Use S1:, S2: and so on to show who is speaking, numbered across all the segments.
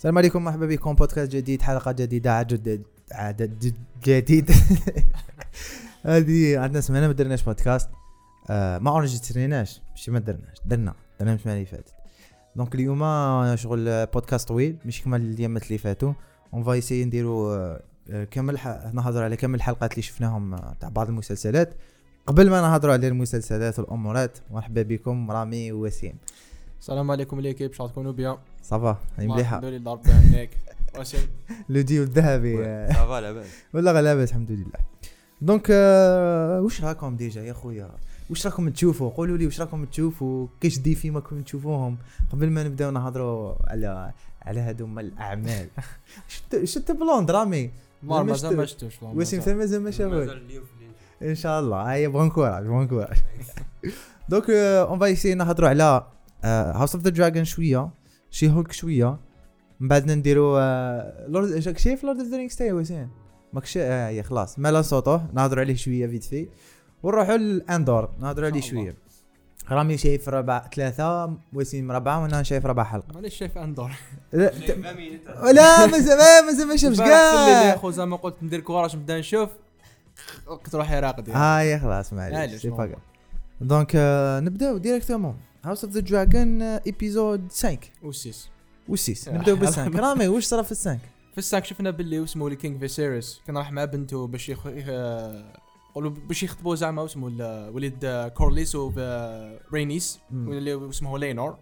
S1: السلام عليكم، مرحبا بكم بودكاست جديد، حلقة جديدة، عدد جديد. هذه عندنا سمعنا ما درناش بودكاست، ما اورجستريناش، ماشي ما درنا السمانه اللي فاتت. دونك اليوم شغل بودكاست طويل مش كما اليامات اللي فاتوا. اون فاي سي نديروا كامل نهضر على كامل الحلقات اللي شفناهم تاع بعض المسلسلات قبل ما نهضروا على المسلسلات والامورات. مرحبا بكم رامي ووسيم.
S2: السلام عليكم ليكيب، شحال تكونوا بيان؟
S1: صافا مليحه
S2: الحمد لله ربي يعينك. واسيم
S1: لو ديو الذهبي
S3: صافا لاباس
S1: ولا لاباس الحمد لله. دونك واش راكم ديجا يا خويا؟ واش راكم تشوفوا؟ قولوا لي واش راكم تشوفوا، كاش ديفي ما كنتم تشوفوهم قبل ما نبداو نهضروا على هذوما الاعمال. شفت بلوند رامي؟
S2: مازال ما شفتوش
S1: وسيم ثم مازال ما شافوش ان شاء الله. هيا بون كوراج. دونك اون فاي سي نهضروا على هاوس اوف ذا دراجون شويه، شي هولك شويه، من بعد نديروا لورد شايف لورد اوف ذا رينجز تاعي وسيم ماكش هي خلاص مالا صوته نهضروا عليه شويه فيت في، ونروحوا للاندور نهضروا عليه شويه. رامي شايف 3 وسيم 4، وانا شايف 4 حلقه.
S2: مانيش شايف اندور.
S1: لا مازال ما شافش كاع
S2: يا خو زعما قلت ندير كوراج نبدا نشوف وقت روحي راقد.
S1: هاي خلاص معليش سي فاكا. دونك نبداو ديريكتومون هاوس اوف ذا دراجون ايبيزود 5 و6 نبداو ب5. رامي واش صرا في 5؟
S2: في الساك شفنا باللي اسمه لي كينغ فيسيريس كان راح مع بنته باش قولوا باش يخطبوا زعما اسمه وليد كورليس ورينيس واللي اسمه لينور.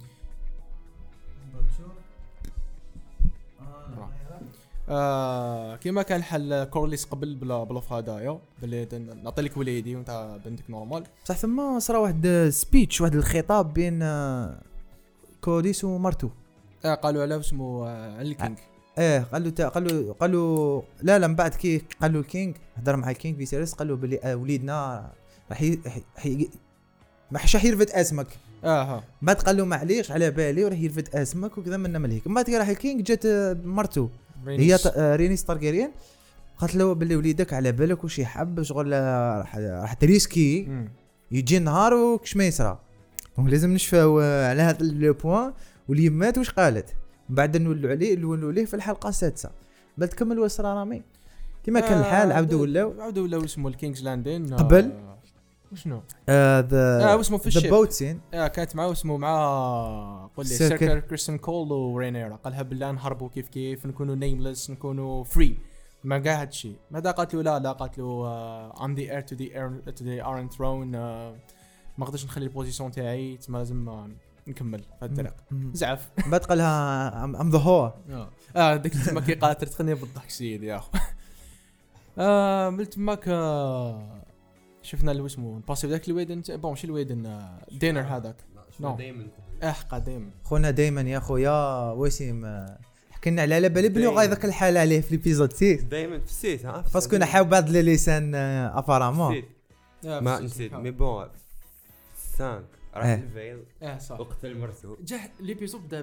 S2: كيما كان حل كورليس قبل بلا هدايا باللي نعطي لك وليدي وانت بنتك نورمال.
S1: بصح ثم صرا واحد سبيتش، واحد الخطاب بين كورليس ومرتو.
S2: قالوا على اسمه على الكينغ.
S1: قالوا لا من بعد كي قالوا الكينغ هضر مع الكينغ فيسيريس، قالوا بلي وليدنا راح ما حش يرفد اسمك. بعد قالوا معليش على بالي وراح يرفد اسمك وكذا من ملهيك. من بعد راح الكينغ جات مرتو هي رينيس تارجيريان، قالت له بلي وليدك على بالك وش يحب شغل راح تريسكي يجي نهار وكش ما يصرى. دونك لازم نشفاو على هذا لو بوين. واليمات واش قالت بعد نولوا عليه في الحلقه 6. بعد تكمل وسرا رامي كما كان الحال. عاودوا ولاو
S2: اسمه الكينجز لاندين
S1: قبل
S2: وشنو
S1: اسمه
S2: في الشيب
S1: بوت سين.
S2: كانت معه اسمه مع قول لي سيركل كريستن كول ورينيرا. قالها بالله نهربوا كيف نكونوا نيمليس نكونوا فري ما قال هذا الشيء. ماذا قالت له لا قالت له I'm the heir to the Iron Throne. ما قدرتش نخلي البوزيشن تاعي لازم نكمل في الطريق. زعف
S1: بعد قالها I'm the whore.
S2: ديك تما كي قالت تخني بالضحك سيدي يا اخو. من تماك شفنا اللي اسمه باسيف ذاك الويدن بون ماشي الويدن دينر هذاك دايما قديم
S1: خونا دايما يا خويا وسيم. حكينا على بالي بلي غايذاك الحال عليه في ليبيزود 6
S3: دائما في السيت
S1: باسكو انا حاول بعض لي لسان ابارامون
S3: ما نسيت مي بون 5 راح الفيل
S2: صح
S3: وقتل مرتو
S2: جا ليبيزود بدا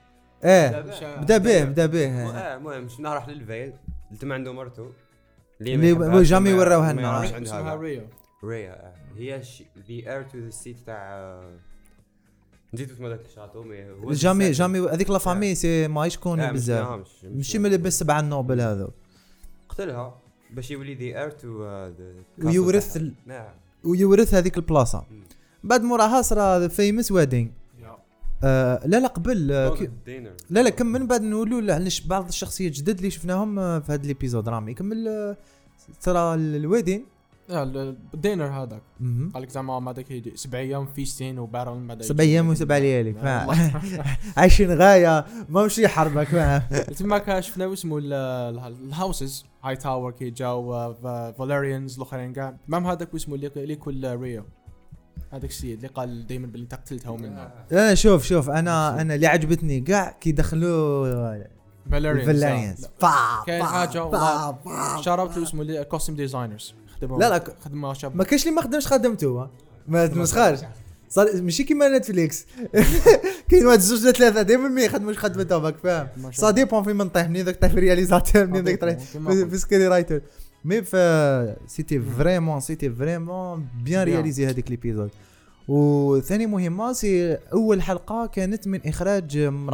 S1: به
S3: المهم شفنا راح للفيل قلت ما عنده مرتو
S1: اللي جامي وراوها لنا
S2: اسمها
S3: ريا هي the heir to the seat تاع نزيد اسمه ذاك الشاطو
S1: جامي هذيك لا فامي سي ما يشكون بزاف ماشي من اللي ب7 نوبل هذا. قتلها
S3: باش يولي the heir to
S1: ويورث هذيك البلاصه. بعد موراها صرا فيمس ويدينغ. لا قبل لا كمل بعد نقولوا علاش بعض الشخصيات جدد اللي شفناهم في هذا الابيزود. رامي كمل ترى الويدين
S2: الدينر هذاك قالك زعما ما داك 7 ايام فيستين وبارون بعد
S1: 7 ايام و7 ليالي عايشين غايه ما مشي حربك معاه.
S2: تما شفنا اسمه الهاوسز هاي تاور كي جاو فاليريانز الاخرين كاع مام هذاك اسمه اللي كل ريو هذاك السيد اللي قال دائما باللي انت قتلتها ومنها.
S1: شوف انا اللي عجبتني كاع كي دخلوا فاليريانز
S2: كاين حاجه شاربت اسمه كوستيم ديزاينرز
S1: لا
S2: خدمه شاب
S1: ما كاينش اللي ما خدمش خدمته ما تمسخرش صار ماشي كيما نتفليكس. كاين واحد 2 3 دائما ما يخدموش خدمته باك فاهم. صا ديبون في من طيح منين ذاك طيح في رياليزاتور منين ذاك طيح في سكري رايتر مي سيتي فريمون بيان رياليزي هذيك ليبيزود. وثاني مهمه سي اول حلقه كانت من اخراج امراه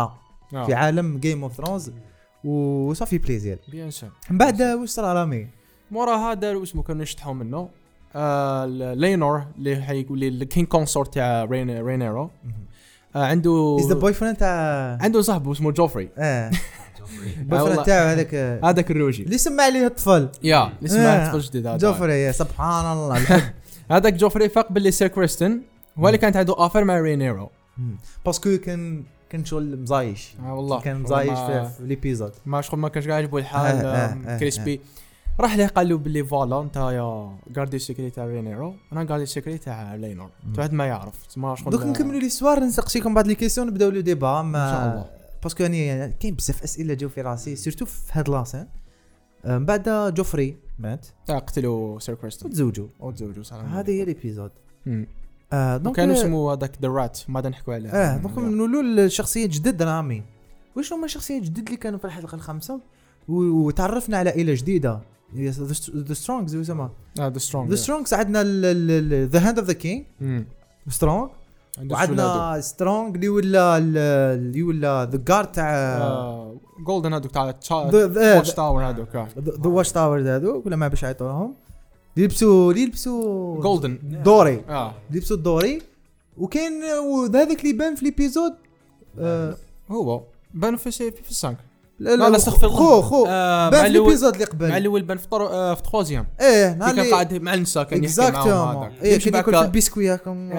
S1: في عالم جيم اوف ثرونز وصافي بليزير
S2: بيان سور.
S1: من بعد واش صرا رامي
S2: موراها داروا اسمه كانوا يشطحوا منه لينور اللي حيقول لي الكين كونسورت تاع رينيرو عنده
S1: از ذا بوي فريند تاع
S2: عنده صاحبه اسمه جوفري
S1: بوي فريند تاعو
S2: هذاك الروجي
S1: اللي سمع عليه الطفل
S2: اللي سمع الطفل جديد هذا
S1: جوفري يا سبحان الله
S2: هذاك جوفري فاق باللي سير كريستن هو اللي كانت عنده اوفر مع رينيرو
S1: باسكو كان شغل مزايش
S2: والله
S1: كان مزايش في ليبيزود
S2: ما شغل ما كانش قاعد يعجبو الحال كريسبي راح ليه قال له باللي فوالا انت يا غاردي سيكريت تاع رينيرو انا غاردي سيكريت تاع لينور واحد ما يعرف تما شغل
S1: دوك نكملوا لي سوار نسقسيكم بعض لي كيسيون نبداو لو ديبا
S2: ان شاء الله
S1: باسكو يعني كاين بزاف اسئله جاو في راسي سيرتو في هاد لاسين من بعد جوفري مات
S2: قتلوا سير كريستن وتزوجوا صراحه
S1: هذه هي ليبيزود
S2: دونك كانوا اسمه هذاك ذا رات ما نحكوا عليه
S1: دونك نقولوا الشخصيات جدد رامي واش هما الشخصيات جدد اللي كانوا في الحلقه الخامسه وتعرفنا على عائله جديده ذا سترونغز يسمى ذا سترونغز عندنا ذا هاند اوف ذا كينج سترونغ وعندنا سترونغ اللي ولا ذا جارد تاع
S2: جولدن هذوك تاع واتش تاور هذوك
S1: ذا واتش تاور هذوك ولا ما باش يعطوهم يلبسوا
S2: جولدن
S1: دوري يلبسوا الدوري وكاين هذاك اللي بان في ليبيزود
S2: هو بان في السانك
S1: لا استغفر الله خو بان في ليبيزود اللي قبل
S2: مع الاول بان في تخوازيام
S1: نهار
S2: كان قاعد مع النساء كان يحكي معاهم هذاك
S1: يمشي ياكل في البسكوياكم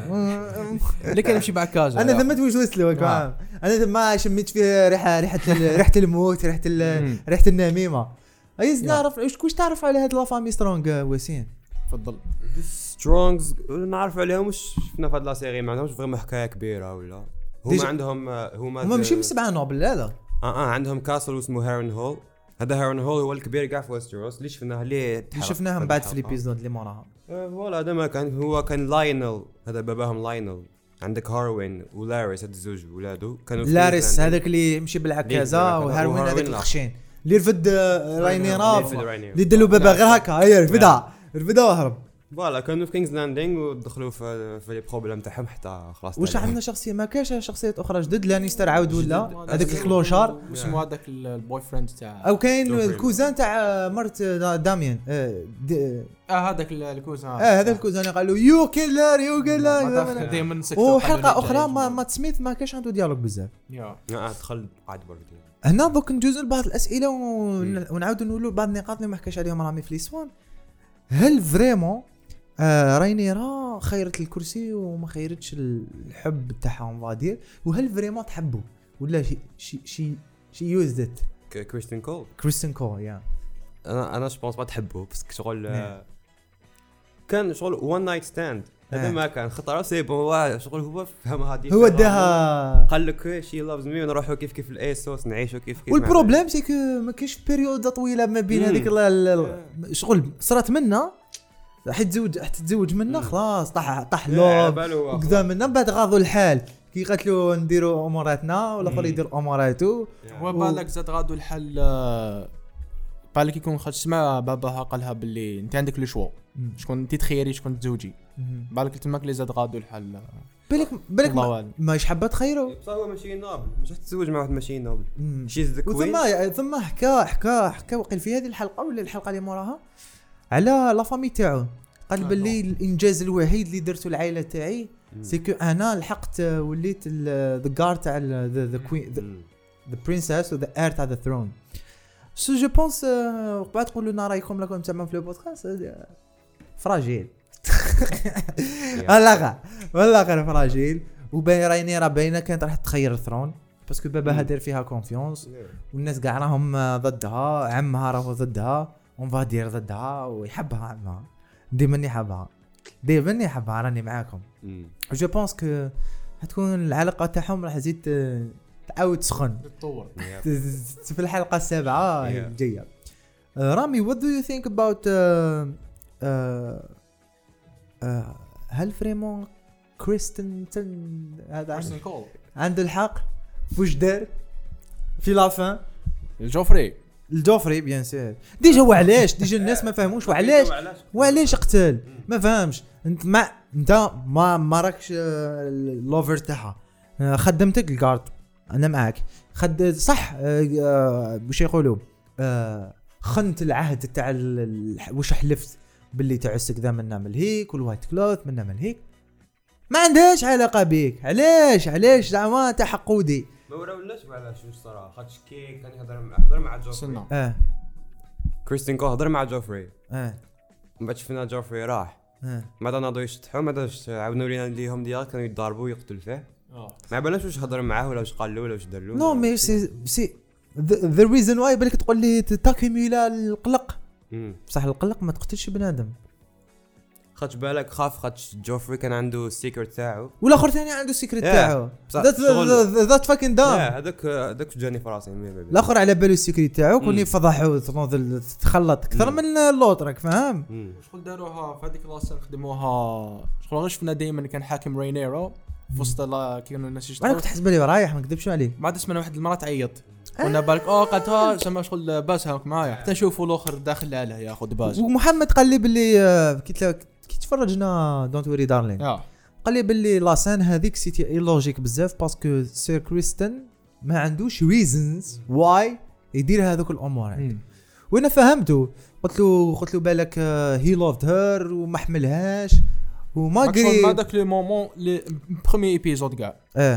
S2: اللي كان يمشي بعكازه
S1: انا ذمت واش وصلت له انا ما شميت فيه ريحه الموت ريحه النميمه عايز نعرف واش تعرف على هاد لا فامي سترونغ وسيم
S2: تفضل
S3: سترونغز نعرف عليهم واش شفنا في هاد لا سيري ما عندهمش فريمون حكايه كبيره ولا هما عندهم هما
S1: ماشي من 7 نوبل هذا
S3: عندهم كاسل اسمه هيرون هول هذا هيرون هول هو الكبير كاع في ويستروس اللي شفناه اللي
S1: شفناهم بعد في الابيزود اللي موراها
S3: فوالا هذا ما كان هو كان لاينل هذا باباهم لاينل عندك هاروين ولاريس هاد الزوج ولادو كانوا
S1: لاريس هذاك اللي يمشي بالعكازه وهاروين هذاك الخشين اللي رفد راينيرا اللي دلو بابا غير هكا هيا رفدها وهرب
S3: فوالا كانوا في كينجز لاندينغ ودخلوا في لي بروبليم تاعهم حتى خلاص
S1: واش عندنا شخصيه ما كاش شخصيات اخرى جدد لانيستر عاود ولا هذاك الكلوشار
S2: اسمه هذاك البوي فريند تاع
S1: او كاين الكوزان تاع مرت داميان
S2: هذاك الكوزان
S1: هذا الكوزان قال له يو كيلر
S2: دائما
S1: وحلقه اخرى ما سميث ما كاش عنده ديالوج بزاف
S3: دخل عاد برك
S1: هنا دوك ندوزو لبعض الاسئله ونعاودوا نقولوا بعض النقاط اللي ما حكاش عليهم رامي في ليسوان هل فريمون راينيرا خيرت الكرسي وما خيرتش الحب تاعهم غادير وهل فريمون تحبوا ولا شي يوزدت كريستين كول يا
S3: انا جوبونس ما تحبوا بس شغل كان شغل وان نايت ستاند هذا ما كان خطر سي بون شغل هو فهم هذه
S1: هو داها
S3: قال لك شي لافز مي ونروحوا كيف الايسوس نعيشوا كيف
S1: والبروبليم سي كو ما كاينش بيريود طويله ما بين هذيك شغل صرات منا راح تتزوج منا خلاص طاح لوب وكذا منا بعد غاضوا الحال كي قالوا نديروا اموراتنا ولا اخر يدير اموراته
S2: هو بالك زاد غاضوا الحال بالك يكون خرج سمع باباها قالها باللي انت عندك لو شوا شكون انت تخيري شكون تزوجي بالك تماك لي زاد غاضوا الحال
S1: بالك ماش حابه تخيروا
S3: بصح هو ماشي نوبل مش تتزوج مع واحد ماشي نوبل شيز ذا كوين
S1: ثم حكى وقيل في هذه الحلقه ولا الحلقه اللي موراها على لا فامي تاعو قال باللي الانجاز الوحيد اللي درته العائله تاعي سيكو انا لحقت وليت ذا جار تاع ذا كوين ذا برنسس وذا اير تاع ذا ثرون سو جو بونس بعد تقولوا لنا رايكم لكم تمام في البودكاست فراجيل والله غير فراجيل وباين راينيرا باينه كانت راح تخير الثرون باسكو باباها دار فيها كونفيونس والناس كاع راهم ضدها عمها راهو ضدها ونفادير ضدها ويحبها عمها ديما يحبها راني معاكم جو بونس كو حتكون العلاقه تاعهم راح تزيد تعاود تسخن
S2: تتطور
S1: في الحلقه السابعه الجايه رامي what do you think about هل فريمون كريستن هذا عنده الحق فوش دار في لافان الجوفري بيان سير ديجا وعلاش ديجا الناس ما فهموش وعلاش قتل ما فهمش انت ما راكش اللوفر تاعها خدمتك الجارد انا معاك خد صح. واش يقولوا خنت العهد تاع واش حلفت باللي تعسك ذا من نعمل هيك والوايت كلوث من نعمل هيك ما عندهاش علاقه بيك. علاش زعما تاع حقودي
S3: ما وراولناش علاش الصراحه خاطش كي كان يهضر مع جوفري كريستين كول هضر مع جوفري من بعد شفنا جوفري راح ما ناضوا يشطحوا ما عاودوا لينا ليهم ديال كانوا يضاربوا ويقتلوا فيه ما بالناش واش هضر معاه ولا واش قال له ولا واش دار له.
S1: نو مي سي ذا ريزون واي بالك تقول لي تاكيميلا القلق بصح القلق ما تقتلش بنادم
S3: خاطش بالك خاف خاطش جوفري كان عنده السيكريت تاعو
S1: والاخر ثاني عنده السيكريت تاعو ذات فاكين دام
S3: هذاك جاني فراسي
S1: الاخر على بالو السيكريت تاعو كوني فضحوا تخلط اكثر من اللوط راك فاهم.
S2: شغل داروها في هذيك لاصه خدموها شغل غير شفنا دائما كان حاكم رينيرو في وسط كانوا الناس يشتغلوا
S1: انا كنت حسب لي رايح ما نكذبش عليه
S2: ما اسمنا واحد المرات عيط كنا بالك قالتها سما شغل باس هاك معايا حتى نشوفوا الاخر داخل عليه ياخذ باس.
S1: ومحمد قال لي باللي كي تفرجنا دونت وري دارلين قال لي باللي لاسان هذيك سيتي لوجيك بزاف باسكو سير كريستن ما عندوش ريزنز واي يدير هذوك الامور وانا فهمته قلت له بالك هي لوفد هير وما حملهاش وما قري
S2: ما داك لو مومون لي بروميي ايبيزود كاع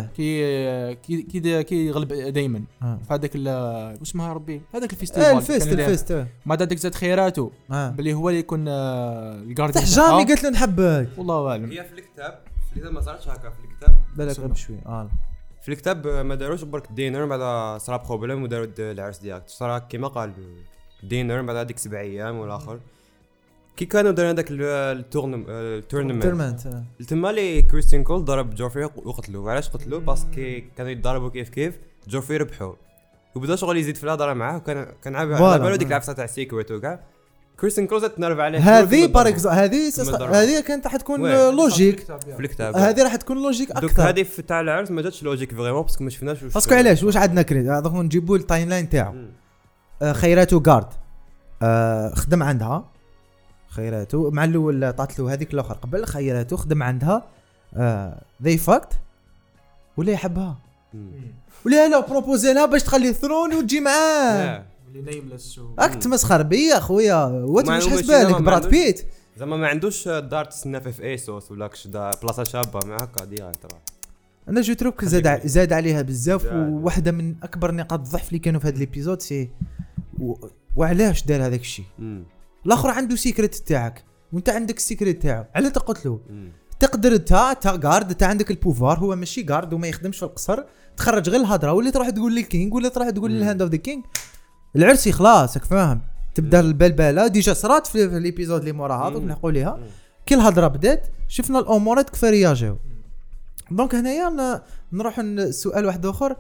S2: كي يغلب دائما في هذاك اسمها ربي هذاك
S1: الفيستيفال
S2: ما داك زاد خيراته بلي هو اللي يكون الجارديان
S1: جامي قالت له نحبك
S2: والله اعلم.
S3: هي في الكتاب اللي ما صارتش هكا في الكتاب
S1: بالك غير بشوي
S3: في الكتاب ما داروش برك دينر بعد صرا بروبليم وداروا العرس ديالك صرا كيما قال دينر بعد هذيك 7 ايام والاخر كي كانوا داروا هذاك التورنمنت تما لي كريستين كول ضرب جوفري وقتلوه. علاش قتلوه باسكو كانوا يتضاربوا كيف جوفري ربحوا وبدا شغل يزيد في الهضره معاه كان على بالو ديك العفسه تاع السيكريت وكاع كريستين كول تنرف عليه
S1: هذه بارك هذه كانت راح تكون لوجيك
S3: في الكتاب
S1: هذه راح تكون لوجيك اكثر.
S3: هذه تاع العرس ما جاتش لوجيك فريمون باسكو ما شفناش
S1: باسكو علاش واش عندنا كريد دوك نجيبوا التايم لاين تاعو خيراته غارد خدم عندها خيراته مع الاول عطات له هذيك الاخر قبل خيراته خدم عندها ذي فاكت ولا يحبها ولا لا بروبوزي لها باش تخلي الثرون وتجي معاه
S2: اللي نايملس
S1: اكت مسخر بيا خويا وانت مش حاسس بالك براد بيت
S3: زعما ما عندوش دار تسنى في ايسوس ولا كش بلاصه شابه مع هكا ديريكت راه
S1: انا جو تروك زاد عليها بزاف وواحده من اكبر نقاط الضعف اللي كانوا في هذا الابيزود سي وعلاش دار هذاك الشيء. الاخر عنده سيكريت تاعك وانت عندك السيكريت تاعو على تقتلو تقدر تا غارد تا عندك البوفار هو ماشي غارد وما يخدمش في القصر تخرج غير الهضره واللي تروح تقول للكينج ولا تروح تقول للهاند اوف ذا كينج العرسي خلاص راك فاهم تبدا البلبله ديجا صرات في الابيزود اللي موراها دوك نحكوا ليها كل هضره بدات شفنا الامورات كيف رياجيو. دونك هنايا نروح لسؤال واحد اخر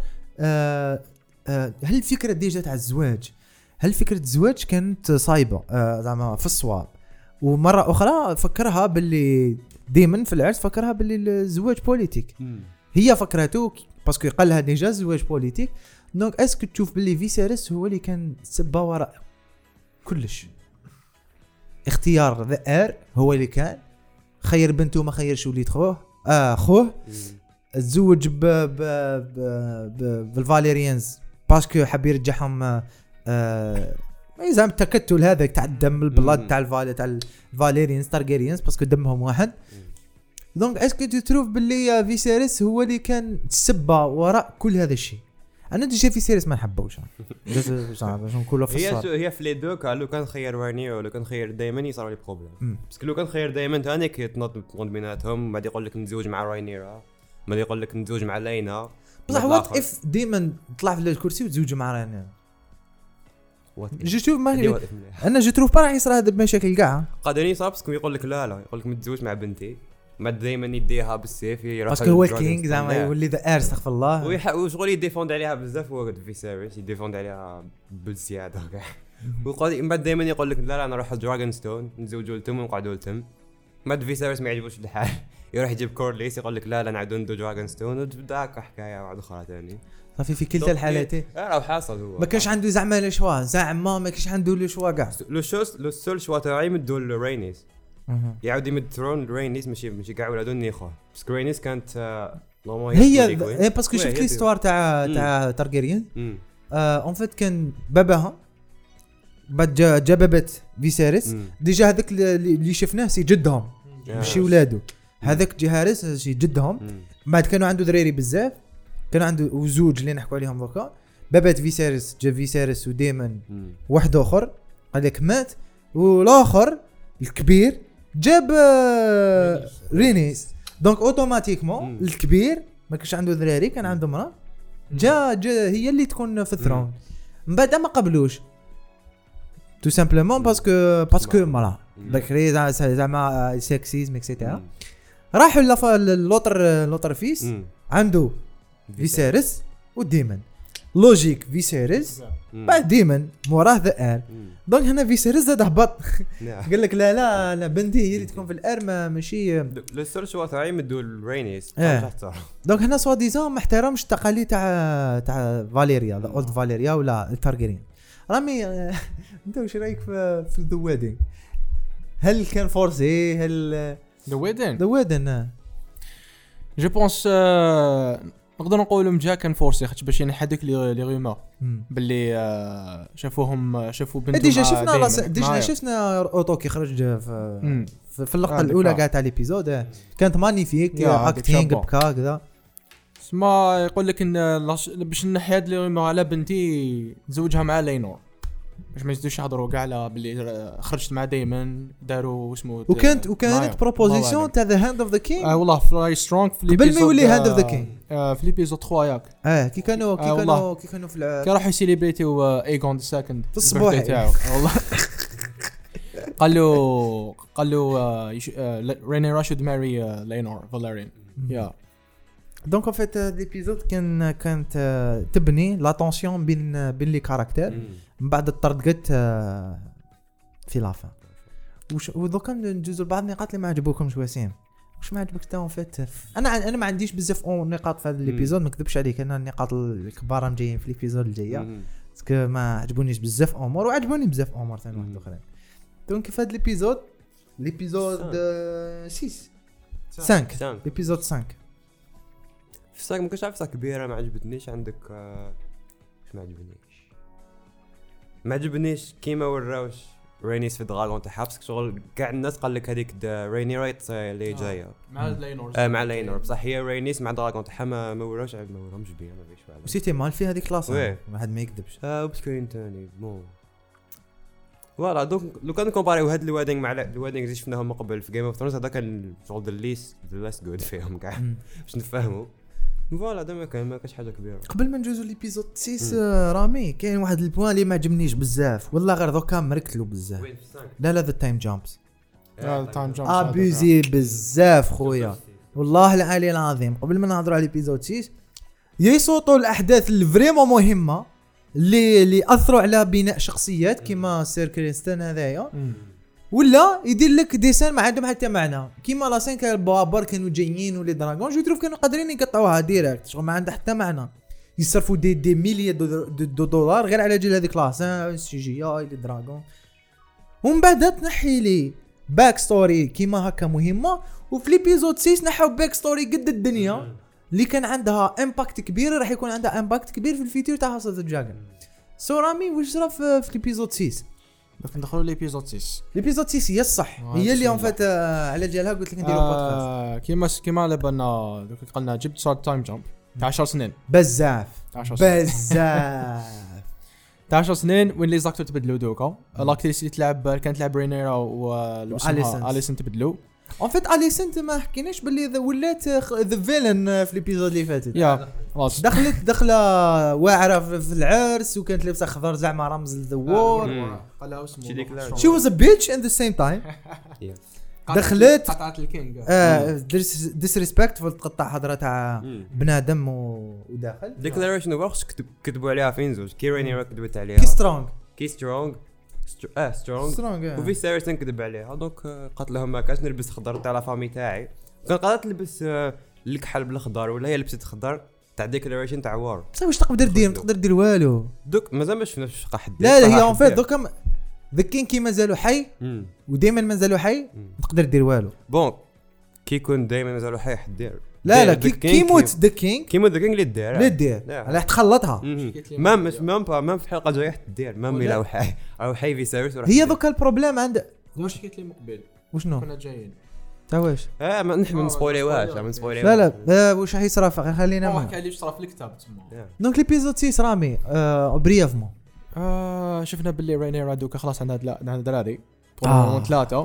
S1: هل الفكره ديجا تاع الزواج هل فكره الزواج كانت صايبه زعما في الصواب ومره اخرى فكرها باللي ديما في العرس فكرها باللي الزواج بوليتيك هي فكرته باسكو قال لها ديجا زواج بوليتيك. دونك اسكو تشوف باللي فيسيرس هو اللي كان سبه وراء كلش اختيار ذا هو اللي كان خير بنته وما خيرش وليد خوه تزوج بالفاليريانز باسكو حاب يرجعهم زعما التكتل هذا تاع الدم البلاد تاع الفاليريانز تارجيريانز باسكو دمهم واحد. دونك اسكو تشوف باللي فيسيرس هو اللي كان السبه وراء كل هذا الشيء. انا ديجا فيسيرس ما نحبوش باش نقولوا في الصراحه
S3: هي في لي دو قالوا كان خير وارنيو ولا كان خير دائما يصيروا لي بروبليم باسكو لو كان خير دائما ثاني كيتنط بيناتهم بعد يقول لك نتزوج مع راينيرا بعد يقول لك نتزوج مع لينا
S1: بصح وات اف ديما طلع في الكرسي وتزوج مع راينيرا جيتو ما انا جيتو راح يصير هذا بمشاكل كاع
S3: قادرين يصير باسكو يقول لك لا يقول لك متزوج مع بنتي ما دائما يديها بالسيف يروح
S1: باسكو هو الكينج زعما يولي ذا استغفر الله
S3: وشغل يديفوند عليها بزاف هو في سيريس يديفوند عليها بالزياده كاع ويقول من بعد دائما يقول لك لا انا نروح دراغون ستون نتزوجوا لتم ونقعدوا لتم ما في سيريس ما يعجبوش الحال يروح يجيب كورليس يقول لك لا نعاودوا ندو دراغون ستون وتبدا هكا حكايه واحده اخرى ثاني
S1: صافي في كلتا الحالتين
S3: راه حاصل هو
S1: ما كانش عنده زعما لي شوا زعما ما كانش عنده لي شوا كاع
S3: لو سول شوا تاعي مدو لرينيس يعاود يمد ثرون رينيس ماشي كاع ولادو نيخوه بس رينيس كانت
S1: هي باسكو شفت ليستوار تاع تارجيريان اون فيت كان باباها بعد جا بابت فيسيريس ديجا هذاك اللي شفناه سي جدهم ماشي ولادو هذاك جهارس سي جدهم بعد كانوا عنده دراري بزاف كان عنده وزوج اللي نحكوا عليهم دوكا بابات فيسيريس جا فيسيريس وديمن واحد اخر هذاك مات والاخر الكبير جاب رينيس دونك اوتوماتيكمون الكبير ما كانش عنده ذراري كان عنده مرا جا هي اللي تكون في الثرون من بعد ما قبلوش تو سامبلومون باسكو مرا بكري زعما سكسيزم اكسيتيرا راحوا لوطر فيس عنده فيسيريس وديمن لوجيك فيسيريس بعد ديمن موراه ذا دونك هنا فيسيريس زاد هبط قال لك لا بنتي هي اللي تكون في الار ماشي
S3: لو سيرش واث يمدوا الرينيس
S1: دونك هنا سوا ديزون ما احترمش التقاليد تاع فاليريا ذا اولد فاليريا ولا التارجيريان رامي انت واش رايك في ذا ويدنج هل كان فورسي هل
S2: ذا ويدن جو بونس نقدر نقولوا مجا كان فورسي خاطش باش ينحدك لي غيومور باللي شافوا بنتهم
S1: ديجا شفنا اوتو كي خرج في اللقطه الاولى كاع تاع ليبيزود كانت مانيفيك اكتينغ بكا كذا
S2: اسمع يقول لك ان باش نحي هاد لي غيومور على بنتي نزوجها مع لينور باش ما يزيدوش يهضروا كاع على باللي خرجت مع دايما داروا اسمه
S1: وكانت بروبوزيسيون تاع ذا هاند اوف ذا كينج
S2: والله فراي سترونغ في
S1: قبل ما يولي هاند اوف ذا كينج
S2: في ليبيزود 3 ياك
S1: كي كانوا في
S2: كي راحوا يسيليبريتيو ايغون ذا سكند
S1: في الصباح
S2: تاعو والله قالوا ريني راشد ماري لينور فاليريان يا
S1: دونك ان فيت ليبيزود كانت تبني لا تونسيون بين لي كاركتير من بعد الطردقت في لافا ودوكا ندوزو لبعض النقاط اللي ما عجبوكمش وسيم واش ما عجبك تا فات انا ما عنديش بزاف نقاط في هذا ليبيزود ما نكذبش عليك انا النقاط الكبار جايين في ليبيزود الجايه باسكو ما عجبونيش بزاف امور وعجبوني بزاف امور ثاني واحد اخرين دونك في هذا ليبيزود 5 ليبيزود 5
S3: في ساك ما كنتش عارف كبيره ما عجبتنيش عندك واش ما عجبنيش كيما وراوش رينيس في دراغون تاع حبس شغل كاع الناس قال لك هذيك ريني رايت اللي جايه مع لينور بصح هي رينيس مع دراغون تاعها ما وراوش ما بيان ما فيش فعلا
S1: وسيتي مال في هذيك كلاس واحد ما يكذبش
S3: بسكرين ثاني بون فوالا دونك لو كان كومباريو هاد الوادينغ مع الوادينغ اللي شفناهم من قبل في جيم اوف ثرونز هذا كان شغل ذا ليست جود فيهم كاع باش نفهموا فوالا دابا ما كاش حاجه كبيره
S1: قبل ما نجوزو ليبيزود 6 رامي كاين واحد البوان اللي ما عجبنيش بزاف والله غير دوكا مركلو بزاف لا ذا تايم جامبس ابيزي بزاف خويا والله العلي العظيم قبل ما نهضروا على ليبيزود 6 يصوتوا الاحداث اللي فريمون مهمه اللي اثروا على بناء شخصيات كيما سير كريستن هذايا ولا يدير لك ديسان ما عندهم حتى معنى كيما لا 5 البابر كانوا جايين ولي دراغون جو تروف كانوا قادرين يقطعوها ديريكت شغل ما عندها حتى معنى يصرفوا دي مليار دولار غير على جال هذيك لاس سي جي اي لي دراغون ومن بعد تنحي لي باك ستوري كيما هكا مهمه وفي ليبيزود 6 نحاو باك ستوري قد الدنيا اللي كان عندها امباكت كبير راح يكون عندها امباكت كبير في الفيتور تاع هاوس اوف ذا دراجون رامي واش صرا في ليبيزود 6
S2: باش ندخلوا ليبيزود
S1: 6 هي الصح هي اللي فات على جالها قلت لك نديروا
S2: بودكاست كيما على بالنا قلنا جبت صار تايم جامب تاع 10 سنين
S1: بزاف
S2: 10 سنين وين لي زاكتور تبدلوا دوكا لاكتريس اللي كانت تلعب رينيرا واليسن تبدلوا
S1: ان فيت اليسنت ما حكيناش باللي ولات ذا فيلن في ليبيزود اللي فاتت
S2: يا
S1: دخله واعره في العرس وكانت لابسه خضر زعما رمز ذا وور
S2: قالها اسمه
S1: شي واز ا بيتش ان ذا سيم تايم دخلت
S2: قطعت الكينج
S1: ديسريسبكتفول تقطع حضره تاع بنادم وداخل
S3: ديكلاريشن وركس كتبوا عليها فين زوج كيريني كتبت عليها كي سترونغ وفي سيريس نكذب عليها دونك قالت لهم ما كاش نلبس خضر تاع لا فامي تاعي كان قالت تلبس الكحل بالخضر ولا هي لبست خضر تاع ديكلاريشن تاع وار
S1: بصح واش تقدر دير والو
S3: دوك مازال ما شفناش واش قاعد
S1: لا هي اون فيت دوك ذا كين كي مازالو حي ودائما مازالو حي تقدر دير والو
S3: بون كي يكون دائما مازالو حي حدير
S1: لا كي يموت ذا كينج
S3: اللي دير
S1: راح تخلطها
S3: مام في الحلقه الجايه تدير مام الى حي فيسيريس
S1: هي ذوك البروبليم عند
S2: واش حكيت لي مقبل
S1: وشنو
S2: كنا جايين
S1: تا واش
S3: ما نحب نسبويليوهاش
S1: لا واش راح يصرى خلينا
S2: ما حكى لي صرا في الكتاب تما
S1: دونك ليبيزود 6 رامي بريفمون
S2: شفنا باللي رينيرا دوكا خلاص عندنا دراري 3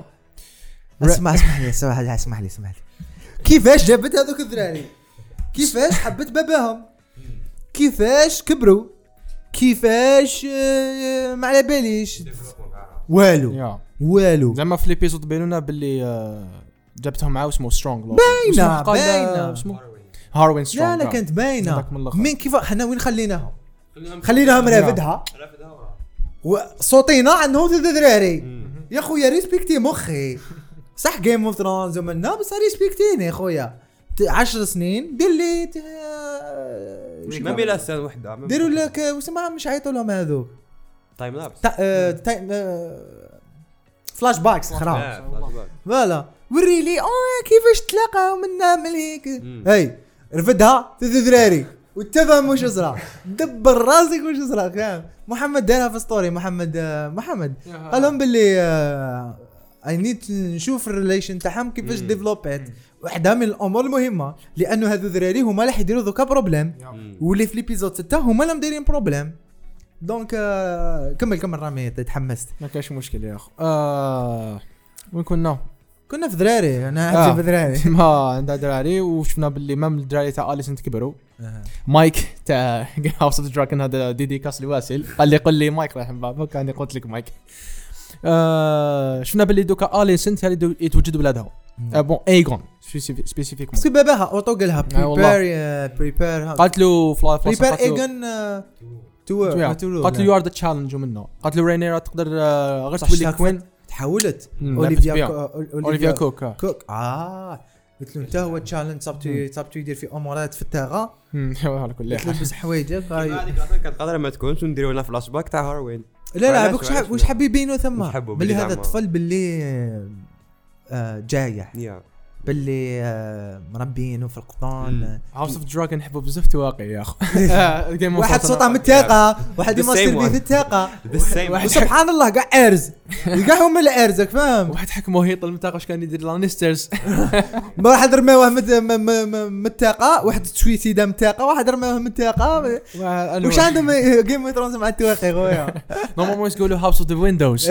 S1: اسمح لي كيفاش جابت هذوك الذراري كيفاش حبت باباهم كيفاش كبروا كيفاش ما على باليش والو
S2: زعما في ليبيزود بينونا باللي جابتهم معاه اسمه سترونغ
S1: باينه
S2: اسمه هاروين سترونغ
S1: لا كانت باينه من كيف حنا وين خليناهم رافدها وصوتينا عندهم الذراري يا خويا ريسبكتي مخي صح جيم اوف ثرونز ومنا بس ريسبكتيني يا خويا 10 سنين دير لي
S3: ما بلا سنه وحده
S1: ديروا لك وسمع مش عيطوا لهم هذوك
S3: تايم لابس
S1: فلاش باكس خراب فوالا وري لي كيفاش تلاقاو منا مليك هاي رفدها تذراري وتفهم واش صرا دبر راسك واش صرا فاهم محمد دارها في ستوري محمد قال لهم باللي اي نيد نشوف الريليشن تاعهم كيفاش ديفلوبات واحده من الامور المهمه لانه هذو الذراري هما اللي حيديروا ذوك بروبليم واللي في ليبيزود 6 هما اللي دايرين بروبليم دونك كمل رامي تحمست
S2: ما كاش مشكل يا اخو وين كنا
S1: في ذراري انا عندي في ذراري
S2: ما عندها دراري وشفنا باللي مام الدراري تاع اليسن كبروا مايك تاع هاوس اوف دراكن هذا ديدي كاسلي واسل قال لي مايك راح نبابك كان قلت لك مايك شفنا باللي دوكا اليسن اللي يتوجد بلادها بون ايغون سبيسيفيك
S1: سي باباها اوتو قالها بريبير
S2: قالت له
S1: بريبير ايغون
S2: قالت له يو ار ذا تشالنج منه قالت له رينيرا تقدر غير تولي كوين
S1: تحولت
S2: اوليفيا كوك
S1: قلت له انت هو تشالنج صابتو يدير في امورات في التاغا
S2: على كل حال
S1: بس حوايجك
S3: كانت قادره ما تكونش ونديروا لنا فلاش باك تاع هاروين
S1: لا واش حاب يبينوا ثم باللي هذا الطفل باللي جايح باللي مربينه في القطان
S2: هاوس اوف دراجون نحبوا بزاف تواقي يا اخو
S1: واحد صوته من الثقه واحد يمثل به في الثقه سبحان الله كاع ارز كاع هما اللي ارزك فاهم
S2: واحد حكمه هيطل المنطقه واش كان يدير لانسترز
S1: واحد رماوه من الثقه واحد تسويسيدا من الثقه واحد رماوه من الثقه واش عندهم جيم اوف ثرونز مع التواقي خويا
S2: نورمالمون يقولوا هاوس اوف ذا ويندوز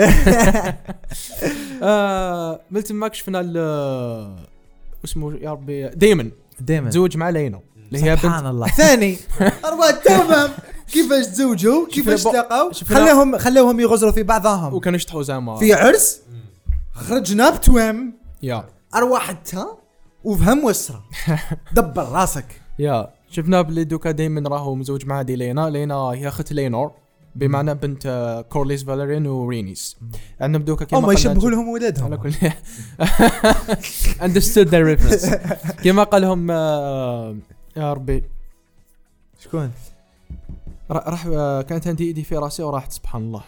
S2: ملت ماك شفنا اسمه يا ربي دايمن تزوج مع لينا
S1: اللي هي سبحان الله ثاني أربعة تمام كيفاش تزوجوا كيفاش تلاقوا خلوهم يغزروا في بعضهم
S2: وكانوا يشطحوا زعما
S1: في عرس خرجنا بتوام
S2: يا
S1: أرواحتها وفهم وسرة دبر راسك
S2: يا شفنا بلي دوكا دايما راهو مزوج مع دي لينا هي اخت لينور بمعنى بنت كورليس فاليرين ورينيس عندهم دوكا كيما
S1: ما يشبهوا لهم ولادهم
S2: على كل understood their reference كيما قال لهم يا ربي
S1: شكون
S2: راح كانت عندي ايدي في راسي وراحت سبحان الله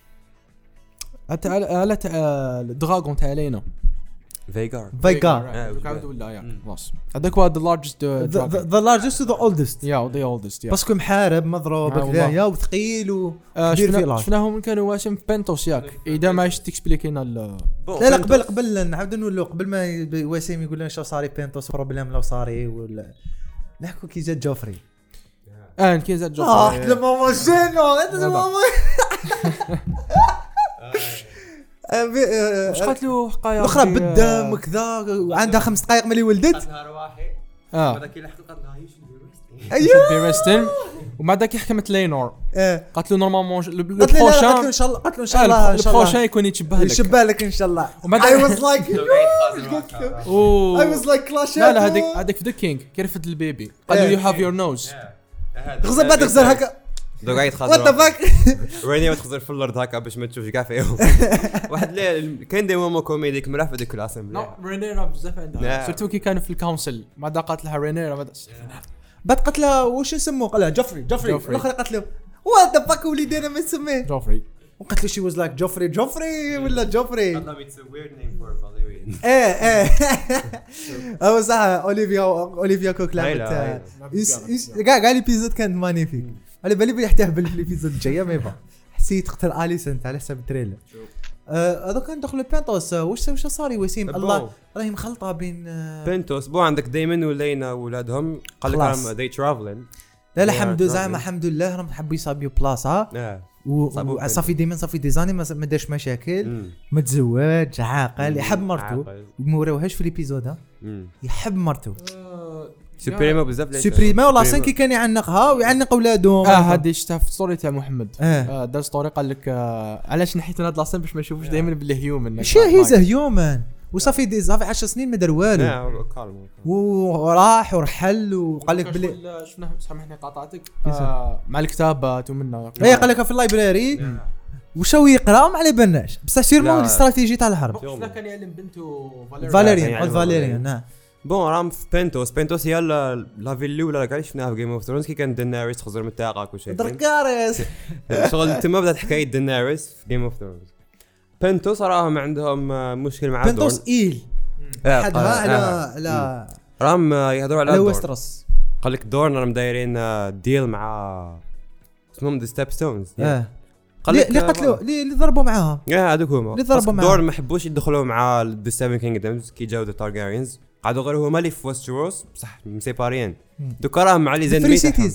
S2: على الدراغون تاع لينا
S1: فيغار
S2: ولا يا خلاص هذاك هو the
S1: largest to the oldest
S2: the oldest
S1: باسكو محارب مضروب كذايا وثقيل وكبير في الارض
S2: شفناهم كانوا واسم في بنتوس ياك اذا ما تكسبليكينا
S1: لا قبل نعاود نقولوا قبل ما واسم يقول لنا شو صاري بنتوس بروبليم لو صاري ولا نحكوا كي جات جوفري
S2: كي جات جوفري
S1: ماما شنو انت ماما
S2: واش قالت له حقايا
S1: الاخرى بالدم وكذا وعندها 5 دقائق ملي ولدت
S3: قالتها رواحي هذاك اللي قالت لها
S2: ايوه بيرستن ومع ذاك حكمت لينور قالت له نورمالمون
S1: البروشان ان شاء الله قالت له ان شاء الله
S2: البروشان يكون يشبه لك
S1: ان شاء الله I was like clash
S2: لا هذاك في ذا كينج كيرفد البيبي قال له يو هاف يور نوز
S1: غزر بعد غزر هكا
S3: دوك قاعد خاطر وات ذا فاك ريني تخزر في الارض هكا باش ما تشوفش كاع فيهم واحد كاين دي مومو كوميدي كمل في ديك الاسم
S2: رينيرا بزاف عندها سيرتو كي كانوا في الكونسل ما قالت لها رينيرا
S1: بعد قالت لها واش نسموه قال لها جوفري الاخر قالت له وات ذا فاك وليدينا ما نسميه
S2: جوفري
S1: وقالت له شي واز لايك جوفري ولا جوفري
S3: قالت لها اتس ا ويرد نيم فور فاليريان
S1: هو صح. اوليفيا كوك لعبت كاع ليبيزود كان مانيفيك. على بالي بيحتفل في الابيزود الجايه ما يبغى حسيت تقتل اليسنت على حسب التريلر. هذا كان دخل بنتوس. واش صار وسيم الله راهي مخلطه بين
S3: بنتوس بو عندك دايما ولينا ولادهم قال لك راهم دي ترافلين.
S1: لا الحمد زعما الحمد لله راهم حبوا يصابيو بلاصه وصافي ديما صافي ديزاني ما داش مشاكل. متزوج عاقل يحب مرته وما وراوهاش في الابيزود يحب مرته
S3: سوبريما بزاف.
S1: سوبريما والله سانكي كان يعنقها ويعنق اولادهم.
S2: هذه شفتها في ستوري تاع محمد. دار ستوري قال لك علاش نحيت انا لاسين باش ما نشوفوش دائما باللي هيومن.
S1: شي هي هيومن وصافي صافي 10 سنين ما دار والو وراح ورحل وقال لك بلي
S2: شفنا سامحني قاطعتك مع الكتابات ومنها
S1: قال لك في اللايبراري وشو يقرا ما على بالناش بصح سيرمون الاستراتيجيه تاع الحرب.
S2: شفنا كان يعلم بنته
S1: فاليريان نعم.
S3: بون راهم في بنتوس هي لا فيلي ولا كاع شفناها في جيم اوف ثرونز كي كان ديناريس تخزر من الطاقه وكل شيء
S1: دركاريس
S3: شغل تما بدات حكايه ديناريس في جيم اوف ثرونز. بنتوس راهم عندهم مشكل مع
S1: بنتوس ايل حدها على
S3: راهم يهضروا على
S1: ويسترس.
S3: قال لك دورن راهم دايرين ديل مع اسمهم ذا ستيب ستونز.
S1: قال لك اللي قتلوا اللي ضربوا معاها
S3: هذوك هما دورن ما حبوش يدخلوا مع ذا سيفن كينغدمز كي جاو ذا تارجاريانز قعدوا غير هما اللي في ويستروس بصح مسيباريين دوكا راهم مع لي زينمي تاعهم.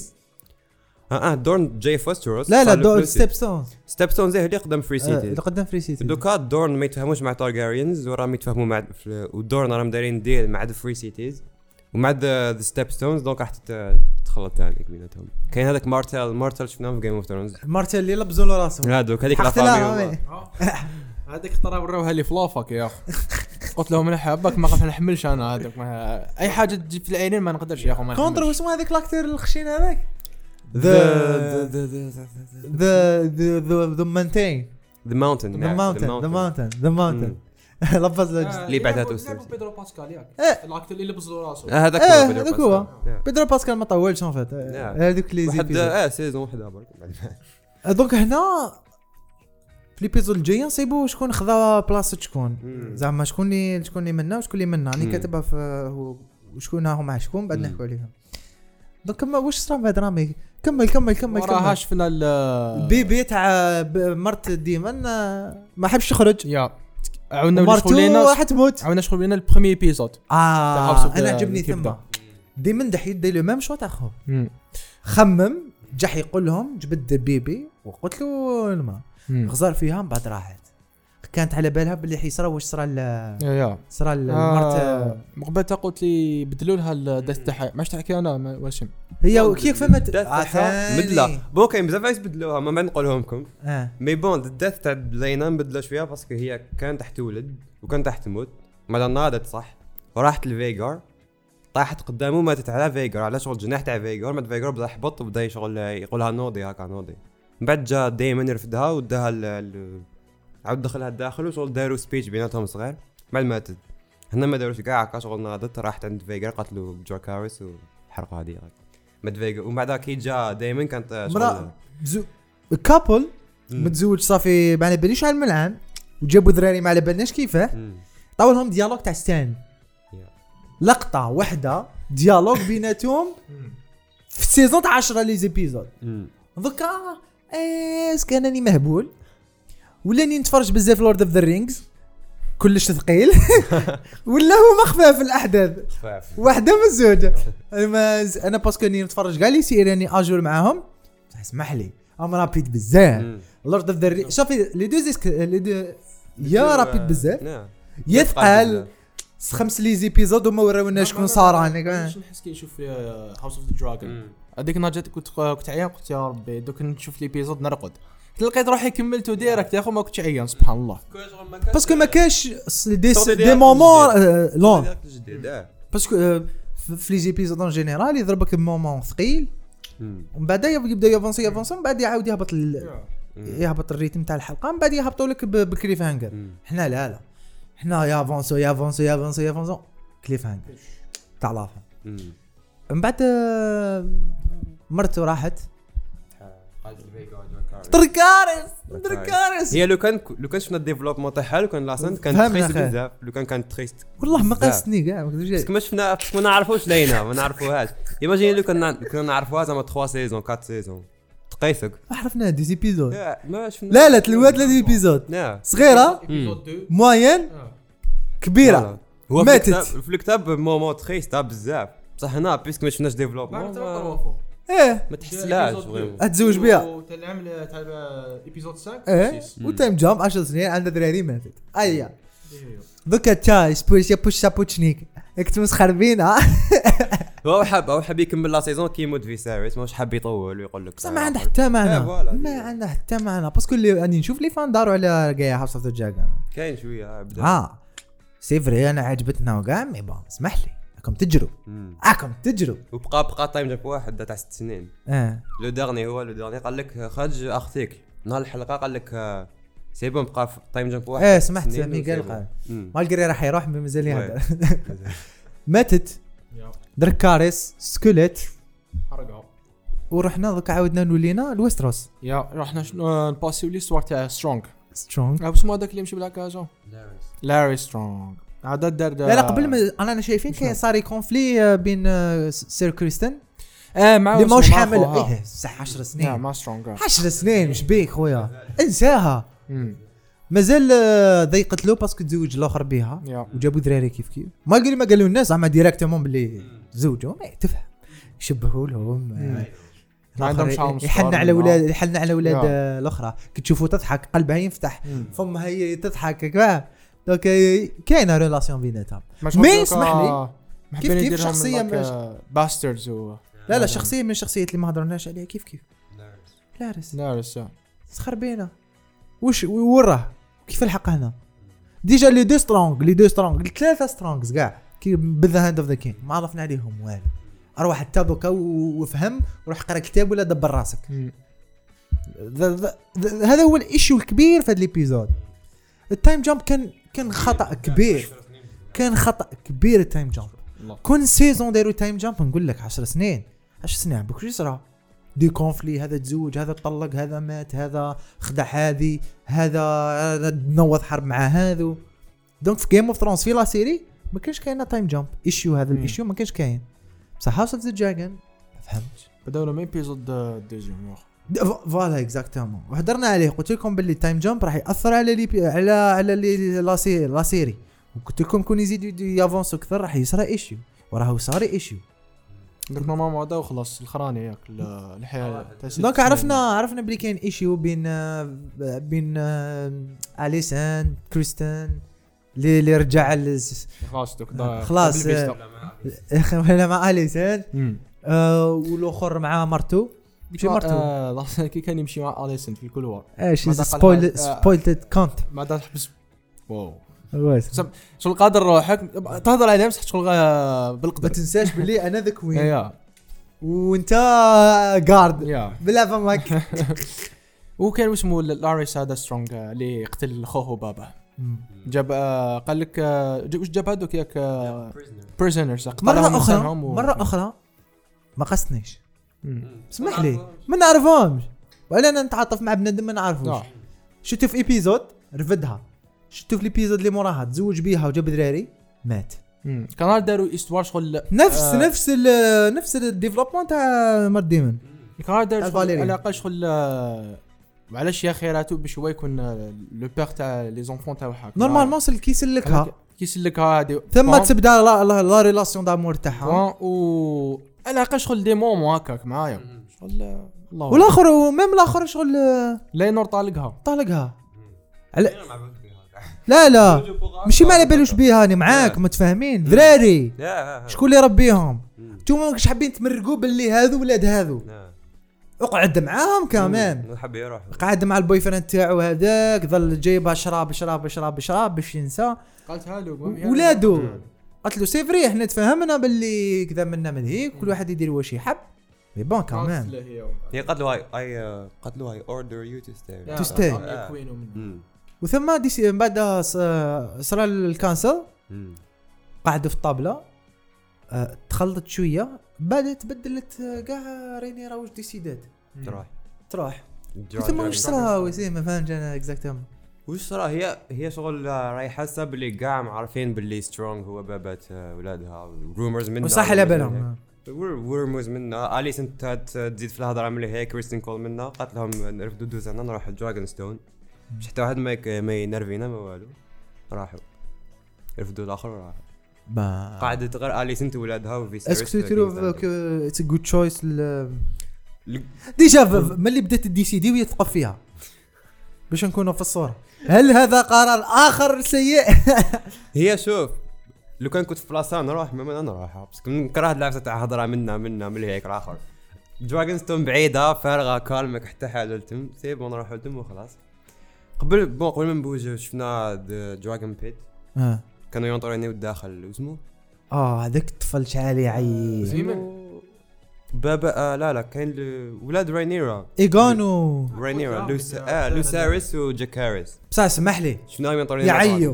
S3: دورن جاي في ويستروس.
S1: لا دورن ستيب ستونز
S3: اللي قدام فري سيتي
S1: اللي قدام فري سيتي.
S3: دوكا دورن ما يتفاهموش مع تارجاريانز وراهم يتفاهموا مع ودورن راهم دايرين ديل مع ذا فري سيتيز ومع ذا ستيب ستونز دونك راح تخلط ثاني بيناتهم. كاين هذاك مارتل شفناه في جيم اوف ثرونز
S1: مارتل اللي لبزوا له راسه
S3: هذوك هذيك لا فامي
S2: هذيك ترى وراوها لي فلافك يا اخي. قلت لهم انا حابك ما نحملش انا هذاك اي حاجه تجي في العينين ما نقدرش يا اخو ما
S1: كونتر واسمو هذاك لاكتير الخشين هذاك ذا مانتين
S3: ذا ماونتن
S1: لبز
S3: اللي بعدها توصل
S2: بيدرو باسكال ياك الاكتر اللي لبز راسه
S1: هذاك هو بيدرو باسكال ما طولش ان فيت هذوك لي
S3: واحد سيزون وحده برك.
S1: دونك هنا في ليبيزود الجاي نصيبوا شكون خذا بلاصه شكون زعما شكون اللي منا وشكون اللي منا راني كاتبها في وشكون هما شكون بعد نحكوا عليهم. دونك واش صرا في درامي كمل
S2: وراها شفنا
S1: البيبي تاع مرت ديمن ما حبش يخرج
S2: يا عاودنا نشغلينا
S1: راح تموت
S2: عاودنا نشغلينا البريمي ايبيزود
S1: انا عجبني ثم ديما دحيت داير ميم شو تاع خو خمم جح يقول لهم جبد بيبي وقلت له المراه غزر فيها من بعد راحت كانت على بالها باللي حيصرا واش صرا صرا المرت
S2: مقبلتها قلت لي بدلوا لها الدث تاعها ماش تحكي انا واشم
S1: هي كيف فهمت
S3: بدلا بون كاين بزاف عايز بدلوها ما نقولهم لكم مي بون الدث تاع لينا بدلوا شويه باسكو هي كانت تحت ولد وكانت تحت تموت ما ناضت صح وراحت لفيغار طاحت قدامه ماتت على فيغار على شغل جناح تاع فيغار مات فيغار بدا يحبط وبدا شغل يقولها نوضي هكا نوضي من بعد جا دايما يرفدها وداها عاود دخلها الداخل وشغل داروا سبيتش بيناتهم صغير بعد ماتت هنا ما داروش كاع هكا شغل ناضت راحت عند فيغار قتلوا جوركاريس وحرقوا هذه مات فيغار ومن بعد كي جا دايما كانت
S1: شغل كابل متزوج صافي ما على باليش على الملعن وجابوا ذراري ما على بالناش كيفاه طاولهم ديالوج تاع ستان لقطه واحده ديالوج بيناتهم في سيزون 10 لي زيبيزود دوكا كان اني مهبول ولاني نتفرج بزاف لورد اوف ذا رينجز كلش ثقيل ولا هو مخفى الاحداث واحده من زوجه انا باسكو اني نتفرج كاع لي سيري اني اجور معاهم اسمح لي ام رابيد بزاف لورد اوف ذا شوفي لي دو يا رابيد بزاف يثقل 5 لي زيبيزود وما وراونا شكون صار انا
S2: نحس كي نشوف هاوس اوف ذا دراجون هذيك نجات كنت عيان قلت يا ربي دوك نشوف لي بيزود نرقد لقيت روحي كملته ديريكت يا اخو ما كنتش عيان سبحان الله باسكو ما كاش دي مومون لون باسكو في لي زيبيزود ان جينيرال يضربك بمومون ثقيل ومن بعد يبدا يافونسي من بعد يعاود يهبط الريتم تاع الحلقه من بعد يهبطوا لك بالكليف هانجر حنا لا حنا يافونسو كليف هانجر تاع لافا من بعد مرته راحت
S1: دركاريس
S3: هي لو كان شفنا الديفلوبمون تاعها لو كان لاسان كان تريست بزاف لو كان تريست
S1: والله ما قاستني كاع
S3: باسكو ما شفنا ما نعرفوش لينا ما نعرفوهاش ايماجين لو كنا نعرفوها زعما 3 سيزون 4 سيزون تقيسك
S1: عرفنا دي زيبيزود
S3: ما شفنا
S1: لا 3 ايبيزود صغيره موين كبيره
S3: هو في الكتاب مومون تريست بزاف بصح هنا بيسك ما شفناش ديفلوبمون ما تحسلاش
S1: اتزوج بها
S2: تاع العام تاع ايبيزود 5
S1: وتايم جامب 10 سنين عندها دراري ماتت ايا دوكا تاي سبوش يا بوش سابوتشنيك كنت مسخربين
S3: هو حاب يكمل لا سيزون كيموت فيسيريس ماش حاب يطول ويقول لك
S1: ما عنده حتى معنى ما عنده حتى معنى باسكو اللي راني نشوف لي فان داروا على كاع هاوس اوف ذا دراجون
S3: كاين شويه بدا
S1: سي فري انا عجبتنا وكاع مي بون اسمح لي راكم تجروا
S3: وبقى تايم جاب واحد تاع 6 سنين لو ديرني قال لك خرج اختيك نهار الحلقه قال لك سي بون بقى تايم جامب واحد
S1: سمعت ميغال قال مالغري راح يروح مازال يهدر ماتت دركاريس سكوليت
S2: حرقها
S1: ورحنا دوك عاودنا نولينا لويستروس
S2: رحنا نباسيو لي ستوار تاع سترونغ
S1: اسمو
S2: هذاك اللي يمشي بالكازو لاري سترونغ عاد دار
S1: لا قبل ما انا شايفين كاين صار كونفلي بين سير كريستن
S2: مع
S1: اللي ماهوش حامل صح 10 سنين
S2: ما سترونغ
S1: 10 سنين مش بيك خويا انساها مازال ضيقت له باسكو تزوج الاخر بها وجابوا دراري كيف ما قالوا الناس زعما ديريكتومون باللي زوجوا ما تفهم يشبهوا لهم
S2: ما عندهمش
S1: يحن على اولاد الاخرى كي تشوفوا تضحك قلبها ينفتح فمها هي تضحك كاع دونك كاينه ريلاسيون بيناتهم مي اسمح لي كيف شخصيه
S2: باسترز
S1: لا شخصيه من الشخصيات اللي ما هضرناش عليها كيف
S2: لارس
S1: سخر بينا واش وراه كيف الحق هنا ديجا لي دو سترونغ الثلاثه سترونغز كاع كي بالذا هاند اوف ذا كين ما عرفنا عليهم والو اروح حتى دوكا وفهم وروح قرا كتاب ولا دبر راسك هذا هو الايشو الكبير في هذا الابيزود التايم جامب كان خطا كبير التايم جامب كون سيزون داروا تايم جامب نقول لك 10 سنين بكري يصرى دي كونفلي هذا تزوج هذا طلق هذا مات هذا خدع هذا نوض حرب مع هذا دونك في جيم اوف ثرونز في لا سيري ما كانش كاين تايم جامب ايشيو هذا الايشيو ما كانش كاين بصح هاوس اوف ذا دراجون ما فهمتش
S2: بداو من ايبيزود ديجون
S1: فوالا اكزاكتومون وحضرنا عليه قلت لكم باللي تايم جامب راح ياثر على لا سيري وقلت لكم كون يزيدوا يافونسوا اكثر راح يصير ايشيو وراه صار ايشيو
S2: دونك نورمالمون هذا وخلاص الخراني ياك الحياه
S1: دونك عرفنا بلي كاين ايشيو بين اليسان كريستن اللي رجع خلاص ولا مع اليسان والاخر مع مرتو ماشي مرتو
S2: كي كان يمشي مع اليسان في الكولوار
S1: ايش سبويلد كونت
S2: ما دار حبس واو شو القادر روحك تهضر عليه بصح شغل بالقدر
S1: ما تنساش باللي انا ذا كوين وانت جارد بلا فمك
S2: وكان اسمه لاريس هذا سترونغ اللي قتل خوه وبابا جاب قال لك واش جاب هذوك ياك بريزنرز
S1: مره اخرى ما قصنيش اسمح لي ما نعرفهمش ولا انا نتعاطف مع بنادم ما نعرفوش شفتو في ايبيزود رفدها شفتو في الابيزود اللي موراها تزوج بيها وجاب دراري مات
S2: كان داروا استوار شغل
S1: نفس الديفلوبمون تاع مات ديمون
S2: كان داروا على الاقل شغل وعلاش يا خيراتو باش هو يكون لو بير تاع لي زونفون تاعو هكا
S1: نورمالمون كيسلكها هذه ثم تبدا لا ريلاسيون دامور تاعها
S2: و على الاقل شغل دي مومون هكاك معايا شغل
S1: الله والاخر وميم الاخر شغل
S2: لينور طالقها
S1: لا ماشي ما على بالوش بيها انا معاك متفاهمين دراري شكون اللي ربيهم نتوما ماكش حابين تمرقوا باللي هذو ولاد هذو اقعد معاهم كمان
S3: حاب يروح
S1: قاعد مع البوي فريند تاعو هذاك ظل جايبها شراب باش ينسى
S2: قالتها له
S1: ولادو قالت له سي فري احنا تفاهمنا باللي كذا منا من هيك كل واحد يدير واش يحب مي بون كمان
S3: هي قالت له اي اوردر يو تو
S1: ستاي وثم دي بعد صار الكانسل قعدوا في الطابله تخلطت شويه بعد تبدلت كاع رينيرا واش ديسيدات
S3: تروح
S1: ثم واش صرا وسي ما فهمتش انا اكزاكتومون
S3: واش صرا. هي شغل راهي حاسه باللي كاع عارفين باللي سترونغ هو بابات ولادها رومرز منها
S1: صح على بالهم
S3: رومرز منها. اليس انت تزيد في الهضره ملي هي كريستين كول منها قالت لهم نرفدوا دوزنا نروح لدراغون ستون مش حتى واحد ما ينرفينا ما والو راحوا رفدوا الاخر وراحوا قاعده غير اليس انت ولادها وفيسيريس.
S1: اسكو تروف اتس ا جود تشويس ديجا ملي بدات الدي سي دي وهي تثقف فيها باش نكونوا في الصوره. هل هذا قرار اخر سيء؟
S3: هي شوف لو كان كنت في بلاصه نروح ما نروح بس نكره اللعبه تاع هضره منا ملي هيك الاخر. دراغون ستون بعيده فارغه كالمك حتى حاجه لتم سيب ونروحوا لتم وخلاص. قبل ما نبوجو شفنا دراغون بيت كانوا ينطرونيو الداخل اسمه
S1: هذاك الطفل شحال يعيط
S3: بابا لا كاين ولاد راينيرا
S1: ايغانو
S3: راينيرا لوساريس وجاكاريس
S1: بصح اسمح لي
S3: شنو ينطرونيو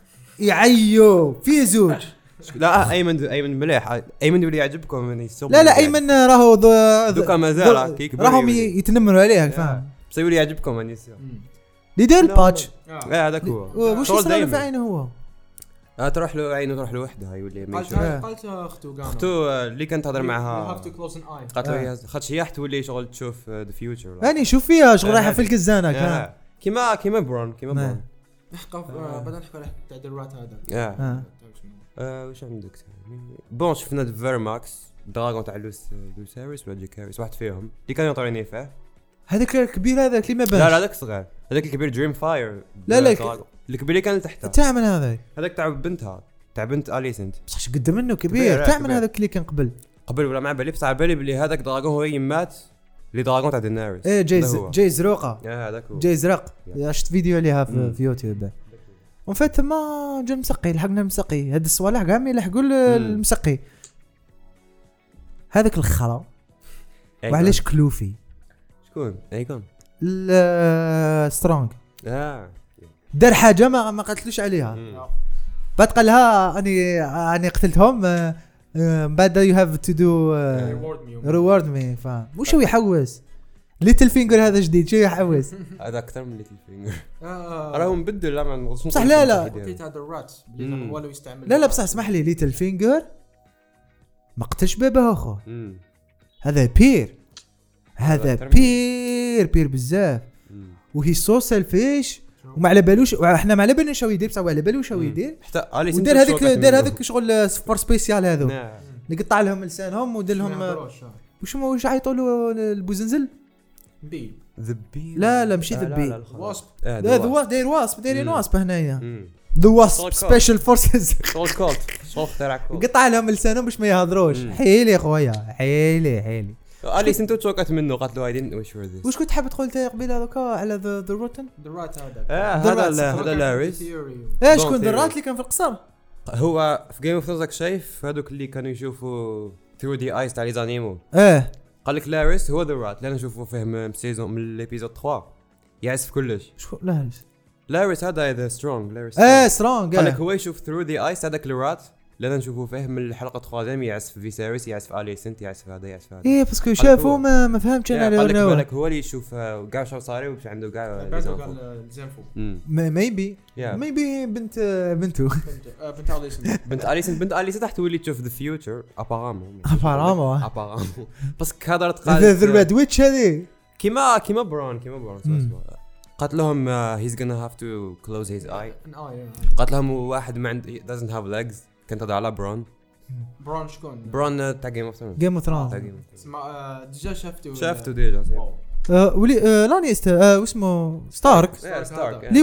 S1: يعيو في زوج.
S3: لا ايمن مليح ايمن يولي يعجبكم من يسوق.
S1: لا ايمن راهو
S3: دوكا مازال كيك
S1: راهم يتنمروا عليه فاهم
S3: بس يولي يعجبكم اني
S1: اللي دار الباتش
S3: هذاك هو
S1: واش صار في عينه هو
S3: تروح له عينه تروح له وحده يولي
S2: قالت
S3: اختو اللي كانت تهضر معها قالت له خاطش هي تولي شغل تشوف ذا فيوتشر
S1: راني شوف فيها شغل رايحه في الكزانه
S3: كيما برون
S2: نحكوا بدنا نحكوا على التعديلات
S3: هذا واش عندك بون شفنا فيرماكس دراغون تاع لوساريس ولا جيكاريس واحد فيهم اللي كان يطريني فيه
S1: هذاك الكبير هذاك اللي ما بانش.
S3: لا هذاك صغير هذاك الكبير دريم فاير.
S1: لا
S3: الكبير اللي كان تحته
S1: تاع من هذاك
S3: تاع بنتها تاع بنت اليسنت
S1: بصح قد منه كبير تاع من هذاك اللي كان قبل
S3: ولا مع بالي بصح على بالي بلي هذاك دراغون هو يمات اللي دراغون تاع ديناريس
S1: جاي زروقه
S3: هذاك هو
S1: جاي زرق شفت فيديو عليها في يوتيوب وفات ما جا مسقي لحقنا المسقي هاد الصوالح كاع ما يلحقوا المسقي هذاك الخرا. وعلاش كلوفي
S3: شكون ايكون
S1: دار حاجه ما قتلوش عليها بعد قال لها اني قتلتهم بعد يو هاف تو دو ريورد مي فاهم وش هو يحوس ليتل فينجر هذا جديد شو يحوس
S3: هذا اكثر من ليتل فينجر راهم بدل لا ما نغصش
S1: صح لا
S2: قلت هذا الرات اللي هو لو يستعمل
S1: لا بصح اسمح لي ليتل فينجر ما قتلش باباه اخو هذا بير بزاف وهي سو سيلفيش وما على بالوش احنا ما على بالناش واش يدير بصح على بالوش واش يدير
S3: حتى
S1: دار هذاك شغل سبور سبيسيال هذو اللي قطع لهم لسانهم ودير لهم واش عيطوا له البوزنزل
S3: ذا بي
S1: لا ماشي ذا بي
S2: واسب
S1: داير واسب دايرين واسب هنايا ذا واسب سبيشال فورسز قطع لهم لسانهم باش ما يهضروش حيلي خويا حيلي
S3: اليس انت توقعت منه قالت له ايدين
S1: واش كنت حاب تقول انت قبيله هذاك على ذا روتن
S2: الرات هذا
S3: هذا لاريس
S1: شكون ذا رات اللي كان في القصر
S3: هو في جيم اوف ثرونز شايف هذوك اللي كانوا يشوفوا ثرو دي ايس تاع لي زانيمو قال لك لاريس هو ذا رات اللي نشوفوه فيه من سيزون من الابيزود 3 يعرف كلش
S1: شكون
S3: لاريس هذا ذا سترونغ لاريس
S1: سترونغ
S3: قال لك هو يشوف ثرو دي ايس هذاك الرات لأن نشوفه فيه من الحلقة 3 يعزف فيسيريس يعزف اليسنت يعزف هذا
S1: باسكو شافوا ما فهمتش انا
S3: بالك هو اللي يشوف كاع شو صار وش عنده كاع
S2: زنفو
S1: ميبي بنته
S3: بنت اليسنت تحت ولي تشوف ذا فيوتشر ابارامون بس كهضرت
S1: قال ذا ريد ويتش هذه
S3: كيما برون قالت لهم he's gonna have to close his eye قالت لهم واحد ما عنده doesn't have legs كنت هذا على برون
S2: شكون
S3: برون تاع جيم اوف ثرونز
S2: ديجا
S3: شافته ديجا
S1: ولي لانيستر واسمه ستارك اللي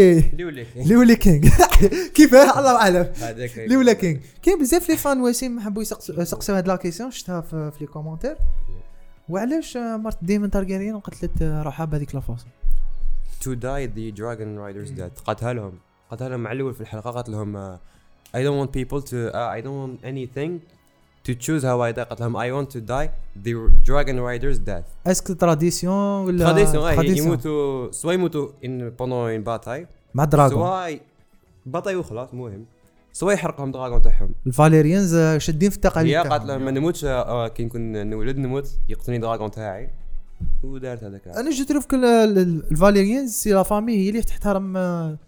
S1: ولي كينج كيفاه الله اعلم اللي ولا كينج كاين بزاف لي فان وسيم حبوا يسقسوا هاد لا كيسيون شفتها في لي كومونتير وعلاش مرت ديمون تارجيريان قتلت روحها بهذيك لا فاصون
S3: to die the dragon riders dead قالتها لهم مع الاول في الحلقه قالت لهم I don't want people to I don't want anything to choose how I die قالت لهم I want to die the dragon riders death
S1: اسكو تراديسيون ولا
S3: تراديسيون يموتوا سواء يموتوا pendant une bataille
S1: مع دراغون
S3: سواء باتاي وخلاص مهم سواء يحرقهم دراغون تاعهم
S1: الفاليريانز شادين في التقاليد
S3: هي قالت لهم ما نموتش كي نكون نولد نموت يقتلني دراغون تاعي ودارت هذاك.
S1: انا جيت نشوف الفاليريانز سي لا فامي هي اللي تحترم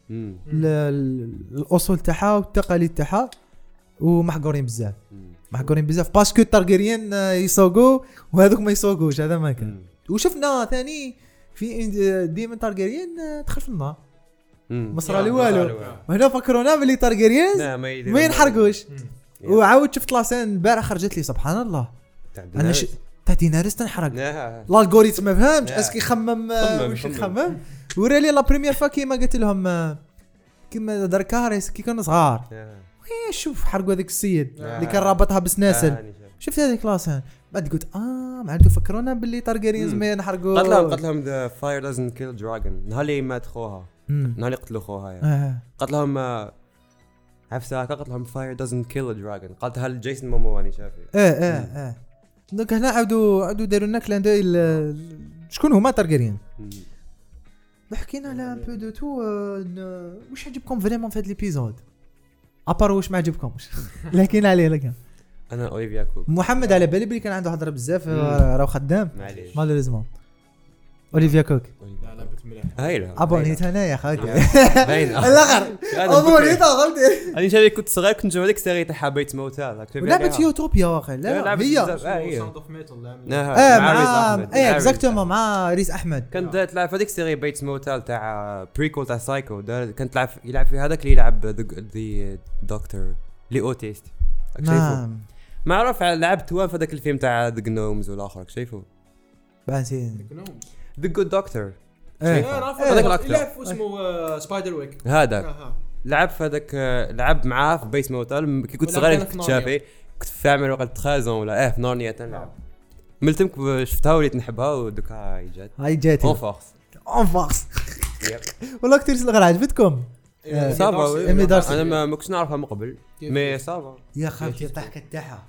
S1: الاصول تاعها والتقاليد تاعها ومحقورين بزاف باسكو التارجيريان يسوقوا وهذوك ما يسوقوش هذا ما كان. وشفنا ثاني في ديمن تارجيريان دخل في النار ما صرا لي والو وهنا فكرونا باللي تارجيريانز ما ينحرقوش. وعاود شفت لاسين البارح خرجت لي سبحان الله انا تاع دينارس تنحرق الالغوريثم ما فهمتش اسكي يخمم واش يخمم ورا لي لا بريمير فوا كيما قلت لهم كيما دركاريس كي كانوا صغار شوف حرقوا هذاك السيد اللي كان رابطها بسناسل شفت هذيك لاسين بعد قلت ما عندو فكرونا باللي تارجيريانز ما ينحرقوا.
S3: قالت لهم ذا فاير دازنت كيل دراجون نهار اللي مات خوها نهار اللي قتلوا خوها يعني. قالت لهم عفسه قالت لهم فاير دازنت كيل دراجون قالتها لجيسون مومو اني شافي دونك هنا
S1: عاودوا داروا لنا كلاندوي شكون هما تارجيريان. حكينا على ان بو دو تو واش عجبكم فريمون في هذا ليبيزود ابار واش ما عجبكمش لكن عليه لكن
S3: انا اوليفيا كوك
S1: محمد على بالي بلي كان عنده هضره بزاف راه خدام مالوريزمون اوليفيا كوك
S2: لا بنت مليح
S3: هايله
S1: ابونيت انا يا خويا
S3: باين
S1: الاخر ابونيت فهمتي
S3: انا شافي كنت صغير كنت نشوف هذيك السيري تاع بيت موتى
S1: لعبه يوتوبيا واخا لا هي
S2: ساوند اوف ميتال
S1: مع اكزاكتومون مع ريس احمد
S3: كانت تلعب هذيك السيري بيت موتى تاع بريكول تاع سايكو كانت يلعب في هذاك اللي يلعب ذا دكتور لي اوتيست شايفه ما عرف لعبت وين في هذاك الفيلم تاع ذا جنومز والاخر شايفه
S1: بانسين
S3: ذا جود دكتور
S2: هذاك الاكتر لعب اسمه سبايدر ويك
S3: هذاك لعب في هذاك لعب معاه في بيت موتال كي كنت صغير كنت شافي كنت فاهم وقت 13 ولا في نارنيا تنلعب ملتمك شفتها وليت نحبها ودوكا هاي جات اون فورس
S1: والله كثير صغير عجبتكم
S3: صافا انا ما كنتش نعرفها من قبل مي صافا
S1: يا خالتي الضحكه تاعها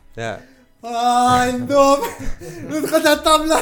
S1: ندوم ندخل على الطابله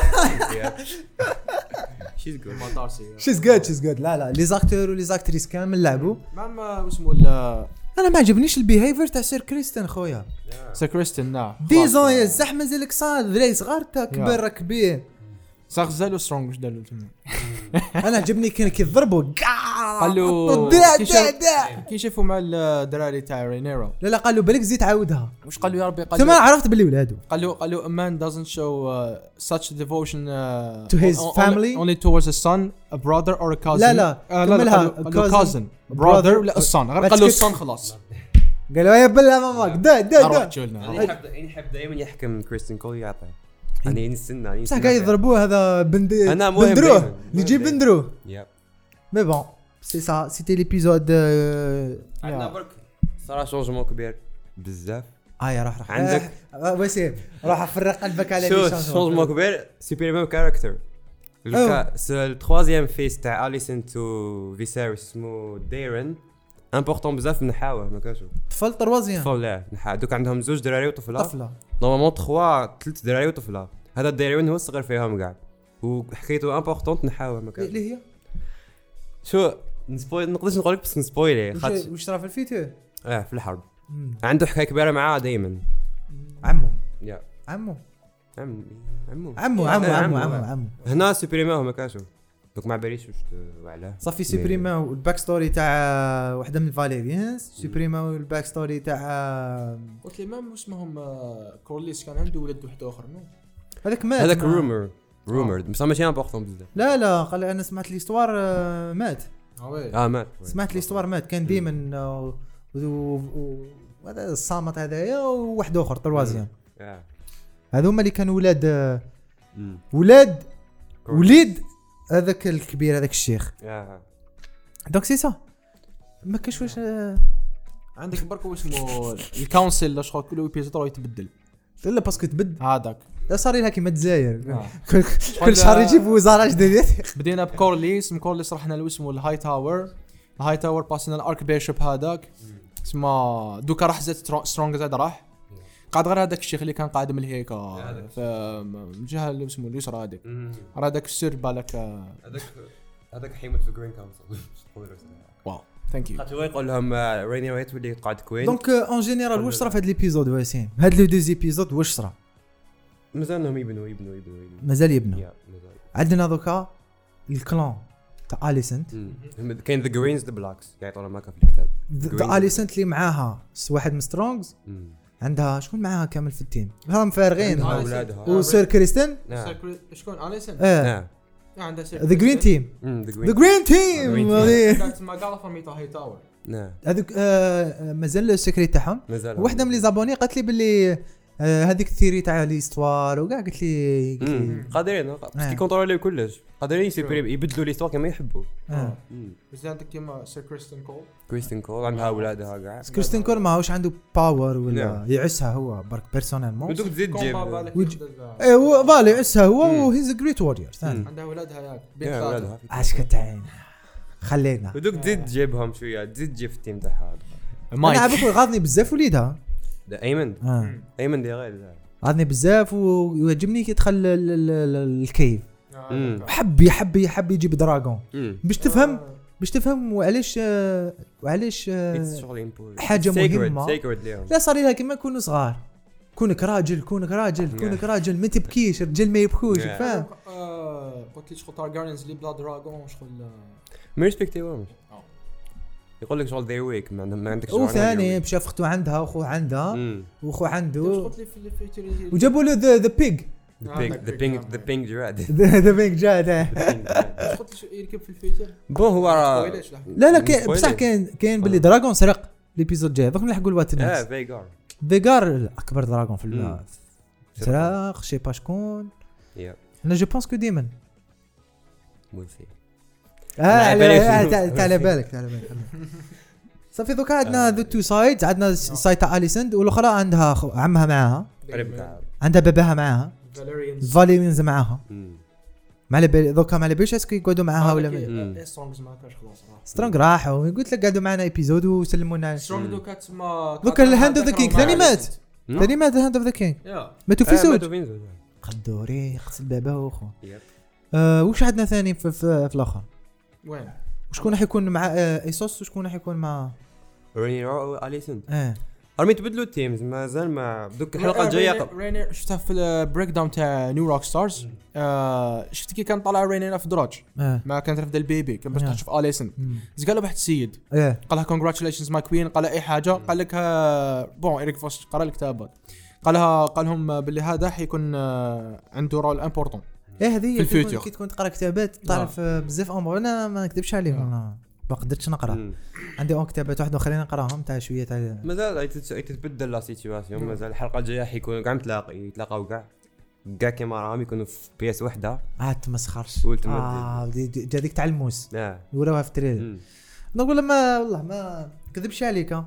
S1: شيز جود لا لي زاكتور ولي زاكتريس كامل لعبوا
S2: ما اسمه
S1: انا ما عجبنيش البيهيفير تاع سير كريستن خويا
S2: سير كريستن نعم
S1: ديزون يا زحمه زلك صاد ذري صغار تا كبر ركبيه
S2: زالو سترونغ واش داروا
S1: انا عجبني كان كيضربوا
S2: قالوا كي شافوا مع الدراري تاع رينيرو
S1: لا قالوا بالك زيد عاودها
S2: واش قالوا يا ربي قالوا
S1: ثم عرفت باللي ولادو
S2: قالوا a man doesn't show such devotion
S1: to his family
S2: only towards a son a brother or a cousin
S1: لا
S2: قالوا cousin brother ولا a son غير قالوا son خلاص
S1: قالوا يا بلا ماماك دا
S3: يحب دائما يحكم كريستين كول يعطي يعني نستنى
S1: صح قاعد يضربوه هذا بندروه اللي يجيب بندروه مي بون سي سا سيتي ليبيزود
S3: عندنا برك صراحه شونجمون كبير بزاف
S1: راح
S3: عندك
S1: وسيم راح افرق قلبك على
S3: شونجمون كبير سوبريمون كاركتر الثروازيام فيس تاع اليسن تو فيسيريس اسمه ديرن امبورطون بزاف من حاوه ما كاشو
S1: طفل تروازيام
S3: طفل لا دوك عندهم زوج دراري وطفله نورمالمون 3 دراري وطفله هذا الدراري هو الصغير فيهم كاع وحكيته امبورطون نحاوه ما كاش
S1: اللي هي
S3: شو نسبويل نقدرش نقول لك بس نسبويلي
S1: واش صرا في الفيتو
S3: في الحرب عنده حكايه كبيره معاه دائما
S1: عمو
S3: يا
S1: عمو
S3: هنا سوبريمون ما كاشو دوك ما باليش واش وعلاه
S1: صافي سوبريمون الباك ستوري تاع وحده من الفاليريانز سوبريمون الباك ستوري تاع
S2: قلت لي ما اسمهم كورليس كان عنده ولد واحد اخر
S1: هذاك مات
S3: هذاك رومر بصح ماشي امبورطون بزاف
S1: لا قال انا سمعت ليستوار مات
S3: مات
S1: سمعت ليستوار مات كان ديما هذا الصامت هذايا وواحد اخر تروازيام هذوما اللي كانوا وليد هذاك الكبير هذاك الشيخ دونك سي سا ما كاش واش
S2: عندك بركو اسمه الكونسل لا شغل كل ايبيزود يتبدل
S1: لا باسكو تبدل
S2: هذاك
S1: لا صار لها كيما الجزائر كل شهر يجيبوا وزاره جديده
S2: بدينا بكورليس رحنا له اسمه الهاي تاور باسنا الارك بيشوب هذاك اسمه دوكا راح زاد سترونغ زاد راح قاعد غير هذاك الشيخ اللي كان قاعد من هيك في الجهه اللي اسمه اليسرى هذيك هذاك السر بالك
S3: هذاك حيموت في جرين كونسل
S2: واو ثانك يو
S3: خاطر يقول لهم ريني رايت ولي قاعد كوين
S1: دونك اون جينيرال واش صرا في هذا ليبيزود واسيم هاد لو دوز ايبيزود واش صرا
S3: مازالهم يبنوا
S1: مازال يبنوا عندنا دوكا الكلان تاع اليسنت
S3: كاين ذا جرينز ذا بلاكس يعطونا ماكا في الكتاب
S1: ذا اليسنت اللي معاها واحد من سترونجز عندها شكون معاها كامل في التيم هم فارغين وسير كريستن
S2: شكون اليسنت
S1: عندها ذا جرين تيم ذا جرين تيم
S2: ما قال فميتا هاي تاور
S1: هذوك مازال السكريت تاعهم وحده من لي زابوني قالت لي باللي هذيك الثيري تاع ليستوار وكاع قلت لي
S3: قادرين باسكو كونتروليو كلش قادرين يبدلوا ليستوار كما يحبوا
S2: بس عندك كيما سير
S3: كريستين كول عندها اولادها كاع
S1: كريستين كول ماهوش عنده باور ولا يعسها هو برك بيرسونيلمون
S3: ودوك تزيد تجيب
S1: ايوا فالي يعسها هو هيز ا جريت وورير
S2: عندها اولادها ياك
S3: بنت
S1: اش كتعين خلينا
S3: ودوك تزيد تجيبهم شويه تزيد تجيب في التيم تاعها
S1: انا عبك غاضني بزاف وليدها
S3: ايمن ايمن دي غير
S1: غاضني بزاف ويعجبني كي يدخل الكيف يحب يجيب دراغون باش تفهم وعلاش حاجه مهمه لا صار لها كيما نكونوا صغار كونك راجل ما تبكيش الرجال ما يبكوش فاهم
S2: قلت لي شغل تارجارينز اللي بلا دراغون شغل
S3: ما ريسبكتيوهمش يقول لك شغل ذي ويك ما عندكش
S1: وثاني مشى اختو عندها واخو عندها واخو عنده وجابوا له ذا بيج
S3: ذا بينج جراد
S1: ذا بينج جراد
S2: قلت يركب في الفيتر
S3: بون هو
S1: لا بصح كاين باللي دراغون سرق ليبيزود جاي دوك نلحقوا الوقت الناس فيغار اكبر دراغون في سرق شي با شكون انا جو بونس كو ديمن
S3: مولسي
S1: تعال بالك صافي دوكا عندنا ذو تو سايدز عندنا سايد تاع اليسند والاخرى عندها عمها معاها عندها باباها معاها فاليرينز معاها ما على بالي دوكا ما على باليش اسكو يقعدوا معاها ولا
S2: سترونغز ما كاش خلاص
S1: سترونغ راحوا قلت لك قعدوا معنا ايبيزود وسلمونا
S2: سترونغ دوكا تسمى
S1: دوكا الهاند اوف ذا كينج ثاني مات الهاند اوف ذا كينج ماتوا في سوج قدوري قتل باباه واخو واش عندنا ثاني في الاخر
S2: وين
S1: وشكون راح يكون مع ايسوس وشكون راح يكون مع
S3: رينيرو اليسن ارمي تبدلوا التيمز مازال ما دوك الحلقه الجايه
S2: رينير شفتها في البريك داون تاع نيو روك ستارز شفت كي كان طالع رينير في دراج ما كانت رفد البيبي كان باش تشوف اليسن قال له واحد السيد قال لها كونغراتيليشنز ماي كوين قال اي حاجه قال لك بون ايريك فوس قرا الكتابات قال لهم باللي هذا حيكون عنده رول امبورطون
S1: هذه كي تكون تقرا كتابات تعرف بزاف امور انا ما نكذبش عليك انا ما قدرتش نقرا عندي كتابات واحده خلينا نقراهم تاع شويه تاع
S3: مازال تتبدل لا سيتواسيون مازال الحلقه الجايه حيكونوا كاع يتلاقاو كاع كيما راهم يكونوا في بياس وحده
S1: تمسخرش هذيك تاع الموس وراوها في التريلر نقول ما والله ما نكذبش عليك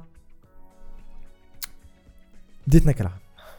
S1: بديت نكره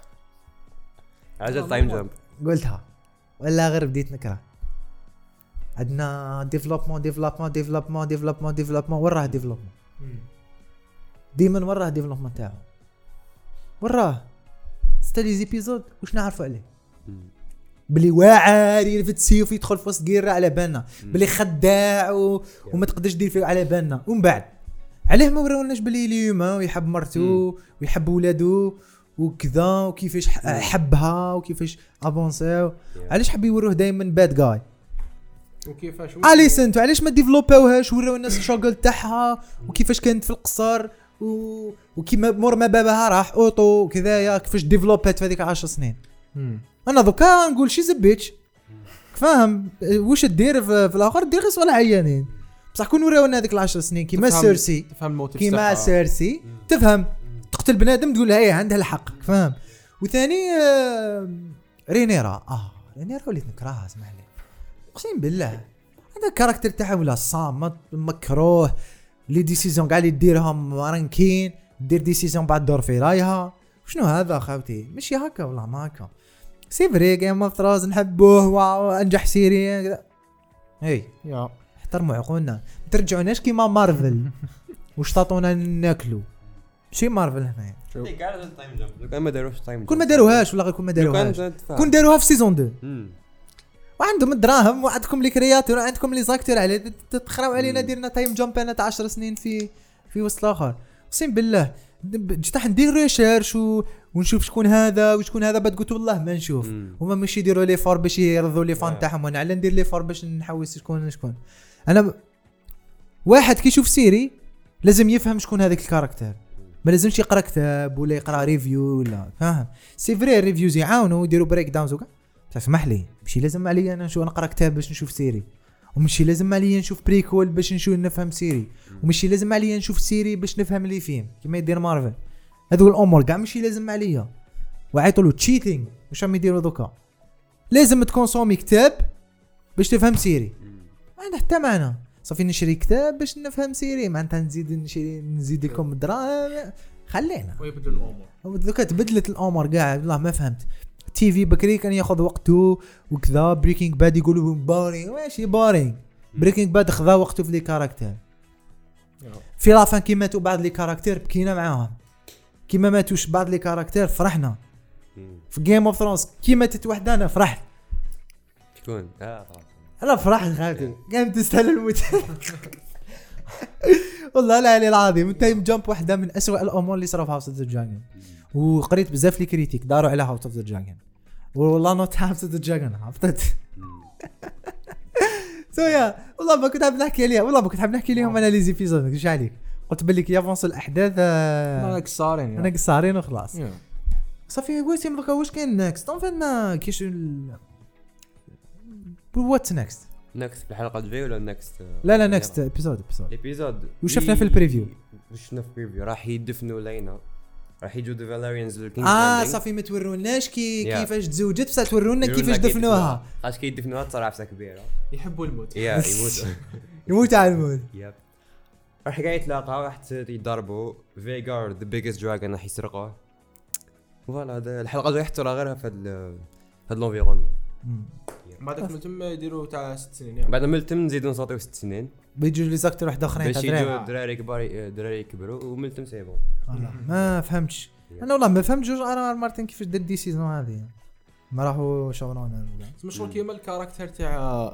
S3: عجل تايم جامب
S1: قلتها ولا غير بديت نكره عندنا ديفلوبمون وراه ديفلوبمون ديما وراه ديفلوبمون تاعو وراه ستالي زيبيزود واش نعرفوا عليه بلي واعر يرفد سيف يدخل في وسط غير على بالنا بلي خداع وما تقدرش دير فيه على بالنا ومن بعد عليه ما وروناش بلي ليوما ويحب مرتو ويحب ولادو وكذا وكيفاش حبها وكيفاش افونساو علاش حب يوروه دائما باد جاي
S2: وكيفاش
S1: اليسنت علاش ما ديفلوباوهاش وراو الناس الشغل تاعها وكيفاش كانت في القصر وكيما مور ما باباها راح اوطو كذايا كيفاش ديفلوبات في هذيك 10 سنين انا دوكا نقول شي زبيتش فاهم واش دير في الاخر دير غير ولا عيانين بصح كون وراونا هذيك 10 سنين كيما سيرسي كيما سيرسي تفهم تقتل بنادم تقول هي عندها الحق فاهم وثاني رينيرا وليت نكرهها اسمح لي اقسم بالله هذا الكاركتر تاعها ولا صامت مكروه لي ديسيزيون قاعد يديرهم رانكين دير ديسيزيون بعد دور في رايها شنو هذا خاوتي ماشي هكا والله ما هكا سي فري جيم اوف ثرونز نحبوه وانجح سيري كذا يا احترموا عقولنا ما ترجعوناش كيما مارفل واش تعطونا ناكلو شي مارفل هنا
S3: كاع تايم جامب ما داروش تايم
S1: كون ما داروهاش ولا غير كون ما داروهاش كون داروها في سيزون 2 وعندهم الدراهم وعندكم لي كرياتور وعندكم لي زاكتور على تتخراو علينا ديرنا تايم جامب انا تاع 10 سنين في وسط الاخر اقسم بالله جيت ندير ريشيرش ونشوف شكون هذا وشكون هذا. بعد قلت والله ما نشوف هما ماشي يديروا لي فور باش يرضوا لي فان تاعهم، وانا على ندير لي فور باش نحوس شكون. انا واحد كي يشوف سيري لازم يفهم شكون هذاك الكاركتر، ما لازمش يقرا كتاب ولا يقرا ريفيو ولا فاهم. سي فري الريفيوز يعاونوا يديروا بريك داونز وكا، تسمح لي ماشي لازم عليا انا نقرا كتاب باش نشوف سيري، ومشي لازم عليا نشوف بريكول باش نفهم سيري، ومشي لازم عليا نشوف سيري باش نفهم اللي فيه كيما يدير مارفل. هذو الامور كاع ماشي لازم عليا. وعيطوا له تشيتينغ واش راهم يديروا دوكا. لازم تكونسومي كتاب باش تفهم سيري، ما عنده حتى معنى. صافي نشري كتاب باش نفهم سيري، معناتها نزيد لكم الدراهم. خلينا
S2: ويبدل الامور
S1: دوكا تبدلت الامور كاع. والله ما فهمت. تي في بكري كان ياخذ وقته وكذا. بريكينج باد يقولوا بارينغ، ماشي بارينغ. بريكينج باد خذا وقته في لي كاركتير. في لافان كي ماتوا بعض لي كاركتير بكينا معاهم، كيما ماتوش بعض لي كاركتير فرحنا. في جيم اوف ثرونز كي ماتت وحده انا فرحت.
S3: شكون؟
S1: انا فرحت خالتي قام تستاهل الموت. والله العلي العظيم. تايم جامب واحده من أسوأ الامور اللي صاروا في هاوس اوف ذا دراجون. وقريت بزاف لي كريتيك داروا على هاوس اوف ذا دراجون. والله نوت هاوس اوف ذا دراجون عبطت. سويا والله ما كنت حاب نحكي عليها، والله ما كنت حاب نحكي لهم انا لي زيبيزود. مش عليك قلت بالك يافونس الاحداث
S2: انا
S1: قصارين وخلاص. صافي واسم دوكا واش كاين نيكست؟ طون ما كاينش وات نيكست
S3: في الحلقه الجايه ولا نيكست؟
S1: لا نيكست ابيزود وشفنا في البريفيو.
S3: وشفنا في البريفيو راح يدفنوا لينا، راح يجوا ذا فاليريانز للكينج.
S1: صافي ما تورونا كيفاش تزوجت، بصح تورونا كيفاش دفنوها.
S3: اش كيدفنوها تصرا عفسه كبيره.
S2: يحبوا الموت.
S1: يموت على الموت.
S3: راح قاعد يتلاقاو، راح يضربوا فيغار ذا بيجست دراجون، راح يسرقوه. فوالا هذا الحلقه الجايه حتى غيرها في هاد لونفيرون.
S2: بعدك ملتم يديروا تاع 6 سنين يعني.
S3: بعد ملتم نزيدوا نصاطيو 6 سنين
S1: بيجوا لي زاكتور واحد اخرين
S3: باش يجوا دراري كبار، دراري كبروا وملتم سيبون.
S1: ما فهمتش انا والله ما فهمت جوج مارتن كيفاش دار دي سيزون هذه. ما راحوا شغلون
S2: مشغل كيما الكاركتر تاع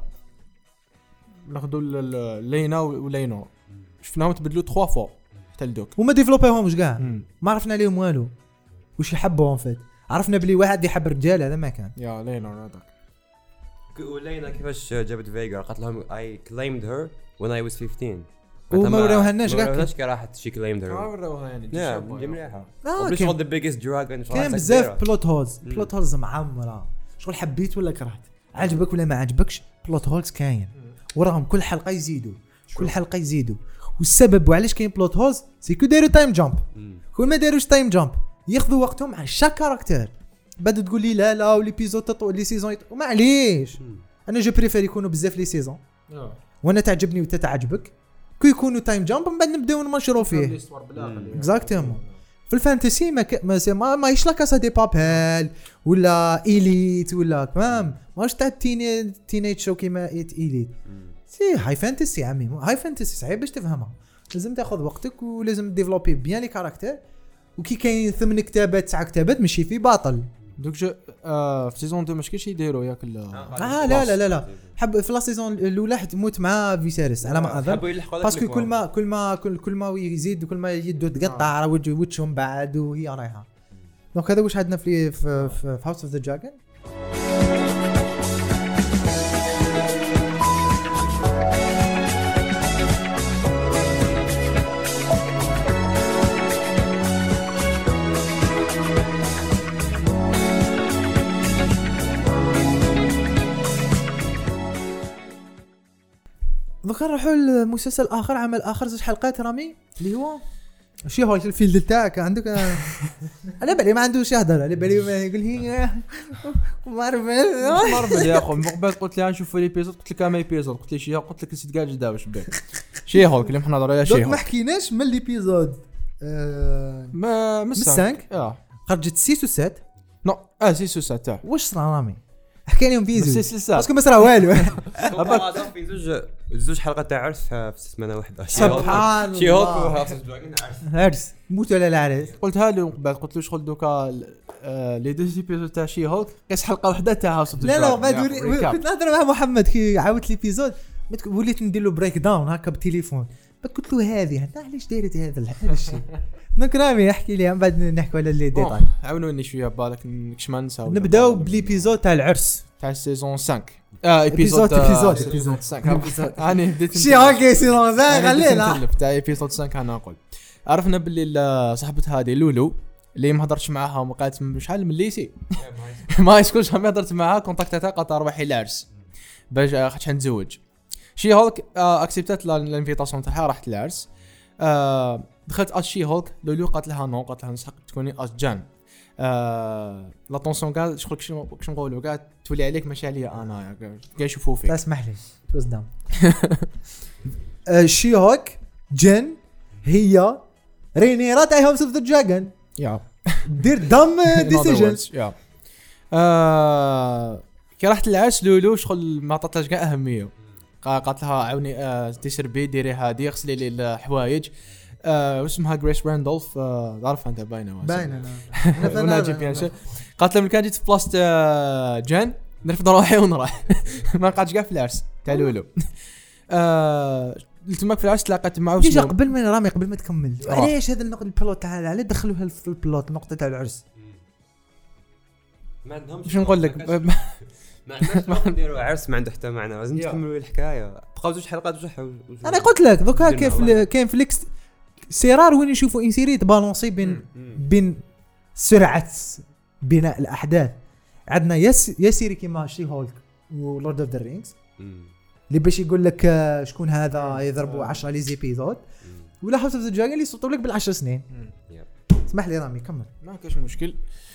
S2: ناخذوا لينا ولينو شفناهم تبدلوا 3 فوا حتى لدوك
S1: وما ديفلوبيهمش كاع. ما عرفنا عليهم والو واش يحبوا فات. عرفنا بلي واحد يحب الرجال هذا ما كان
S2: يا لينا هذاك.
S3: ولينا كيفاش جابت فيغار قالت لهم I claimed her when I was 15
S1: وما وراوهالناش كاع.
S3: ما وراوهاش كي راحت she claimed her.
S2: وراوها يعني
S3: مليحه. بليش هو the biggest dragon.
S1: كان بزاف بلوت هولز معمره. شغل حبيت ولا كرهت، عجبك ولا ما عجبكش، بلوت هولز كاين وراهم كل حلقه يزيدوا. والسبب وعلاش كاين بلوت هولز سيكو دايروا تايم جامب. كل ما داروش تايم جامب ياخذوا وقتهم على شاك كاركتير. بعد تقول لي لا وليبيزود تطول لي سيزون وما عليش. انا جو بريفير يكونوا بزاف لي سيزون وانا تعجبني وتتعجبك كي يكونوا تايم جامب من بعد نبداو نمشرو فيه. اكزاكتومون. في الفانتسي ما يش لا كاسا دي بابيل ولا إليت ولا تمام ماش تاع تينيج شو كيما إليت. سي هاي فانتسي عمي. هاي فانتسي صعيب باش تفهمها. لازم تاخذ وقتك ولازم ديفلوبي بيان لي كاركتير. وكي كاين 8 كتابات 9 كتابات ماشي في باطل.
S2: دوك في سيزون 2 ماش كاينش يديروا ياك
S1: لا حب في لا سيزون الاولى تموت مع فيسيريس على ما اظن باسكو كل ما يزيد كل ما يدو تقطع وجههم بعد وهي رايحه. دونك هذا واش عندنا في هاوس اوف ذا دراجون. دوك نروحوا للمسلسل اخر، عمل اخر 6 حلقات رامي اللي هو شي هو الفيلد تاعك عندك. على بالي ما عندوش يهضر، على بالي ما يقول هي
S2: مارفل يا اخو. من قبل قلت لي نشوف ليبيزود، قلت لك ما ايبيزود، قلت لي شي قلت لك 6 دقائق جدا باش بك شي هو اللي احنا نهضروا على شي هو.
S1: ما حكيناش من ليبيزود
S2: ما من 5
S1: خرجت 6 و 7
S2: نو 6 و 7
S1: واش صرا رامي حكى لهم فيزو
S2: باسكو
S1: ما صرا والو.
S3: هذا في زوج حلقات تاع عرس في سمانه واحده.
S1: سبحان الله.
S3: شي هوك
S1: عرس موت ولا العرس.
S2: قلتها له قبل قلت له شغل دوكا لي دو ايبيزود تاع شي هوك قيس حلقه واحده تاع هاوس اوف ذا
S1: لا بعد كنت نهضر مع محمد كي عاودت ليبيزود وليت ندير له بريك داون هكا بالتليفون قلت له هذه علاش دايرت هذا الشيء. دونك رامي احكي لي من بعد نحكوا على لي ديتاي.
S2: عاونوني شويه بالك نكش ما نساو.
S1: نبداو بليبيزود تاع العرس
S2: تاع سيزون 5. ايبيزود 5 انا بديت
S1: شي هاكي سيزون 5 خلينا
S2: تاع ايبيزود 5. انا نقول عرفنا باللي صاحبه هذه لولو اللي ما هضرتش معاها وقالت شحال من الليسي ما يسكنش ما هضرت معاها كونتاكتاتها قالت روحي العرس باش خاطش نتزوج. شي هولك اكسبتت الانفيتاسيون تاعها راحت العرس. دخلت على شي هولك لولو قالت لها نو قالت لها نسحق تكوني جان. لا طونسيون قال شغلك شنو نقولوا قاعد تولي عليك ماشي عليا انا قاعد يشوفوا فيك.
S1: اسمح لي توز داون. شي هوك جن هي رينيرا تاع هاوس اوف ذا دراجون
S2: يا
S1: دير دم ديسيجنز
S2: يا كي رحت العرس لولو شغل ما عطاتلهاش كاع اهميه. قالت لها عاوني تشربي ديري هذه غسلي لي الحوايج. واسمها جريس راندولف تعرفها انت باينه وناجي بيان. قالت لهم كان جيت في بلاصه جان نرفض روحي ونروح ما قعدتش كاع في العرس تاع لولو. تماك في العرس تلاقيت معه
S1: ديجا قبل ما رامي قبل ما تكمل علاش هذا النقطه البلوت تاع على دخلوها في البلوت النقطه تاع العرس
S3: ما عندهمش.
S2: شنو نقول لك
S3: ما عندناش نديروا عرس ما عنده حتى معنى. لازم تكملوا الحكايه. بقاو 2 حلقات
S1: انا قلت لك دوكا كيف كاين فليكس سيرار وين يشوفوا انسيري تبالونسي بين سرعه بناء الاحداث. عندنا يا سيري كيما شي هولك ولورد اوف ذا رينجز اللي باش يقول لك شكون هذا يضربوا 10 لي زيبيزود ولا هاوس اوف ذا دراجون اللي يسطوا لك بال10 سنين. اسمح لي رامي كمل.
S2: ما كاش مشكل.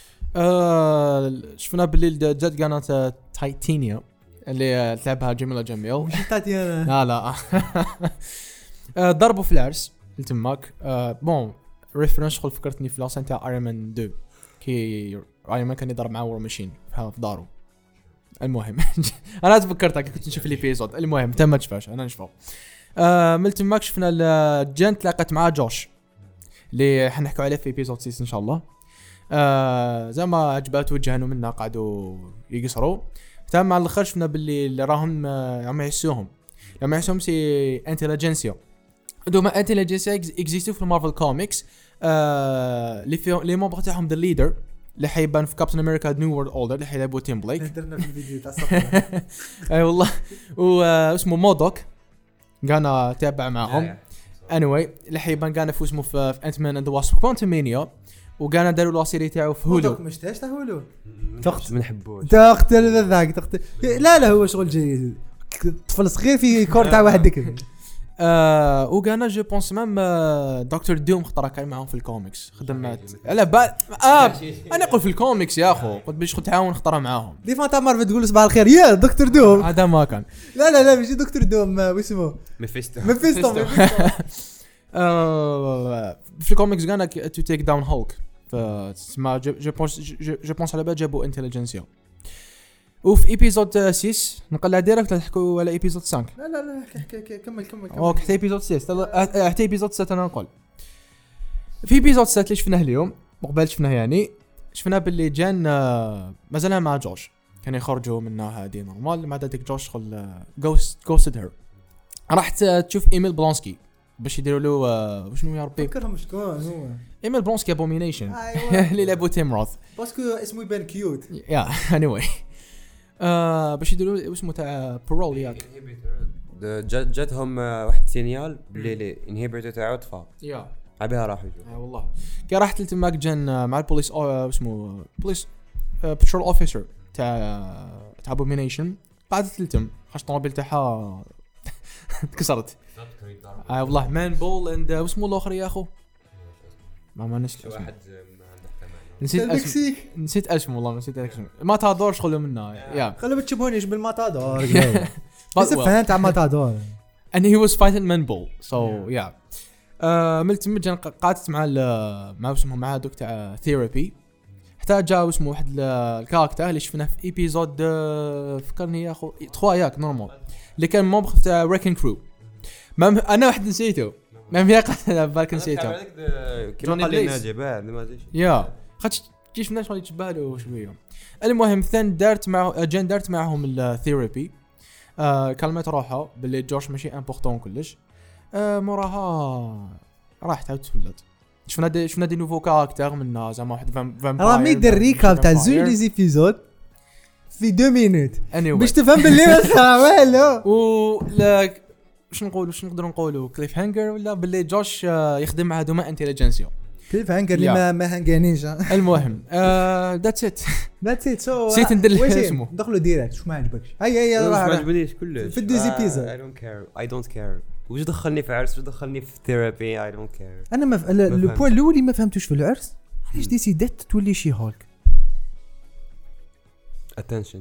S2: شفنا بالليل جات قناه تايتانيا اللي تلعبها جميله جميل.
S1: مش تايتانيا
S2: لا ضربوا في العرس تماك. بون ريفرنس خل فكرتني في لاسان تاع ايرون مان 2 كي ايرون مان كان يضرب مع وور ماشين في دارو. المهم انا تفكرتها كنت نشوف الابيزود. المهم تم ما تشوفش انا نشوفه. من تماك شفنا الجن تلاقت مع جوش اللي حنحكوا عليه في ابيزود 6 ان شاء الله. زعما عجباتو وجهنوا منا قعدوا يقصروا. تمام مع الاخر شفنا باللي راهم عم يحسوهم لما يحسوهم سي انتليجنسيا. دوما انتليجنسيا اكزيستو في المارفل كوميكس. اللي فيهم لي ممبر تاعهم ذا ليدر اللي حيبان في كابتن امريكا نيو وورلد اوردر اللي حيلعبوا تيم بليك.
S1: درنا في الفيديو تاع الصفحه
S2: اي والله. واسمه مودوك كان تابع معهم. anyway اللي حيبان كان في اسمه في انت مان اند ذا واسب كوانتمانيا وكان داروا لا سيري تاعو في هولو.
S1: مش تاع هولو
S3: تخت ما نحبوش
S1: تقتل ذاك لا هو شغل جيد. طفل صغير في كور تاع واحد ذكر.
S2: وكان جو بونس مام دكتور دوم خطره كاين معاهم في الكوميكس خدمات على بال. انا اقول في الكوميكس يا اخو قلت باش تعاون خطره معاهم.
S1: دي فانتا مارفل تقول صباح الخير يا دكتور دوم.
S2: هذا ما كان
S1: لا ماشي دكتور دوم واسمه
S3: ميفيستو.
S2: في الكوميكس كان تو تيك داون هولك. فما جو بونس على بال جابوا انتليجنسيا. وفي ايبيزود 6 نقلع ديريكت نحكوا على ايبيزود 5.
S1: لا كمل
S2: اوكي حتى ايبيزود 6 حتى ايبيزود 6 انا نقول. في ايبيزود 6 اللي شفناه اليوم مقبل شفناه يعني شفنا باللي جان مازال مع جوش كانوا يخرجوا منها هذه نورمال. مع ذلك جوش خل غوستد هير. راحت تشوف ايميل بلونسكي باش يديروا له شنو يا ربي
S1: فكرهم شكون هو
S2: ايميل بلونسكي ابومينيشن اللي لعبوا تيم روث
S1: باسكو اسمه يبان كيوت.
S2: يا anyway باش يديروا اسمه تاع برول ياك
S3: جاتهم واحد سينيال بلي انهيبيتور تاعو طفى.
S2: يا
S3: عبيها راحوا
S2: والله كي رحت لتماك جن مع البوليس اسمه بوليس بترول اوفيسر تاع ابومينيشن. قعدت لتم خاش طوموبيل تاعها تكسرت. والله مان بول اند اسمه الاخر يا اخو ما نسيت واحد نسيت اسمه والله نسيت اسمه. ما تادور شغله منه يا
S1: خلوا بتشبهونيش بالماتادور بس فهمت على ماتادور
S2: and he was fighting man bull so yeah. ملتمجن قعدت مع اسمه مع دوك تاع ثيرابي حتى جاء اسمه واحد الكاركتر اللي شفناه في ايبيزود فكرني يا اخو 3 ياك نورمال اللي كان موبخ تاع ريكن كرو. انا واحد نسيته ما ميقع بالك نسيته
S3: كيما قال لي ناجي بعد ما جيش
S2: يا خاطش كيف الناس اللي يتشبه له شويه. المهم ثان دارت معهم الثيرابي. كلمت روحها باللي جوش ماشي امبورطون كلش. موراها راح تعاود تولد. شفنا دي نوفو كاركتر من زعما واحد فامباير.
S1: راه ميدير ريكاب تاع زوج لي زيبيزود في 2 مينوت باش تفهم باللي ما صرا والو.
S2: و لا واش نقدروا نقولوا كليف هانجر ولا باللي جوش يخدم مع هذوما انتيليجنسيا.
S1: كليف هانجر اللي ما هانغانيش.
S2: المهم ذاتس ات
S1: سو
S2: نسيت ندير اسمه.
S1: ندخلوا ديريكت واش ما عجبكش. هيا
S3: ما عجبنيش كلش
S1: في 2 زيبيزود.
S3: I don't care واش دخلني في عرس واش دخلني في ثيرابي. I don't care.
S1: انا لو بوين الاول اللي ما فهمتوش في العرس علاش ديسيدات تولي شي هولك.
S3: attention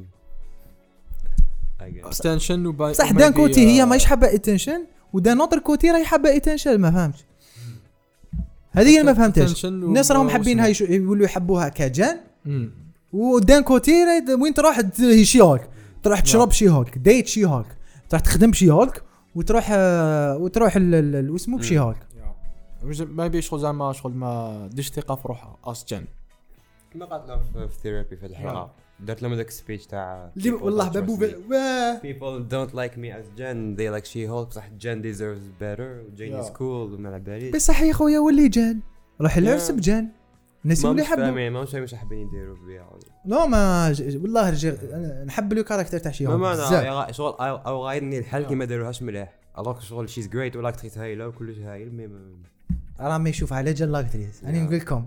S1: صح دان كوتي هي ماهيش حابه اتنشن ودان نوتر كوتي راهي حابه اتنشن. ما فهمتش هذه اللي ما فهمتهاش. الناس راهم حابينها يولوا يحبوها كجان ودان كوتي وين تروح هي شي هولك تروح تشرب شي هولك ديت شي هولك تروح تخدم شي هولك وتروح اسمه بشي هولك.
S2: ما بيش زعما شغل ما ديش ثقه في روحها اصلا.
S3: ما قالت له في ثيرابي في الحلقه درت لهم داك السبيتش تاع
S1: والله بابو
S3: people don't like me as Jen they like She-Hulk. صح Jen deserves better Jane is cool وما على باليش.
S1: بصح يا خويا ولي جان راح العرس بجان الناس اللي يحبوا
S3: ما مش حابين يديروا بها.
S1: لا ما والله نحب له كاركتر تاع شي
S3: هولك شغل او غايدني الحال كي ما داروهاش مليح. الوغ شغل شيز جريت ولا اكتريس هايله وكلش هايل
S1: راه ما يشوف على جال لاكتريس. انا نقول لكم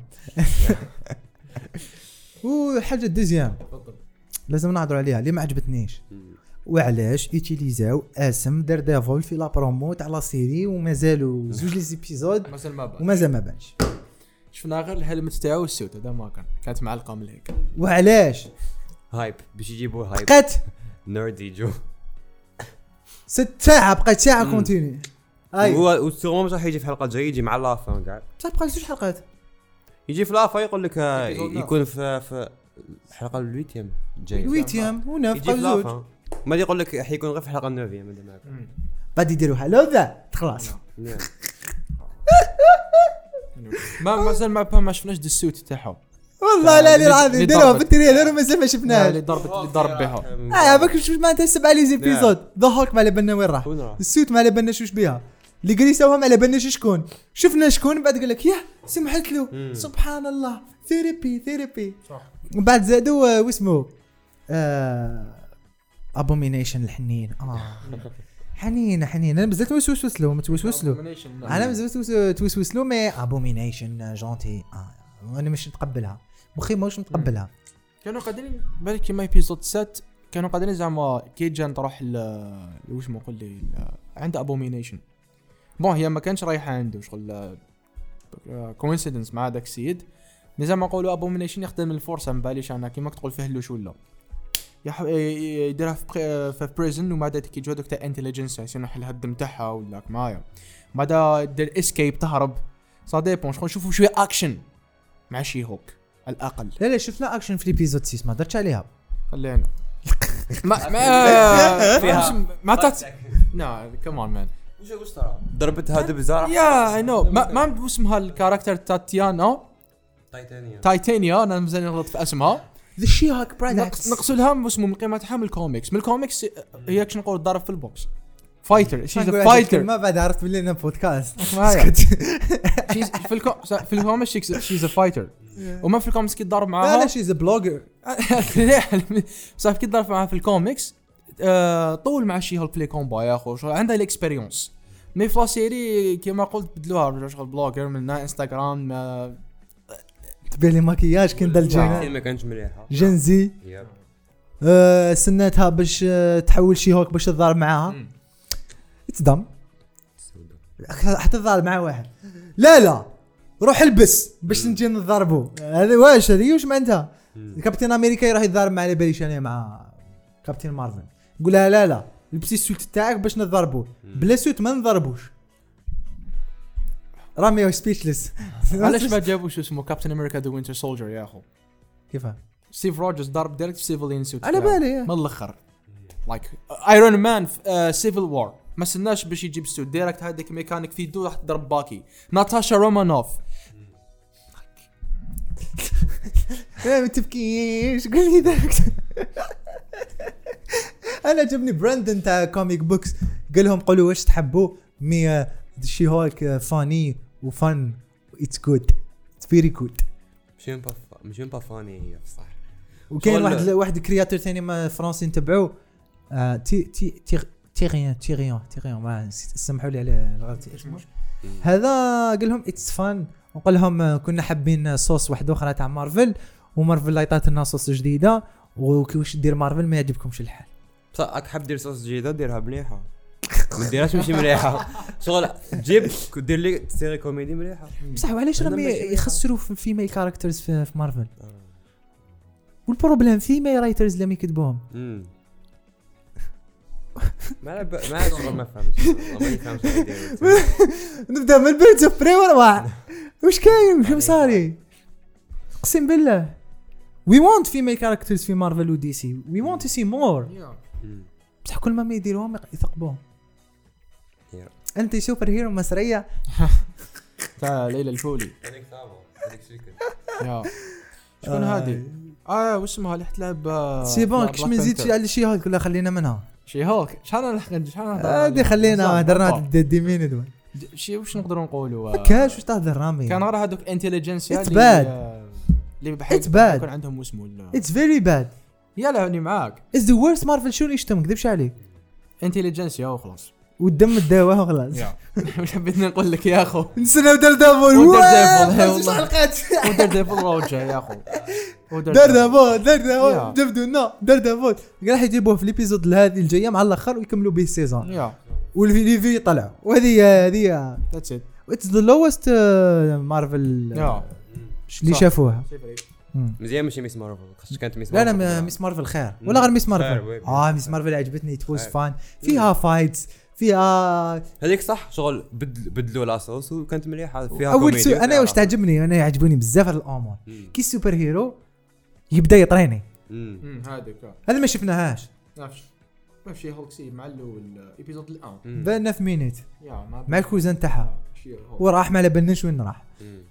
S1: وحاجه دوزيام لازم نهضروا عليها اللي ما عجبتنيش وعلاش يوتيليزاو اسم دير ديفول في لا برومو تاع لا سيري ومازالوا زوج لي زيبيزود ومازال ما بانش.
S2: شفنا غير الهلمت تاعو والسوت هذا ما كانت معلقه من هيك.
S1: وعلاش
S3: هايب باش يجيبوا هايب
S1: بقات
S3: نيردي جو
S1: 6 ساعه بقات ساعه كونتيني.
S3: هو والسيغمون راح يجي في حلقه جاي يجي مع لافان كاع
S1: بصح بقى 2 حلقات
S3: يجي في لافا يقول لك يكون في الحلقه الويتيام جاي
S1: الويتيام وناف زوج
S3: ما يقول لك حيكون غير في الحلقه النوفيام هذا معك
S1: غادي يديروا هلوذا خلاص.
S2: مازال ما شفناش السوت تاعهم
S1: والله لا العظيم ديروها في التريلر ومازال ما شفناها.
S2: اللي ضرب بها
S1: باك شوف معناتها 7 لي زيبيزود ذا هوك ما على بالنا وين راح السوت ما على بالناش واش بها اللي قريساوهم على بالناش شكون شفنا شكون بعد قال لك ياه سمحت له سبحان الله ثيرابي ومن بعد زادوا واسمه ابومينيشن الحنين حنين انا بزاف توسوس له انا بزاف توسوس له مي ابومينيشن جونتي انا مش نتقبلها مخي ماش نتقبلها.
S2: كانوا قادرين بالك كيما ايبيزود 7 كانوا قادرين زعما كي جان تروح واش ما نقول لي عند ابومينيشن بون هي ما كانش رايحه عنده شغل كوينسيدنس مع داك السيد زعما نقولوا ابومينيشن يخدم الفرصه ما باليش انا كيما تقول فيه لوش ولا يديرها في بريزن وما دات كي جودك تاع انتليجنس يسنح لها الدم تاعها ولا معايا بعدا دير اسكيب تهرب صا ديبون شغل نشوفوا شويه اكشن مع شي هوك الاقل.
S1: لا شفنا اكشن في ليبيزود 6 ما درتش عليها
S2: خلينا ما فيها ما تات نا كمان مان
S3: واش ترى ضربتها دبزه
S2: يا اي نو ما اسمها الكاركتر تاتيانا تايتانيا انا مزال نغلط في اسمها
S1: ذا شي هوك برودكتس
S2: نقصدها اسمه من قيمتها من الكوميكس هي كش نقول ضرب في البوكس فايتر شيز فايتر
S1: ما بعد عرفت باللي انا بودكاست
S2: في الكوميكس شيز فايتر وما في الكوميكس كي ضرب معاها
S1: لا شيز بلوجر
S2: صافي كي ضرب معاها في الكوميكس طول مع شي هولك في لي كومبا يا اخو عندها الاكسبيريونس مي في لا سيري كيما قلت بدلوها شغل بلوجر من انستغرام
S1: تبالي ماكياج كندل جينا
S3: ما كانش مليحه
S1: جنزي سنتها باش تحول شي هوك باش تضارب معاها تصدم حتى تضارب مع واحد لا روح البس باش نجي نضربو هذا واش هذه واش معناتها كابتن امريكا راح يضارب مع على باليش انا مع كابتن مارفل نقول لها لا لبسي السوت تاعك باش نضربو بلا سوت ما نضربوش رامي سبيتشلس.
S2: علاش ما جابوش اسمه كابتن امريكا ذا وينتر سولجر يا اخو
S1: كيفاه
S2: ستيف روجرز ضرب دايركت في سيفلين سوت
S1: على بالي
S2: من الاخر لايك ايرون مان سيفل وار ما سناش باش يجيب سوت دايركت هذاك ميكانيك في دو راح تضرب باكي ناتاشا رومانوف
S1: ما تبكيش قول لي دايركت. انا جبني براندن تاع كوميك بوكس قال لهم قولوا واش تحبوا مي شي هولك فاني وفن اتس جود اتس فيري جود
S3: مش با فاني هي بصح.
S1: وكاين واحد كرياتور ثاني ما فرنسي نتبعوه تيغيان ما سمحوا لي على الغلط اسمه هذا. قال لهم اتس فان وقال لهم كنا حابين صوص واحد اخرى تاع مارفل ومارفل عطات لنا صوص جديده وكيفاش دير مارفل ما يعجبكمش الحال.
S3: بصح راك حاب دير صوص جديده ديرها مليحه ما ديرهاش ماشي مليحه شغل جيب دير لي سيري كوميدي مليحه
S1: بصح وعلاش راهم يخسروا في الفيميل كاركترز في مارفل والبروبليم فيميل رايترز اللي يكتبوهم
S3: ما فهمتش ما يفهمش
S1: نبدا من بيرز اوف بري ورا واش كاين واش صاري اقسم بالله we want female characters في مارفل و دي سي we want to see more بصح كل ما يديروهم يثقبوهم. انت سوبر هيرو مسريه
S2: تاع ليلى الفولي
S3: هذيك ثابو هذيك شكل
S2: يا شكون هذه واش اسمها اللي تلعب
S1: سي بون كش ما نزيدش على شي هولك ولا خلينا منها
S2: شي هولك شحال
S1: هادي خلينا هضرنا دي مينيت
S2: شي واش نقدروا نقولوا
S1: كاش واش تهضر رامي
S2: كان راه هذوك انتيليجنسيا اللي بحال يكون عندهم اسمه
S1: اتس فيري باد
S2: يلا هاني معاك
S1: از ذا ورست مارفل شو يشتم كذبش عليك
S2: انتيليجنسيا وخلاص
S1: والدم الدواء وخلاص
S2: واش حبيت نقول لك يا اخو
S1: نسنا دردافول
S2: والله حلقات ودردافول روجا يا اخو
S1: دردافول جبدونا دردافول راح يجيبوه في ليبيزود هذه الجايه مع الاخر ويكملوا به السيزون والفي طلع وهذه
S2: ذاتس ات
S1: اتس ذا لوست مارفل اللي شافوها
S3: مزيان ماشي ميس مارفل خاصك كانت ميس
S1: مارفل لا ميس مارفل خير ولا غير ميس مارفل ميس مارفل عجبتني تفوز فان فيها فايتس فيها
S3: هذيك صح شغل بدلوا لاصوص وكانت مليحه فيها كوميدي.
S1: انا واش تعجبني انا يعجبوني بزاف هاد الامور كي السوبر هيرو يبدا يطريني هذا ما شفناهاش
S2: ما في هولك سي مع الاول ايبيزود الان
S1: بان في مينيت مع الكوزان تاعها وراح ما لبنش وين راح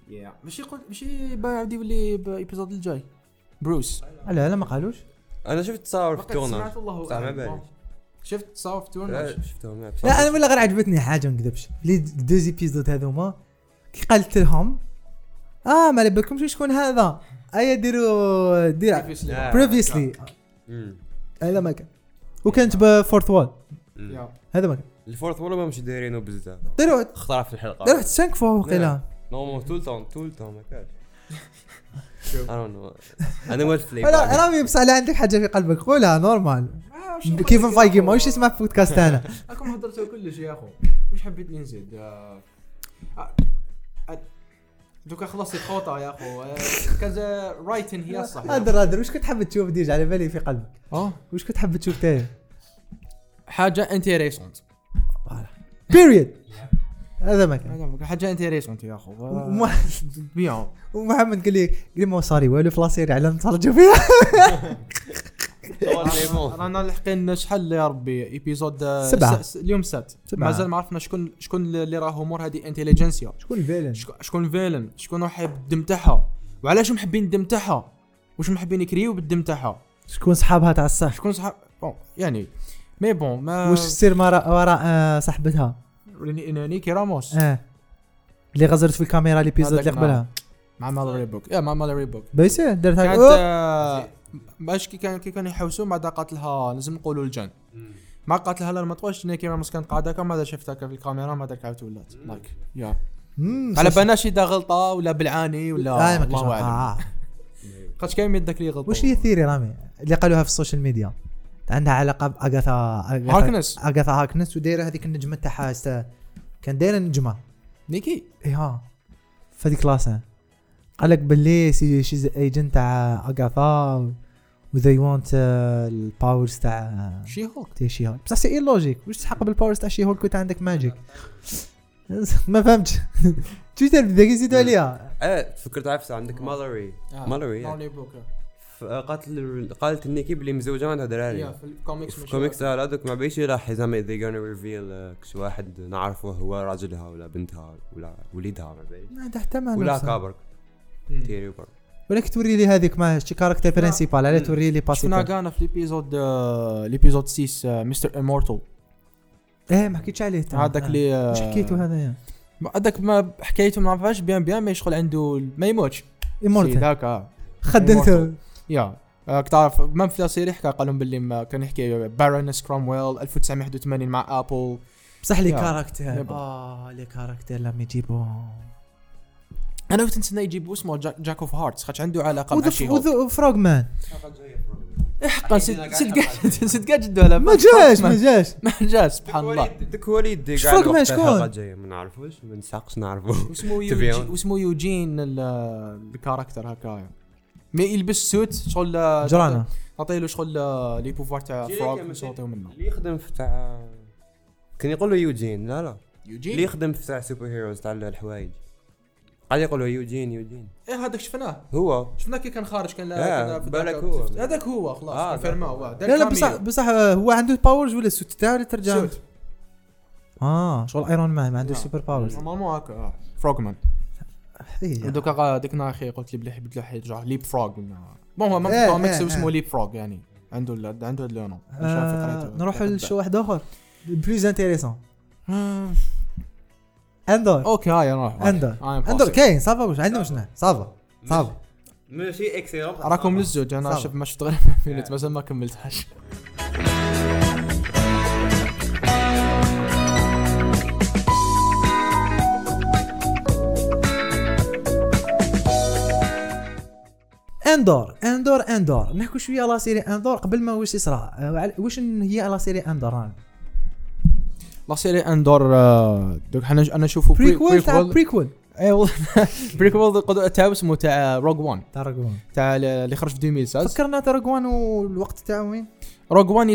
S2: ماشي بعد يولي بايبيزود الجاي بروس
S1: لا ما قالوش.
S3: انا شفت تصاور في تورناج صح ما بالي
S2: شفت تصاور في تورناج
S3: شفتهم
S1: لا انا ولا غير عجبتني حاجه ما نكذبش لي دوز ايبيزود هذوما كي قالت لهم ما لبكمش شكون هذا ديروا بريفيسلي هذا ما كان وكانت بفورث وول هذا ما كان
S3: الفورث وول ما مش دايرينه بزاف
S1: ديروا
S3: اخترع في الحلقه
S1: ديروا 5 فوق وقيلا
S3: نو طول ما كانش انا ما فليب
S1: لا رامي بس على عندك حاجه في قلبك قولها نورمال كيف فايقي ما واش اسمع بودكاست انا
S2: راكم هضرتوا كلش يا اخو واش حبيت نزيد دوكا خلصت خوطه يا اخو كذا رايتن هي الصح
S1: هذا واش كنت حاب تشوف ديج على بالي في قلبك واش كنت حاب تشوف تاني
S2: حاجه انتريسونت
S1: بيريد هذا ما كان
S2: حاجه انتريسونت يا اخو بيان
S1: ومحمد قال لي ما صاري والو في لاسيري على نتفرجوا فيها
S2: رانا لاحقين شحال يا ربي ايبيزود 7 اليوم 7 مازال ما عرفنا شكون اللي راه امور هذه انتيليجنسيا شكون الفيلن شكون راح الدم تاعها وعلاش محبين الدم تاعها واش محبين يكريو بالدم تاعها
S1: شكون صحابها تاع الصح
S2: شكون صحاب يعني مي بون ما
S1: واش تصير وراء صاحبتها
S2: نيكي راموس
S1: اللي غزرت في الكاميرا ليبيزود اللي قبلها
S2: مع مالوري بوك مع مالوري بوك
S1: بيسير درتها
S2: كانت باش كي كانوا يحوسوا مع قاتلها لازم نقولوا الجن ما قاتلها لا ما تقولش نيكي راموس كانت قاعده كما شفتها في الكاميرا ما درك عاودت ولات لايك على بالناش اذا غلطه ولا بالعاني ولا الله اعلم خاطش كاين يدك لي غلطه.
S1: واش هي الثيري رامي اللي قالوها في السوشيال ميديا عندها علاقه باغاثا هاكنس ودايره هذيك النجمه تاعها كان دايره نجمه
S2: نيكي
S1: في هذيك كلاسه قال لك باللي شي ايجنت تاع اغاثا وذي وانت الباورز تاع
S2: شي هولك
S1: بصح سي لوجيك واش تحق بالباورز تاع شي هولك وانت عندك ماجيك ما فهمتش تويتر بدا يزيدوا عليها
S3: تفكرت عارف عندك مالوري قالت نيكي بلي مزوجه عندها دراري
S2: في
S3: الكوميكس هذوك ما بيش راح زعما they gonna reveal كش واحد نعرفه هو راجلها ولا بنتها ولا وليدها ما بيش
S1: ما تحتمل
S3: ولا كابر تيري بر
S1: ولكن توري لي هذيك ما شي كاركتر برينسيبال على توري لي باسي
S2: شفنا كان في ليبيزود 6 مستر امورتال
S1: ما حكيتش عليه
S2: هذاك اللي
S1: واش حكيتو هذايا
S2: هذاك ما حكيته ما عرفاش بيان ما يشغل عنده ما يموتش
S1: يمورتال
S2: هذاك
S1: خدلته
S2: يا تعرف ما في السيري حكى قال لهم باللي ما كان يحكي بارونس كرومويل 1981 مع ابل
S1: بصح لي كاركتير لي كاركتير لما يجيبوا
S2: انا كنت نتسنى يجيبوا اسمه جاك اوف هارتس خاطر عنده علاقه مع شي
S1: فروغمان
S2: حقا صدق جدو لا
S1: ما جاش
S3: سبحان الله داك هو اللي يدي
S1: كاع الحلقه
S3: الجايه ما نعرفوش ما نساقش نعرفو
S2: اسمه يوجين الكاركتر هكايا مي يلبس سوت شغل
S1: جرانا
S2: عطيله شغل لي بوفوار تاع فروغ نصوتو منه
S3: اللي يخدم في تاع كان يقول له يوجين لا
S2: يوجين
S3: اللي يخدم في تاع سوبر هيروز تاع الحوايج قاعد يقولوا يوجين
S2: هذاك شفناه
S3: شفناه
S2: كي كان خارج كان
S3: بالك هو
S2: هذاك هو خلاص كونفيرماو
S1: لا بصح هو عنده باورز ولا السوت تاعو اللي ترجع شغل ايرون مان ما عنده سوبر باورز
S2: نورمالمون هكا فروغمان دوكا ديكنا اخي قلت لي بلي يبدلوا حيت جا ليب فروغ بون هو ما كوميكس اسمه ليب فروغ يعني عنده هذا اللون
S1: نروح لشو واحد اخر بلوز انتريسون اندور
S2: اوكي هاي نروح
S1: اندور كاين صافا واش عندنا واش صافا
S3: ماشي اكسيلون
S2: راكم للزوج انا شفت ما شفت غير فيلت بس ما كملتهاش
S1: اندور نحكوا شويه على سيري اندور قبل ما واش يصرى واش هي على سيري اندور
S2: لا سيري اندور دوك انا نشوفوا
S1: بريكول
S2: اي والله بريكول تاع اسمه تاع روغ 1 تاع اللي خرج في 2016
S1: فكرنا تاع روغ 1 والوقت تاعو وين
S2: روغ 1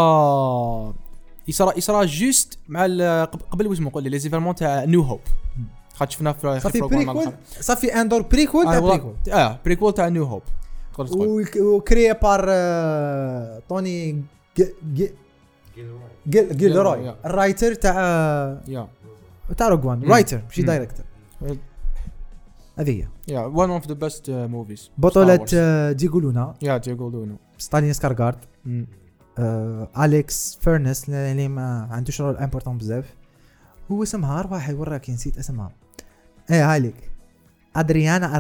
S2: يصرى جوست مع قبل واش نقول لي زيفالمون تاع نيو هوب خاطر شفنا في
S1: بريكول صافي اندور بريكول تاع بريكول
S2: بريكول تاع نيو هوب
S1: وكريا بار توني جيلروي الرايتر تاع روغ 1 رايتر ماشي دايركتور هذه
S2: يا وان اوف ذا بيست موفيز
S1: بطولة ديغو لونا
S2: ديغو
S1: ستالين سكارغارد أليكس فيرنس اللي ما عندوش رول امبورطون بزاف هو اسمها واحد وراك نسيت اسمها هايليك ادريانا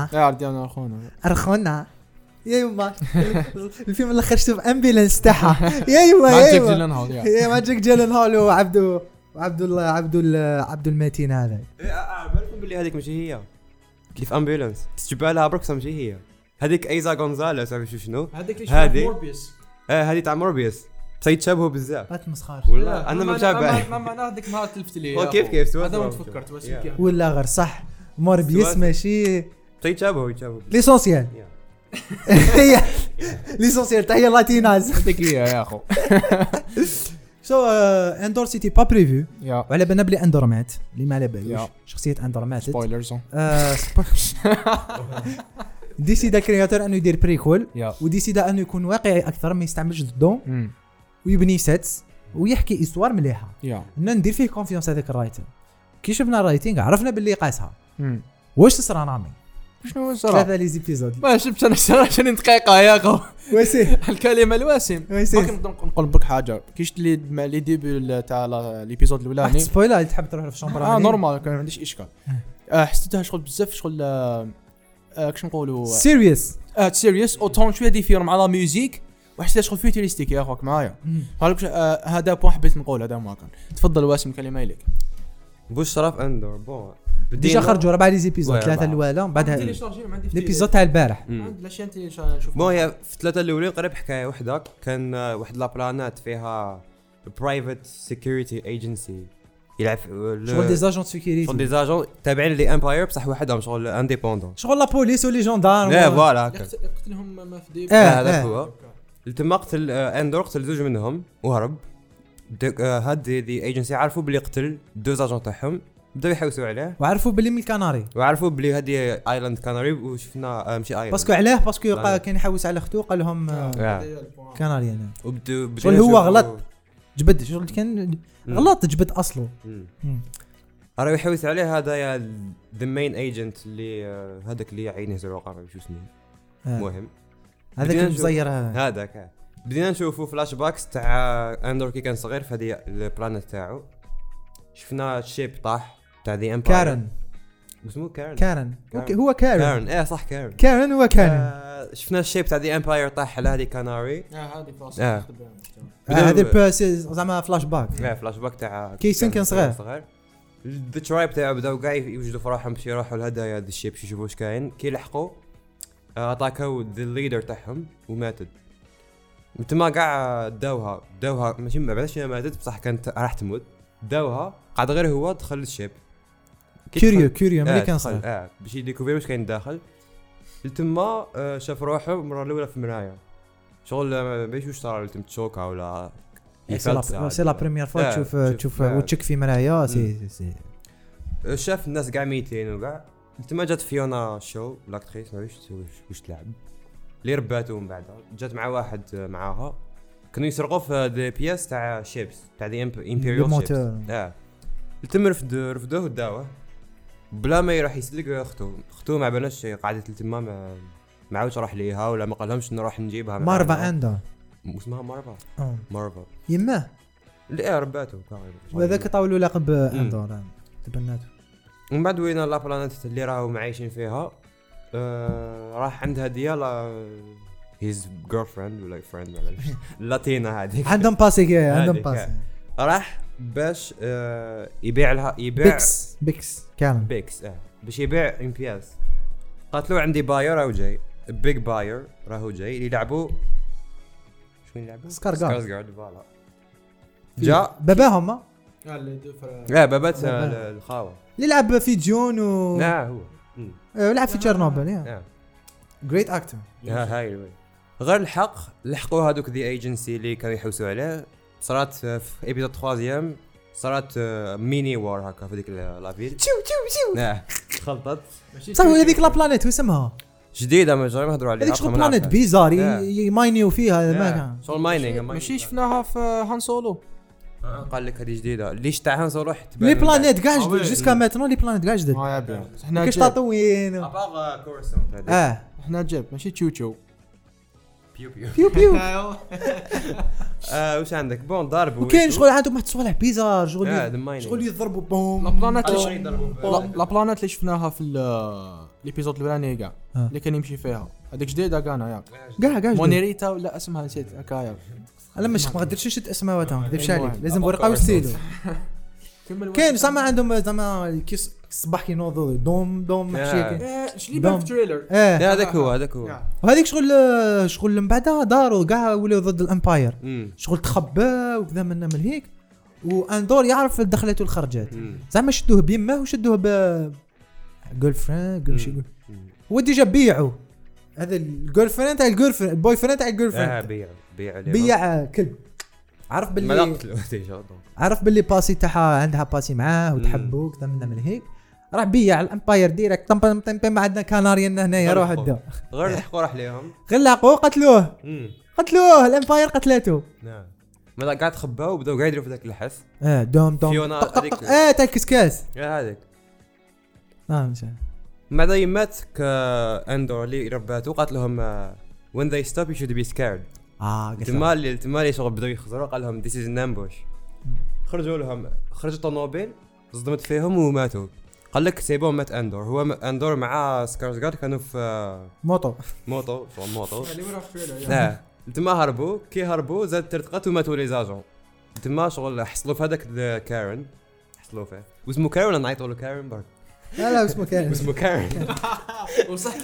S1: ارخونا يا يما الفيلم اللي خرجته في امبيلانس تاعها يا يما ماجيك جيلن هول وعبد المتين هذا
S3: بالكم باللي هذيك ماشي هي اللي في امبيلانس تجيبها لها برك ماشي هي هذيك ايزا غونزاليس عرفتي شنو
S2: هذيك موربيوس
S3: هذه تاع موربيوس تيتشابهوا بزاف
S1: ما تمسخرش
S3: والله انا ما متابع
S2: ما معناها هذيك ما تلفت لي
S3: كيف
S2: هذا ما تفكرت واش
S1: ولا غير صح موربيوس ماشي
S3: تيتشابهوا
S1: ليسونسيال هي ليسونسيال تاع هي لاتيناز
S2: هذيك هي يا اخو
S1: اندور سيتي با بريفيو وعلى بالنا بلي اندور مات اللي ما على بالوش شخصيه اندور ماتت
S2: سبويلرز
S1: ديسيدا كرياتور انه يدير بريكول وديسيدا انه يكون واقعي اكثر ما يستعملش ضدهم ويبني سيتس ويحكي استوار مليحه ندير فيه كونفيونس هذاك الرايتر كي شفنا الرايتينغ عرفنا باللي قاسها واش صرا نامي
S2: شنو صرا
S1: 3 لي زيبيزود
S2: ما شفت انا 20 دقيقه يا اخو
S1: واسي
S2: الكلمه الواسم ما نقول لك حاجه كي شفت لي مع لي ديبي تاع ليبيزود الاولاني
S1: سبويلر تحب تروح في الشومبر
S2: نورمال كان ما عنديش اشكال حسيتها شغل بزاف شغل كش نقولوا سيريوس اوتون شويه ديفير مع لا ميوزيك وحسيت شغل فيوتوريستيك يا اخوك معايا هذا بوين حبيت نقول هذا ما كان تفضل واسم كلمه لك
S3: بوش صراف اندور بون
S1: ديجا خرجوا 4 لي زيبيزود 3 الاولى بعدها ليبيزود تاع البارح
S2: لاشين نشوف
S3: بون هي في 3 الاولين قريب حكايه وحده كان واحد لا بلانات فيها برايفت سيكوريتي ايجنسي يلعب
S1: شغل دي زاجون سيكوريتي
S3: شغل دي زاجون تابعين لي امباير بصح وحدهم شغل انديبوندون
S1: شغل لا بوليس ولي جوندارم
S3: لا فوالا
S2: يقتلهم ما في ديب
S3: هذا هو تم قتل اندور قتل زوج منهم وهرب هاد دي ايجنسي عرفوا بلي قتل 2 زاجون تاعهم بداو يحوسوا عليه
S1: وعرفوا بلي من الكناري
S3: وعرفوا بلي هذه ايلاند كناري وشفنا ماشي ايلاند
S1: باسكو علاه باسكو كان يحوس على اختو قال لهم كناري انا
S3: وبداو
S1: هو غلط جبد شغل كان غلط جبد اصله
S3: راه يحوس عليه هذا يا ذا مين ايجنت اللي هذاك اللي عينه زرقاء شو اسمه المهم
S1: هذاك المزير
S3: هذاك بدينا نشوفوا فلاش باكس تاع اندور كي كان صغير في هذه البلانيت تاعو. شفنا الشيب طاح تاع ذا امباير
S1: كارن
S3: اسمه
S1: كارن هو كارن
S3: صح
S1: كارن هو كارن.
S3: شفنا الشيب تاع ذا امباير طاح على هذه كاناري.
S2: هذه فلاش
S1: هذه باسز زعما فلاش باك
S3: فلاش باك تاع
S1: كيسن كان صغير.
S3: ذا ترايب تاعو بداو كاع يوجدوا فرحهم باش يروحوا الهدايا ذا الشيب يشوفوا واش كاين. كي لحقوا اتاكاو ذا الليدر تاعهم وماتت. تما كاع داوها ماشي ما بعدش ماتت بصح كانت راح تموت. داوها قعد غير هو دخل الشيب
S1: كوريو ملي كان صغير
S3: باش يديكوفير واش كاين داخل. تما شاف روحه المره الاولى في المرايه شغل باش واش صار تم تشوكا ولا
S1: سي لا بريمير فوا تشوف وتشك في مرايه سي
S3: شاف الناس كاع ميتين وكاع. تما جات فيونا شو لاكتريس ما عرفتش واش تلعب اللي رباتو من بعد جات مع واحد معاها كانوا يسرقوا في دي بياس تاع شيبس تاع دي امبيريال شيبس. تم رفدوه وداوه بلا ما يروح يسلق اختو ما بالناش قعدت تما ما عاودش راح ليها ولا ما قالهمش نروح نجيبها.
S1: مارفا عنده
S3: اسمها مارفا
S1: يماه
S3: اللي رباتو
S1: وهذاك طاولوا لقب اندور تبناته.
S3: ومن بعد وين لا بلانيت اللي راهو معايشين فيها راح عندها ديالا هيز جيرل فريند ولا فريند ولا لاتينا هذيك
S1: عندهم باسي
S3: راح باش يبيع لها
S1: بيكس كان
S3: باش يبيع امبياس. قالت له عندي باير راهو جاي بيج باير راهو جاي يلعبوا شكون يلعبوا سكارغارد فوالا جا
S1: باباهم
S3: بابات الخاوه
S1: اللي لعب في جون
S3: لا هو
S1: لعب في تشيرنوبل جريت اكتر
S3: هاي غير لحقوا هذوك ذا ايجنسي اللي كانوا يحوسوا عليه. صارت في ايبيزود 3 صارت ميني وار هكا في ديك لافيل خلطت
S1: صح. هذيك لا بلانيت واسمها
S3: جديده ما جربنا نهضروا عليها.
S1: هذيك شغل بلانيت بيزار يماينيو فيها ما كان
S3: شغل ماينينغ
S2: ماشي شفناها في هان سولو.
S3: قال لك هذه جديده ليش تاع هان سولو
S1: لي بلانيت كاع جدد جوسكا ماتنو لي بلانيت كاع جدد
S2: احنا
S1: كاش تطوين
S3: اباغ كورسون
S2: احنا جاب ماشي تشوتشو
S1: بيو
S3: واش عندك بون ضرب
S1: وكاين شغل عندهم واحد الصوالح بيزار شغل يضربوا بوم
S2: لا بلانيت اللي شفناها في الابيزود الاولاني كاع اللي كان يمشي فيها هذيك جديده كاع مونيريتا ولا اسمها نسيت هكايا.
S1: انا مش ما قدرتش نشد اسماء ديفش عليك لازم ورقه وستيلو. كاين زعما عندهم زعما كيس الصباح كينوضوا دوم ماشي
S2: شلي بان في التريلر
S3: هذاك هو
S1: وهذيك شغل من بعدها داروا كاع ولاو ضد الامباير شغل تخبى وكذا من هيك. واندور يعرف دخلته والخرجات زعما شدوه بيمه وشدوه ب جيرل فريند ماشي هو ديجا بيعوا هذا الجيرل فريند تاع الجيرل فريند البوي فريند تاع الجيرل فريند بيع كلب. عرف باللي باسي تاعها عندها باسي معاه وتحبوا كذا من هيك راح بيع الامباير ديريكت طم ما عندنا كاناريا هنايا روح الدو
S3: غير لحقوا راح ليهم
S1: غير لحقوا قتلوه الامباير قتلته.
S3: نعم ما قاعد خباو وبداو قاعد يديروا في ذاك الحث
S1: دوم
S3: فيونا هذيك
S1: تاع الكسكاس
S3: هذيك
S1: ماشي
S3: بعد يمات كاندور اللي رباتو قالت لهم when they stop you should be scared. تمالي شغل بداو يخزروا قال لهم this is an ambush. خرجوا طنوبيل صدمت فيهم وماتوا. قال لك سيبون مات اندور. هو اندور مع سكارزغارد كانوا في
S1: موطو
S2: اللي ورا في
S3: التريلر تما هربوا زاد ترتقت وماتوا لي زاجون. تما شغل حصلوا في هذاك كارن حصلوا فيه واسمه كارن نعيطوا له كارن برك
S1: لا اسمه
S3: كارن
S2: وصح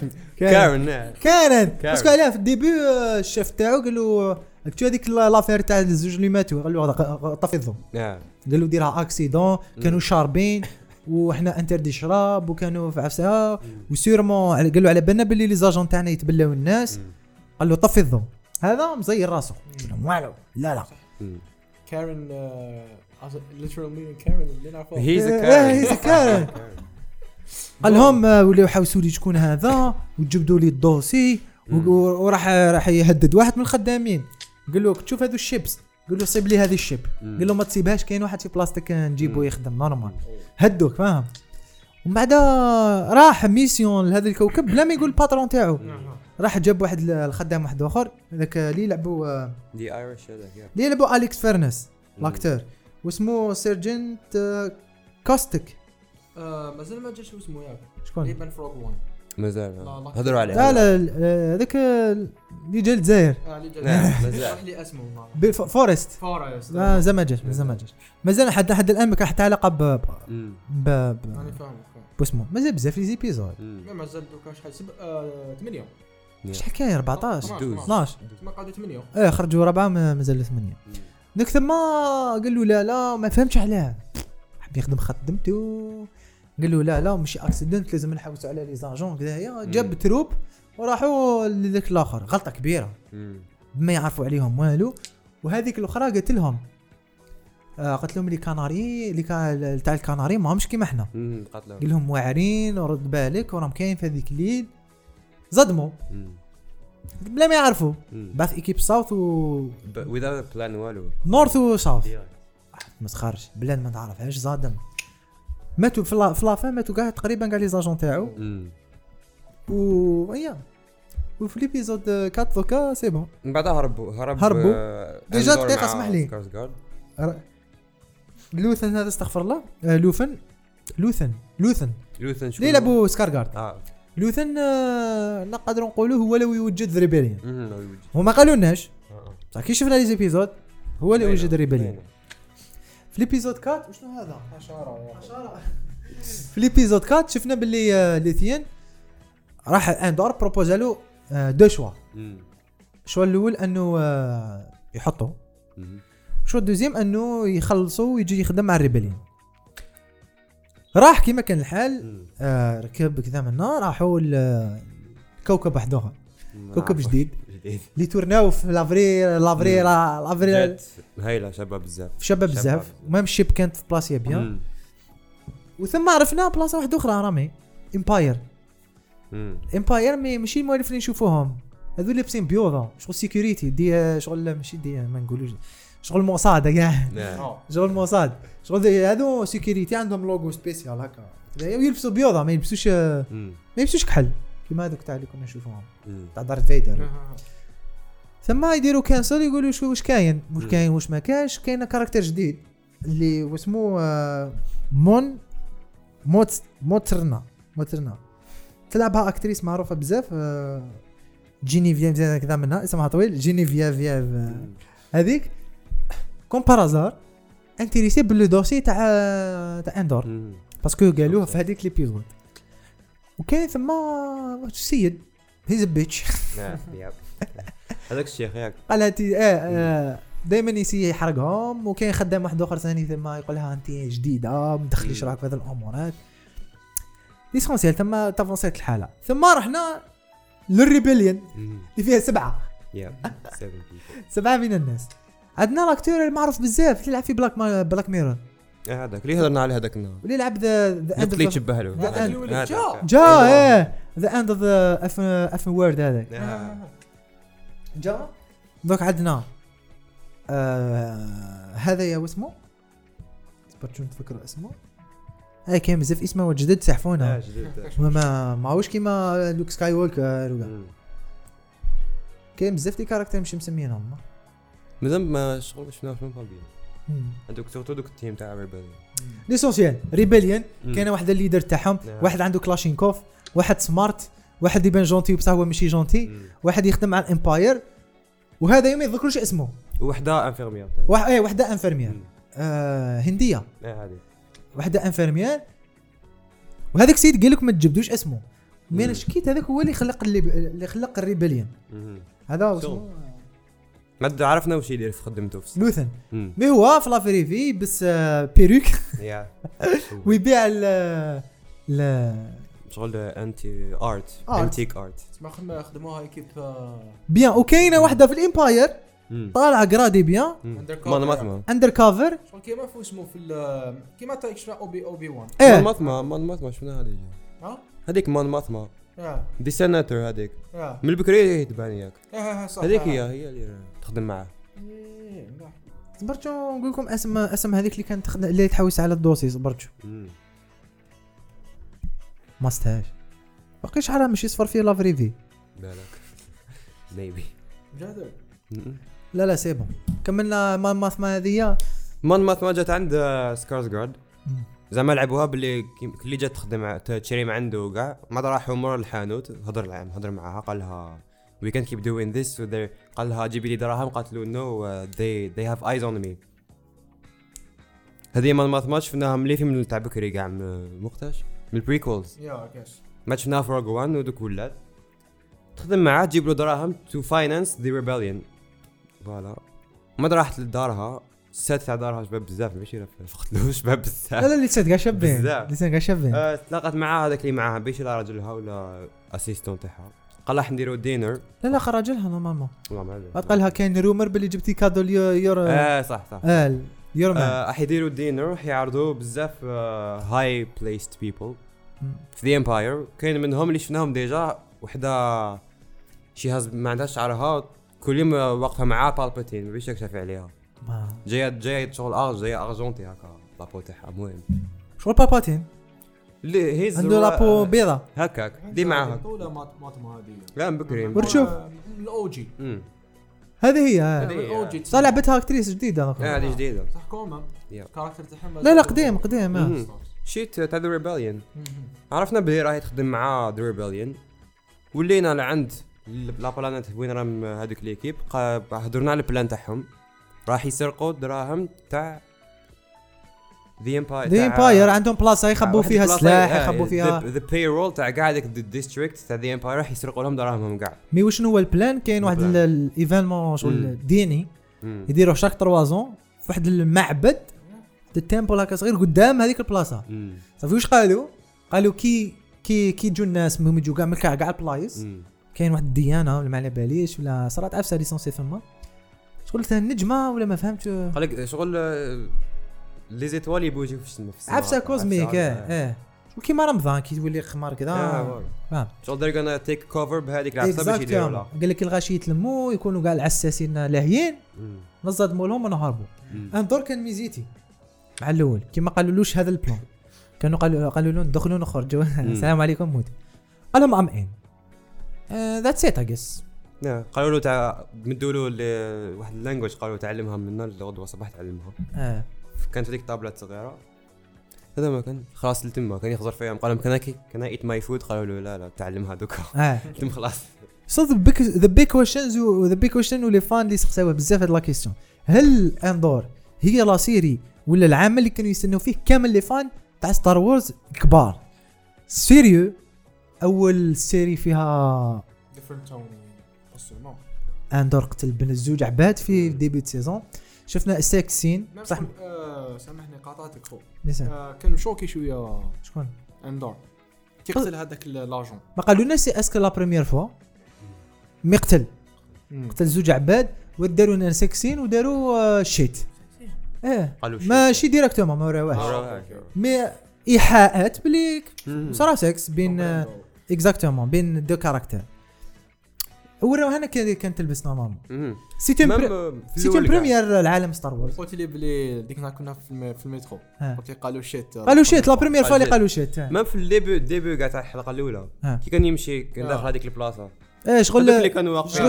S3: كارن
S1: باسكو علاه في الديبي الشيف تاعو قال له كنتو هذيك لافير تاع الزوج اللي ماتوا قال له طفي الضوء قال له ديرها اكسيدون كانوا شاربين وحنا انتردي شراب وكانوا في عفسه وسيرمون قال له على بالنا باللي لي زاجون تاعنا يتبلاو الناس قال له طفي الضوء هذا مزير راسه والو لا
S2: كارن literal meaning كارن اللي نعرفه
S1: هيز كارن قال لهم ولاو يحاوسوا لي شكون هذا وجبدوا لي الدوسي وراح يهدد واحد من الخدامين قال له تشوف هذو الشيبس قال له صيب لي هذه الشيب قال له ما تصيبهاش كاين واحد في بلاستيك نجيبه يخدم نورمال هدوك فاهم. ومن بعد راح ميسيون لهذا الكوكب بلا ما يقول الباترون تاعو راح جاب واحد الخدام واحد اخر هذاك اللي يلعبوا
S3: دي ايرش هذاك
S1: اللي يلعبوا اليكس فيرنس لاكتور واسمه سيرجنت كوستيك.
S2: مازال ما جاش اسمه ياك
S1: شكون
S2: يبان فروغ 1
S3: مازال هضروا عليه.
S1: لا هذاك اللي جا الجزائر
S2: اللي جا مازال لي اسمه
S1: فورست لا زعما جاش مازال حتى الان ما كان حتى علاقه ب
S2: انا فاهم
S1: باسمه مازال بزاف لي زيبيزود
S2: مازال دوكا شحال 8
S1: شحال كاين 14 12
S2: ما قعدوا 8
S1: خرجوا 4 مازال 8 ديك ثم قال له لا ما فهمتش علاه حب يخدم خدمته قال له لا ماشي اكسيدنت لازم نحوسوا على لي زاجون كذايا جاب تروب وراحوا لذاك الاخر غلطه كبيره ما يعرفوا عليهم والو. وهذيك الاخرى قالت لهم قالت لهم لي كاناري اللي تاع الكاناري ماهمش كيما احنا قال لهم واعرين ورد بالك وراهم كاين في هذيك الليل صدموا بلا ما يعرفوا باث ايكيب ساوث و
S3: without بلان والو
S1: نورث وساوث ما تخرج بلاد ما تعرفهاش صادم ماتوا في لافان ماتوا كاع تقريبا كاع لي زاجون تاعو ويا وفي ليبيزود 4 دوكا سي بون
S3: من بعد هربوا
S1: ديجا دقيقه اسمح لي لوثن هذا استغفر الله لوثن اللي لعبوا سكارغارد لوثن نقدروا نقولوا هو لو يوجد ريبيليون وما قالولناش صح كي شفنا لي زيبيزود هو اللي وجد ريبيليون في ليبيزود 4 وشنو هذا حشره في ليبيزود 4 شفنا باللي ليثيان راح اندور بروبوزالو دو شوا الشوا الاول انه يحطوا الشوا الدوزيام انه يخلصوا ويجي يخدم مع الريبيليون. راح كيما كان الحال ركب كذا منا راحوا لكوكب واحد اخر كوكب جديد اللي تورناو في لافري
S3: هايله
S1: شباب بزاف المهم الشيب كانت في بلاصه بيان وثم عرفنا بلاصه واحده اخرى رامي امباير ماشي المؤلفين اللي نشوفوهم هذو لابسين بيوضه شغل سيكوريتي دي شغل ماشي دي ما نقولوش شغل موساد كاع شغل موساد شغل هذو سيكوريتي عندهم لوغو سبيسيال هكا يلبسوا بيوضه ما يلبسوش كحل كيما هذوك تاع اللي كنا نشوفوهم تاع دارث فيدر. ثم يديروا كانسل يقولوا شو واش كاين واش ما كاش. كاين كاركتر جديد اللي واسمه موترنا تلعبها اكتريس معروفه بزاف جينيفييف كذا منها اسمها طويل جينيفييف هذيك كومبارازار انتريسي بالدوسي تاع اندور باسكو قالوه في هذيك ليبيزود. وكاين ثم السيد هيز بيتش
S3: هذاك الشيخ ياك
S1: قالت دائما يسي يحرقهم. وكاين خدام واحد اخر ثاني ثم يقول لها انت جديده ما تدخليش راك في هذه الامورات ليسونسيال. ثم تفاصيل الحاله ثم رحنا للريبيليون اللي فيها 7 من الناس. عندنا لاكتور المعروف بزاف اللي يلعب في بلاك ميرور
S3: هذاك اللي هضرنا عليه هذاك النهار
S1: اللي يلعب ذا اند
S3: اللي تشبه له
S1: ذا اند اوف ذا اف وورد هذاك جا دوك عندنا هذا يا واسمه برجو نتفكر اسمه هاي كان بزاف اسمه جدد سحفونا ما هوش كيما لوك سكاي ووكر ولا كاين بزاف دي كاركتر مش مسمينهم
S3: مازال ما شغل شفنا في بالبيان عندك سورتو دوك التيم تاع ريبيليون
S1: ليسونسيال ريبيليون كاين واحد الليدر تاعهم واحد عنده كلاشينكوف واحد سمارت واحد يبان جونتي بصح هو ماشي جونتي واحد يخدم على الامباير وهذا يوم يذكروش اسمه
S3: وحده انفيرمير
S1: وحده انفيرمير هنديه
S3: هذه
S1: وحده انفيرمير. وهذاك سيد قال لك ما تجبدوش اسمه مين شكيت هذاك هو اللي خلق الريبيليون هذا اسمه
S3: ما عرفنا واش يدير في خدمته في
S1: لوثن مي هو في لافريفي بس بيروك ويبيع
S3: شغل انتي انتيك ارت
S2: ما خدموها ايكيب
S1: بيان. وكاينه واحده في الامباير طالعه قرادي بيان اندر كافر
S2: شغل كيما فو اسمه في كيما تاع اكسترا اوبي 1
S3: مانماثما شفنا هذه هذيك مانماثما دي سيناتور هذيك من البكري تبان ياك هذيك هي اللي تخدم معاه.
S1: صبرتو نقول لكم اسم هذيك اللي كانت تخدم اللي تحوس على الدوسي صبرتو ما استهاش باقي شحال ماشي صفر فيه لافريفي
S3: بالك ميبي
S2: جادر.
S1: لا سي بون كملنا مان ماث ما هذه
S3: مان ماث ما جات عند سكارزغارد زعما لعبوها باللي اللي جات تخدم تشري من عنده وكاع ما راحوا مور الحانوت هضر معاها قال لها we can keep doing this قال لها جيبي لي دراهم قالت له no they have eyes on me. هذه مان ماث ما شفناها ملي فيلم تاع بكري كاع مختاش من البريكولز
S2: يا كاش
S3: ما شفناها في روج وان ودوك ولات تخدم معاه تجيب له دراهم to finance the rebellion. فوالا ما راحت لدارها السات تاع دارها شباب بزاف ماشي فقتلوه شباب بزاف.
S1: لا اللي تسد كاع شابين اللي كاع شابين.
S3: تلاقات معاه هذاك اللي معاها باش لا راجلها ولا اسيستون تاعها قال راح نديرو دينر.
S1: لا راجلها نورمالمون
S3: والله ما
S1: قال لها كاين رومر باللي جبتي كادو يور
S3: صح
S1: يور
S3: راح يديروا دينر راح يعرضوا بزاف هاي بليست بيبل في ذا امباير. كاين منهم اللي شفناهم ديجا وحده شي هاز ما عندهاش شعرها كل يوم واقفه معاه بالباتين ما بيش يكشف عليها جايه شغل جايه ارجونتي هكا لابو تاعها مهم
S1: شغل بالباتين
S3: اللي هيز
S1: عنده لابو بيضه
S3: هكاك دي معاها
S2: ولا ماطمه هذه
S3: لا بكري
S1: ورشوف
S2: الاو جي
S1: هذه هي صار لعبتها اكتريس جديده
S3: هذه جديده
S2: صح كوما كاركتر تاعها
S1: لا قديم
S3: شيت تاع ذا ريبليون عرفنا بلي راهي تخدم مع ذا ريبليون ولينا لعند لا بلانيت وين راهم هذوك ليكيب هضرنا على البلان تاعهم راح يسرقوا دراهم تاع ذا امباير
S1: عندهم بلاصه يخبوا فيها السلاح يخبوا فيها
S3: ذا بايرول تاع كاع داك الديستريكت تاع ذا امباير راح يسرقوا لهم دراهمهم كاع.
S1: مي وشنو هو البلان؟ كاين واحد الايفينمون شغل ديني يديروا شاك 3 زون في واحد المعبد التمبل هكا صغير قدام هذيك البلاصه. صافي واش قالوا كي يجوا الناس مهم يجوا كاع من كاع البلايص كاين واحد الديانه ولا ما على باليش ولا صرات عفسه ليسونسي ثم شغل النجمه ولا ما فهمتش
S3: قال لك شغل لي زيتوال يبوجيو في السما
S1: عفسه كوزميك كيما رمضان كي تولي خمار كذا
S3: فاهم شغل they're gonna take cover بهذيك العفسه باش يديروا لها.
S1: قال لك الغاشي يتلموا يكونوا كاع العساسين لاهيين نصدموا لهم ونهربوا. اندور كان ميزيتي مع الاول كيما قالولوش هذا البلان كانوا قالوا له ندخلوا نخرجوا السلام عليكم موت قال لهم امين ذاتس ات اي جس
S3: قالوا له تاع مدوا له واحد اللانجويج قالوا تعلمها منا الغدوه صباح تعلمها كانت هذيك طابلات صغيره هذا ما كان خلاص التم كان يخزر فيهم قال لهم كان ايت ماي فود قالوا له لا تعلمها دوكا تم خلاص.
S1: So the big question واللي فان اللي سقساوه بزاف هاد لا كيسيون هل اندور هي لا سيري ولا العمل اللي كانوا يستنوا فيه كامل لي فان تاع ستار وورز كبار سيريو اول سيري فيها
S2: different tone
S1: اندور قتل بين الزوج عباد في ديبي سيزون شفنا السكس سين
S2: صح. سامحني قاطعتك خو كان مشوكي شويه
S1: شكون
S2: اندور تقتل هذاك لاجون
S1: ما قالوا سي اسكو لا بريمير فوا مقتل قتل زوج عباد وداروا لنا سكسين وداروا شيت ماشي ديريكتومون ما وراوهاش مي ايحاءات بلي صرا سكس بين اكزاكتومون بين دو كاركتر وراو هنا كان تلبس نورمالمون سيتي بريمير العالم ستار وورز.
S2: قلت لي بلي ديك كنا في المترو قلت لي قالوا
S1: شيت لا بريمير فوا اللي قالوا شيت
S3: ما في الديبي كاع تاع الحلقه الاولى كي كان يمشي كان داخل هذيك البلاصه شغل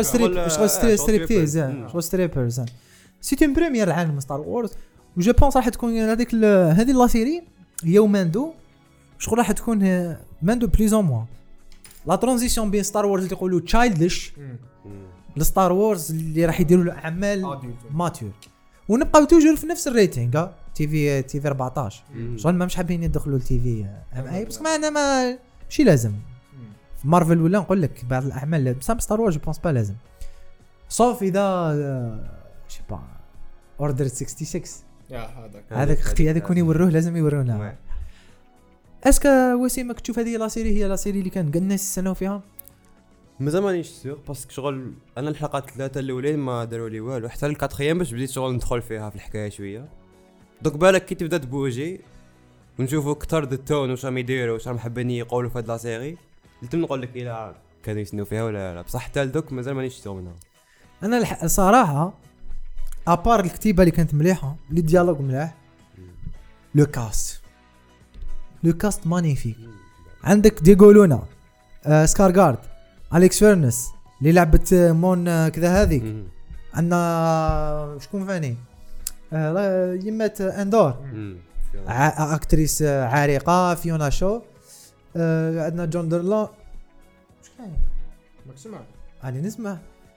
S3: ستريبرز
S1: سيتي بريمير العالم ستار وورز وجو بونس راح تكون هذيك هذه لا سيري هي وماندو شغل راح تكون ماندو بليز موا لا ترانزيسيون بين ستار وورز اللي يقولوا تشايلدش لستار وورز اللي راح يديروا له اعمال ماتور ونبقاو توجور في نفس الريتينغ تي في 14 شغل ما مش حابين يدخلوا التي في اي بس معنا ما ماشي لازم في مارفل ولا نقول لك بعض الاعمال بس ستار وورز جو بونس با لازم صوف اذا شي با اوردر 66 هذاك اختي هذاك كون يوروه لازم يورونا. اسكا وسيمك تشوف هذه لا سيري هي لا سيري اللي كان الناس يستناو فيها
S3: مازال مانيش سيغ باسكو شغل انا الحلقات 3 الاولين ما داروا لي والو حتى الكاتريام باش بديت شغل ندخل فيها في الحكايه شويه دوك بالك كي تبدا تبوجي ونشوفوا اكثر د التون واش راهم يديروا واش راهم حابين يقولوا في هاد لا سيري قلت نقول لك الا كانوا يسنوا فيها ولا لا بصح حتى دوك مازال مانيش سيغ منها.
S1: انا صراحه ابار الكتيبه اللي كانت مليحه لي ديالوج مليح لو كاست مانيفيك عندك ديغو لونا سكارغارد أليكس فيرنس اللي لعبت مون كذا هذيك عندنا شكون ثاني يمات اندور اكتريس عريقه فيونا شو عندنا جون درلون واش كاين
S2: ماك سمع
S1: علي نسمع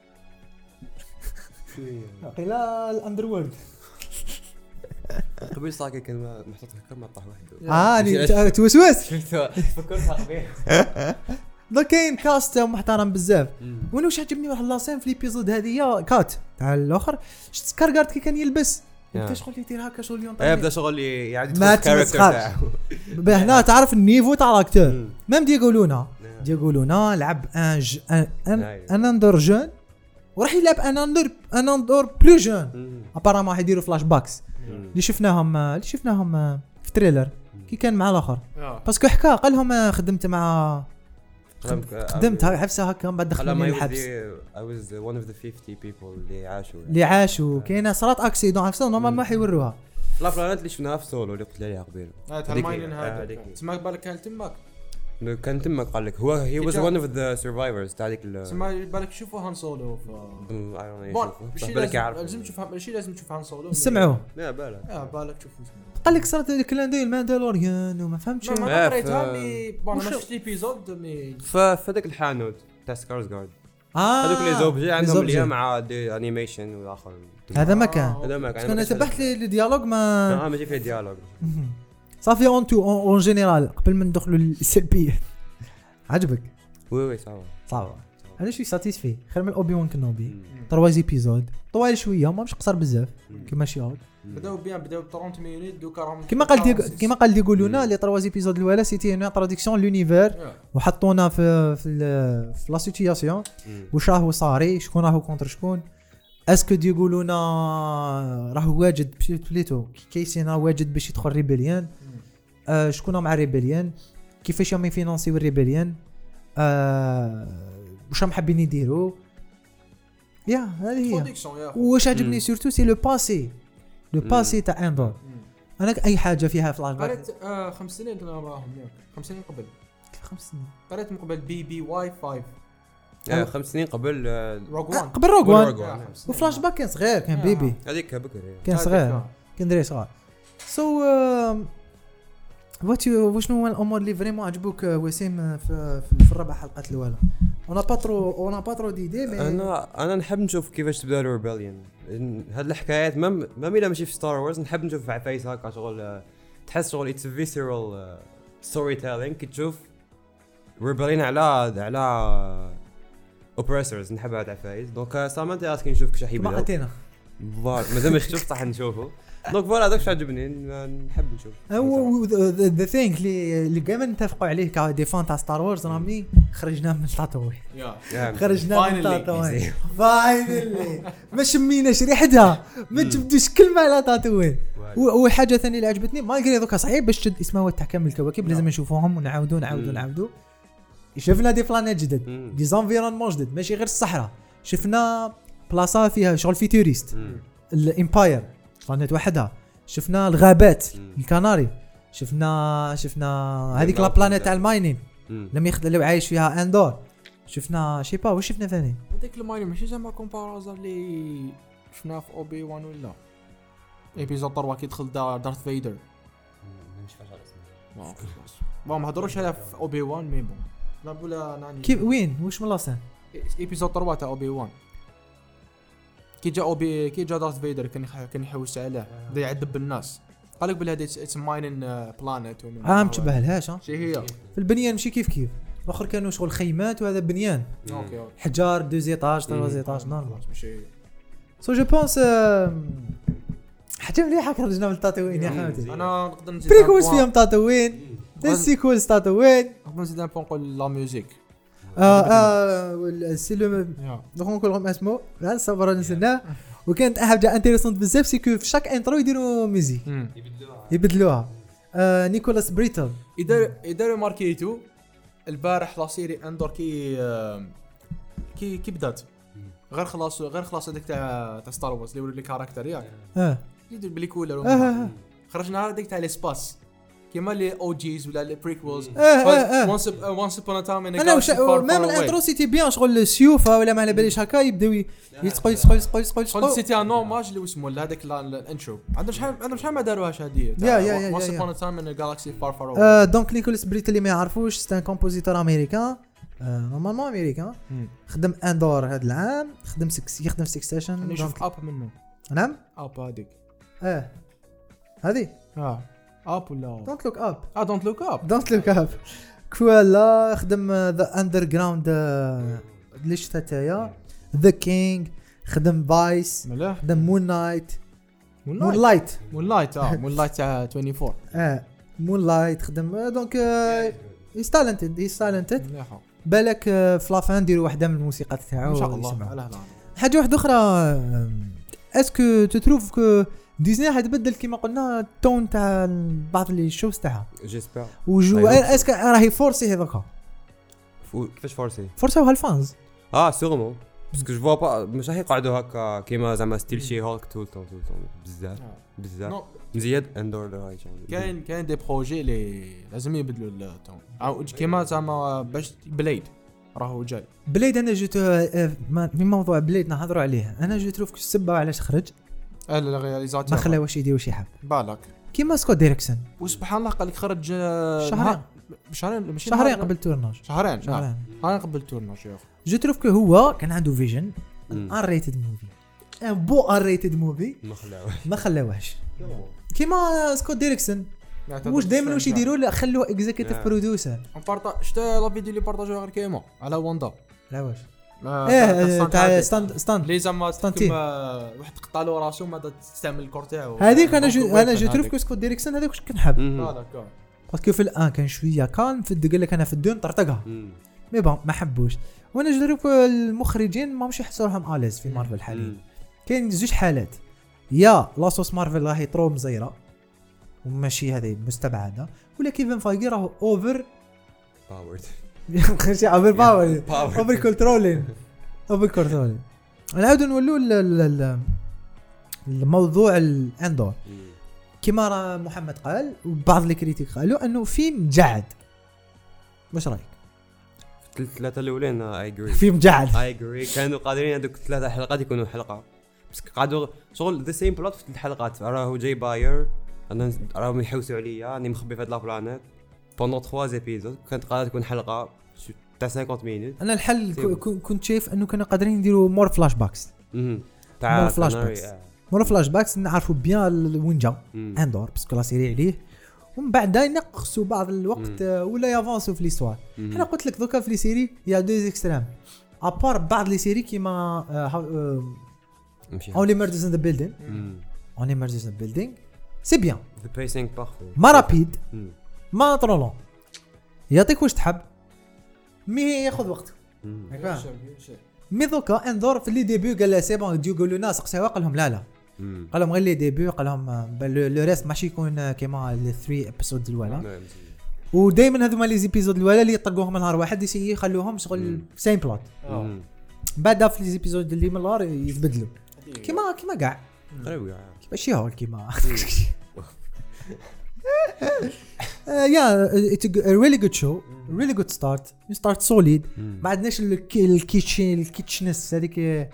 S1: قيلا الاندروورد
S3: قبل ساكي كان محطوط هكا ما طاح واحد
S1: اني توسوس
S3: فكرتها قبيل
S1: دوك كاين كاست محترم بزاف وانا واش عجبني واحد لاسين في ليبيزود هذه كات تاع الاخر شفت سكارغارد كي كان يلبس انت شغل يدير هكا شغل اليوم
S3: بدا شغل يعاد الكاركتر تاعو
S1: هنا تعرف النيفو تاع لاكتور ميم يقولونا لعب ان اندر جون وراح يلعب ان اندر بلو جون ابارامون راح يديروا فلاش باكس اللي شفناهم في تريلر كي كان مع الاخر باسكو حكى قال لهم خدمت حبسه هكا بعد دخلوني الحبس
S3: I was one of the 50 people
S1: اللي عاشوا كاينه صارت اكسيدون عرفتوا نورمال ما حيوروها
S3: لا بلانات اللي شفناها في سولو اللي قلت لي عليها قبيل
S2: تاع الماينين هذا تسمع بالك كان تمك
S3: قال لك هو he was one of the survivors تاع ديك
S2: تسمع بالك شوفوا هان سولو لازم تشوف هان سولو
S1: سمعوا
S3: لا
S2: بالك تشوفوا
S1: قال لك صارت الكلاندي الماندالوريان وما فهمتش
S2: ما قريتها ما شفت ليبيزود مي
S3: فهذاك الحانوت تاع سكارزغارد هذوك لي زوبجي عندهم اللي مع دي انيميشن والاخر
S1: هذا ما كان انا تبعت لي ديالوج
S3: ما جي فيه ديالوج
S1: صافي اون جينيرال قبل ما ندخلوا للسلبيه عجبك
S3: وي صعب
S1: انا شوي ساتيسفي خير من اوبي وان كنوبي 3 ايبيزود طوال شويه ماهمش قصر بزاف كيما شي
S2: بداو 30 مينيت دوكا راهم
S1: كيما قال يقولونا لي 3 ايبيزود الاولى سيتي اون انتروداكسيون لونيفير وحطونا في لا سيتوياسيون واش راهو صاري شكون راهو كونتر شكون اسكو يقولونا راهو واجد بليتو كيسين راه واجد باش يدخل ريبيليان شكون مع ريبيليان كيفاش راهم يفينانسيو الريبيليان واش راهم حابين يديروا هذه هي واش عجبني سورتو سي لو باسي تاع اندور انا اي حاجه فيها فلاش باك
S2: قريت 5 سنين راهم 5 سنين قبل
S1: 5 سنين
S2: قريت من قبل بي واي 5
S3: 5 سنين قبل
S1: روغ وان وفلاش باك كان صغير كان بيبي
S3: هذيك بكري
S1: كان صغير كان دري صغير سو وشنو هو الامور اللي فريمون عجبوك وسيم في الربع حلقات الاولى انا باترو ديدي
S3: انا نحب نشوف كيفاش تبدا الريبليون هاد الحكايات ما ميلا ماشي في ستار وورز نحب نشوف عفايس هكا شغل تحس شغل اتس فيسيرال ستوري تيلينغ كي تشوف ريبليون على اوبريسورز نحب هاد عفايس دونك سامنت اسكي نشوف كيفاش يبدا
S1: ما عطينا
S3: مازال ما شفت صح نشوفه دونك فوالا داكشي عجبني نحب نشوف
S1: ذا ثينك اللي كامل نتفقوا عليه كديفان تاع ستار وورز رامي خرجنا من تاتوي خرجنا من تاتوي فاينلي ما شميناش ريحتها ما تبدوش كلمه على تاتوي وحاجه ثانيه اللي عجبتني ما قال دوكا صعيب باش تشد اسمها تاع كامل الكواكب لازم نشوفوهم ونعاودوا شفنا دي بلانيت جدد دي زانفيرونمون جدد ماشي غير الصحراء شفنا بلاصه فيها شغل فيتوريست الامباير بلانيت وحدها شفنا الغابات الكناري شفنا هذيك لا بلانيت تاع الماينين لم يخلو عايش فيها اندور شفنا شي با واش شفنا ثاني
S2: هذيك الماينين ماشي زعما كومبارازر اللي شفناه في اوبي وان ولا ايبيزود 3 كي دخل دارث فيدر
S3: مش فاش
S2: اسمه ما هضروش على في اوبي وان مي بون لا بولا ناني
S1: كيف وين واش من لاسان
S2: ايبيزود 3 تاع اوبي وان كي جا دارث فيدر كان يحوس عليه بدا يعذب الناس قال لك بلي هذه اتس ماينين بلانيت
S1: ما تشبهلهاش
S2: شي هي
S1: في البنيان ماشي كيف الاخر كانوا شغل خيمات وهذا بنيان
S2: اوكي
S1: حجار 2 ايطاج 3 ايطاج نورمال ماشي سو جو بونس حاجه مليحه خرجنا من تاتوين يا خالتي
S2: انا نقدر نزيد
S1: بريكوز فيهم تاتوين السيكولز تاتوين
S2: نقدر نزيد نقول لا ميوزيك
S1: السيلو دونك نقول لهم اسمه لا صبروا نسنا وكانت حاجه انتريسونت بزاف سيكو في شاك انترو يديروا ميوزيك يبدلوها نيكولاس بريتل
S2: يديروا ماركيتو البارح لا سيري اندور كي بدات غير خلاص هذيك تاع ستار وورز اللي وري لي كاركتر ياك يدير بلي كولر خرجنا هذيك تاع ليسباس كيما لي او جيز ولا لي بريكولز وانس ابون تايم ان
S1: انا ميم الانترو سيتي بيان شغل السيوف ولا ما على باليش هكا يبداو يسقوا
S2: سيتي ان نورماج اللي اسمه هذاك الانترو عندهم شحال ما داروهاش هذه وانس ابون تايم ان جالاكسي فار فار
S1: اوي. دونك نيكولاس بريت اللي ما يعرفوش سي ان كومبوزيتور امريكان نورمالمون امريكان خدم اندور هذا العام يخدم سكسيشن
S2: نشوف اب منه.
S1: نعم
S2: اب هذيك
S1: هذه
S2: اب ولا
S1: دونت لوك اب
S2: دونت لوك اب
S1: كوالا خدم ذا اندر جراوند ليش تاعي ذا كينج خدم فايس خدم مون لايت مون لايت
S2: تاع 24
S1: مون لايت خدم دونك هيز تالنتد بالك في لافان نديروا واحده من الموسيقى تاعو
S2: ان شاء الله.
S1: حاجه واحده اخرى اسكو تتروف كو ديزني حتبدل كيما قلنا التون تاع بعض لي شوز تاعها
S3: جيسبر
S1: وجو اسكو راهي فورسي هذاك
S3: كيفاش فورسي
S1: هالفانز
S3: سيغمون باسكو جو فوا با مش راح يقعدوا هكا كيما زعما ستيل شي هولك طول بزاف مزياد اندور راهي
S2: كاين دي بروجي اللي لازم يبدلوا التون كيما زعما باش بليد راهو جاي
S1: بليد. انا جيت في موضوع بليد نهضروا عليه. انا جيت تروف السبه علاش خرج
S2: الرياليزاتور
S1: ما خلاه واش يدير واش يحب
S2: بالك
S1: كيما سكوت ديريكسون
S2: وسبحان الله قال لك خرج
S1: شهرين قبل تورناج
S2: شهرين قبل تورناج يا اخي.
S1: جو تروف كو هو كان عنده فيجن ار ريتد موفي بو ار ريتد موفي ما خلاوهش كيما سكوت ديريكسون واش دائما واش يديروا خلوه اكزيكتيف برودوسر
S2: شتا لا فيديو اللي بارطاجوها غير كيما على واندا
S1: لا واش تاع ستاند
S2: لي زعما واحد قطع له راسو ما تستعمل الكور تاعو
S1: هذيك انا جو تروف كو سكوت ديريكسون هذاك واش كنحب باسكو في الان كان شويه كان في قال لك انا في الدون طرطقها مي بون ما حبوش. وانا جو تروف المخرجين ما مش يحسوا روحهم اليز في مارفل حاليا. كاين زوج حالات يا لاصوص مارفل راهي طرو مزيره وماشي هذه مستبعده ولا كيفن فايغي راهو اوفر
S3: باورد
S1: خشي اوفر باور اوفر كنترولين نعاودوا نولوا الموضوع الاندور كما محمد قال وبعض الكريتيك قالوا انه فيلم جعد. واش رايك؟
S3: الثلاثه الاولين اي اجري
S1: فيلم جعد
S3: اي اجري كانوا قادرين هذوك الثلاثه حلقات يكونوا حلقه بس قعدوا شغل ذا سيم بلوت في الحلقات. راهو جاي باير انا راهم يحوسوا عليا راني مخبي في هاد لابلانيت بوندون 3 زيبيزود كانت قادره تكون حلقه تاع 50 مينوت.
S1: انا الحل كنت شايف انه كانوا قادرين يديروا مور فلاش باكس
S3: تاع
S1: مور فلاش باكس نعرفوا بيان وين جا اندور باسكو لا سيري عليه ومن بعد ينقصوا بعض الوقت ولا يافونسوا في ليستوار. انا قلت لك دوكا في لي سيري يا دو اكستريم ابار بعض لي سيري كيما اونلي ميردرز ان ذا بيلدينغ سي بيان
S3: ذا بيسينغ بارفي
S1: ما رابيد ما طرولون يعطيك واش تحب مي ياخذ وقت مي دوكا اندور في لي ديبي قال لا سي بون يقولوا لنا سقساوا قال لهم لا قال لهم غير لي ديبي قال لهم لو ريست ماشي يكون كيما لي 3 ابيسود الاولى ودائما هذوما لي زيبيزود الاولى اللي يطلقوهم نهار واحد يخلوهم شغل سيم بلوت بعد في لي زيبيزود اللي من النهار يتبدلوا كيما كاع ماشي هو كيما it's a really good show really good start you start solid ما عندناش الكيتشنس هذيك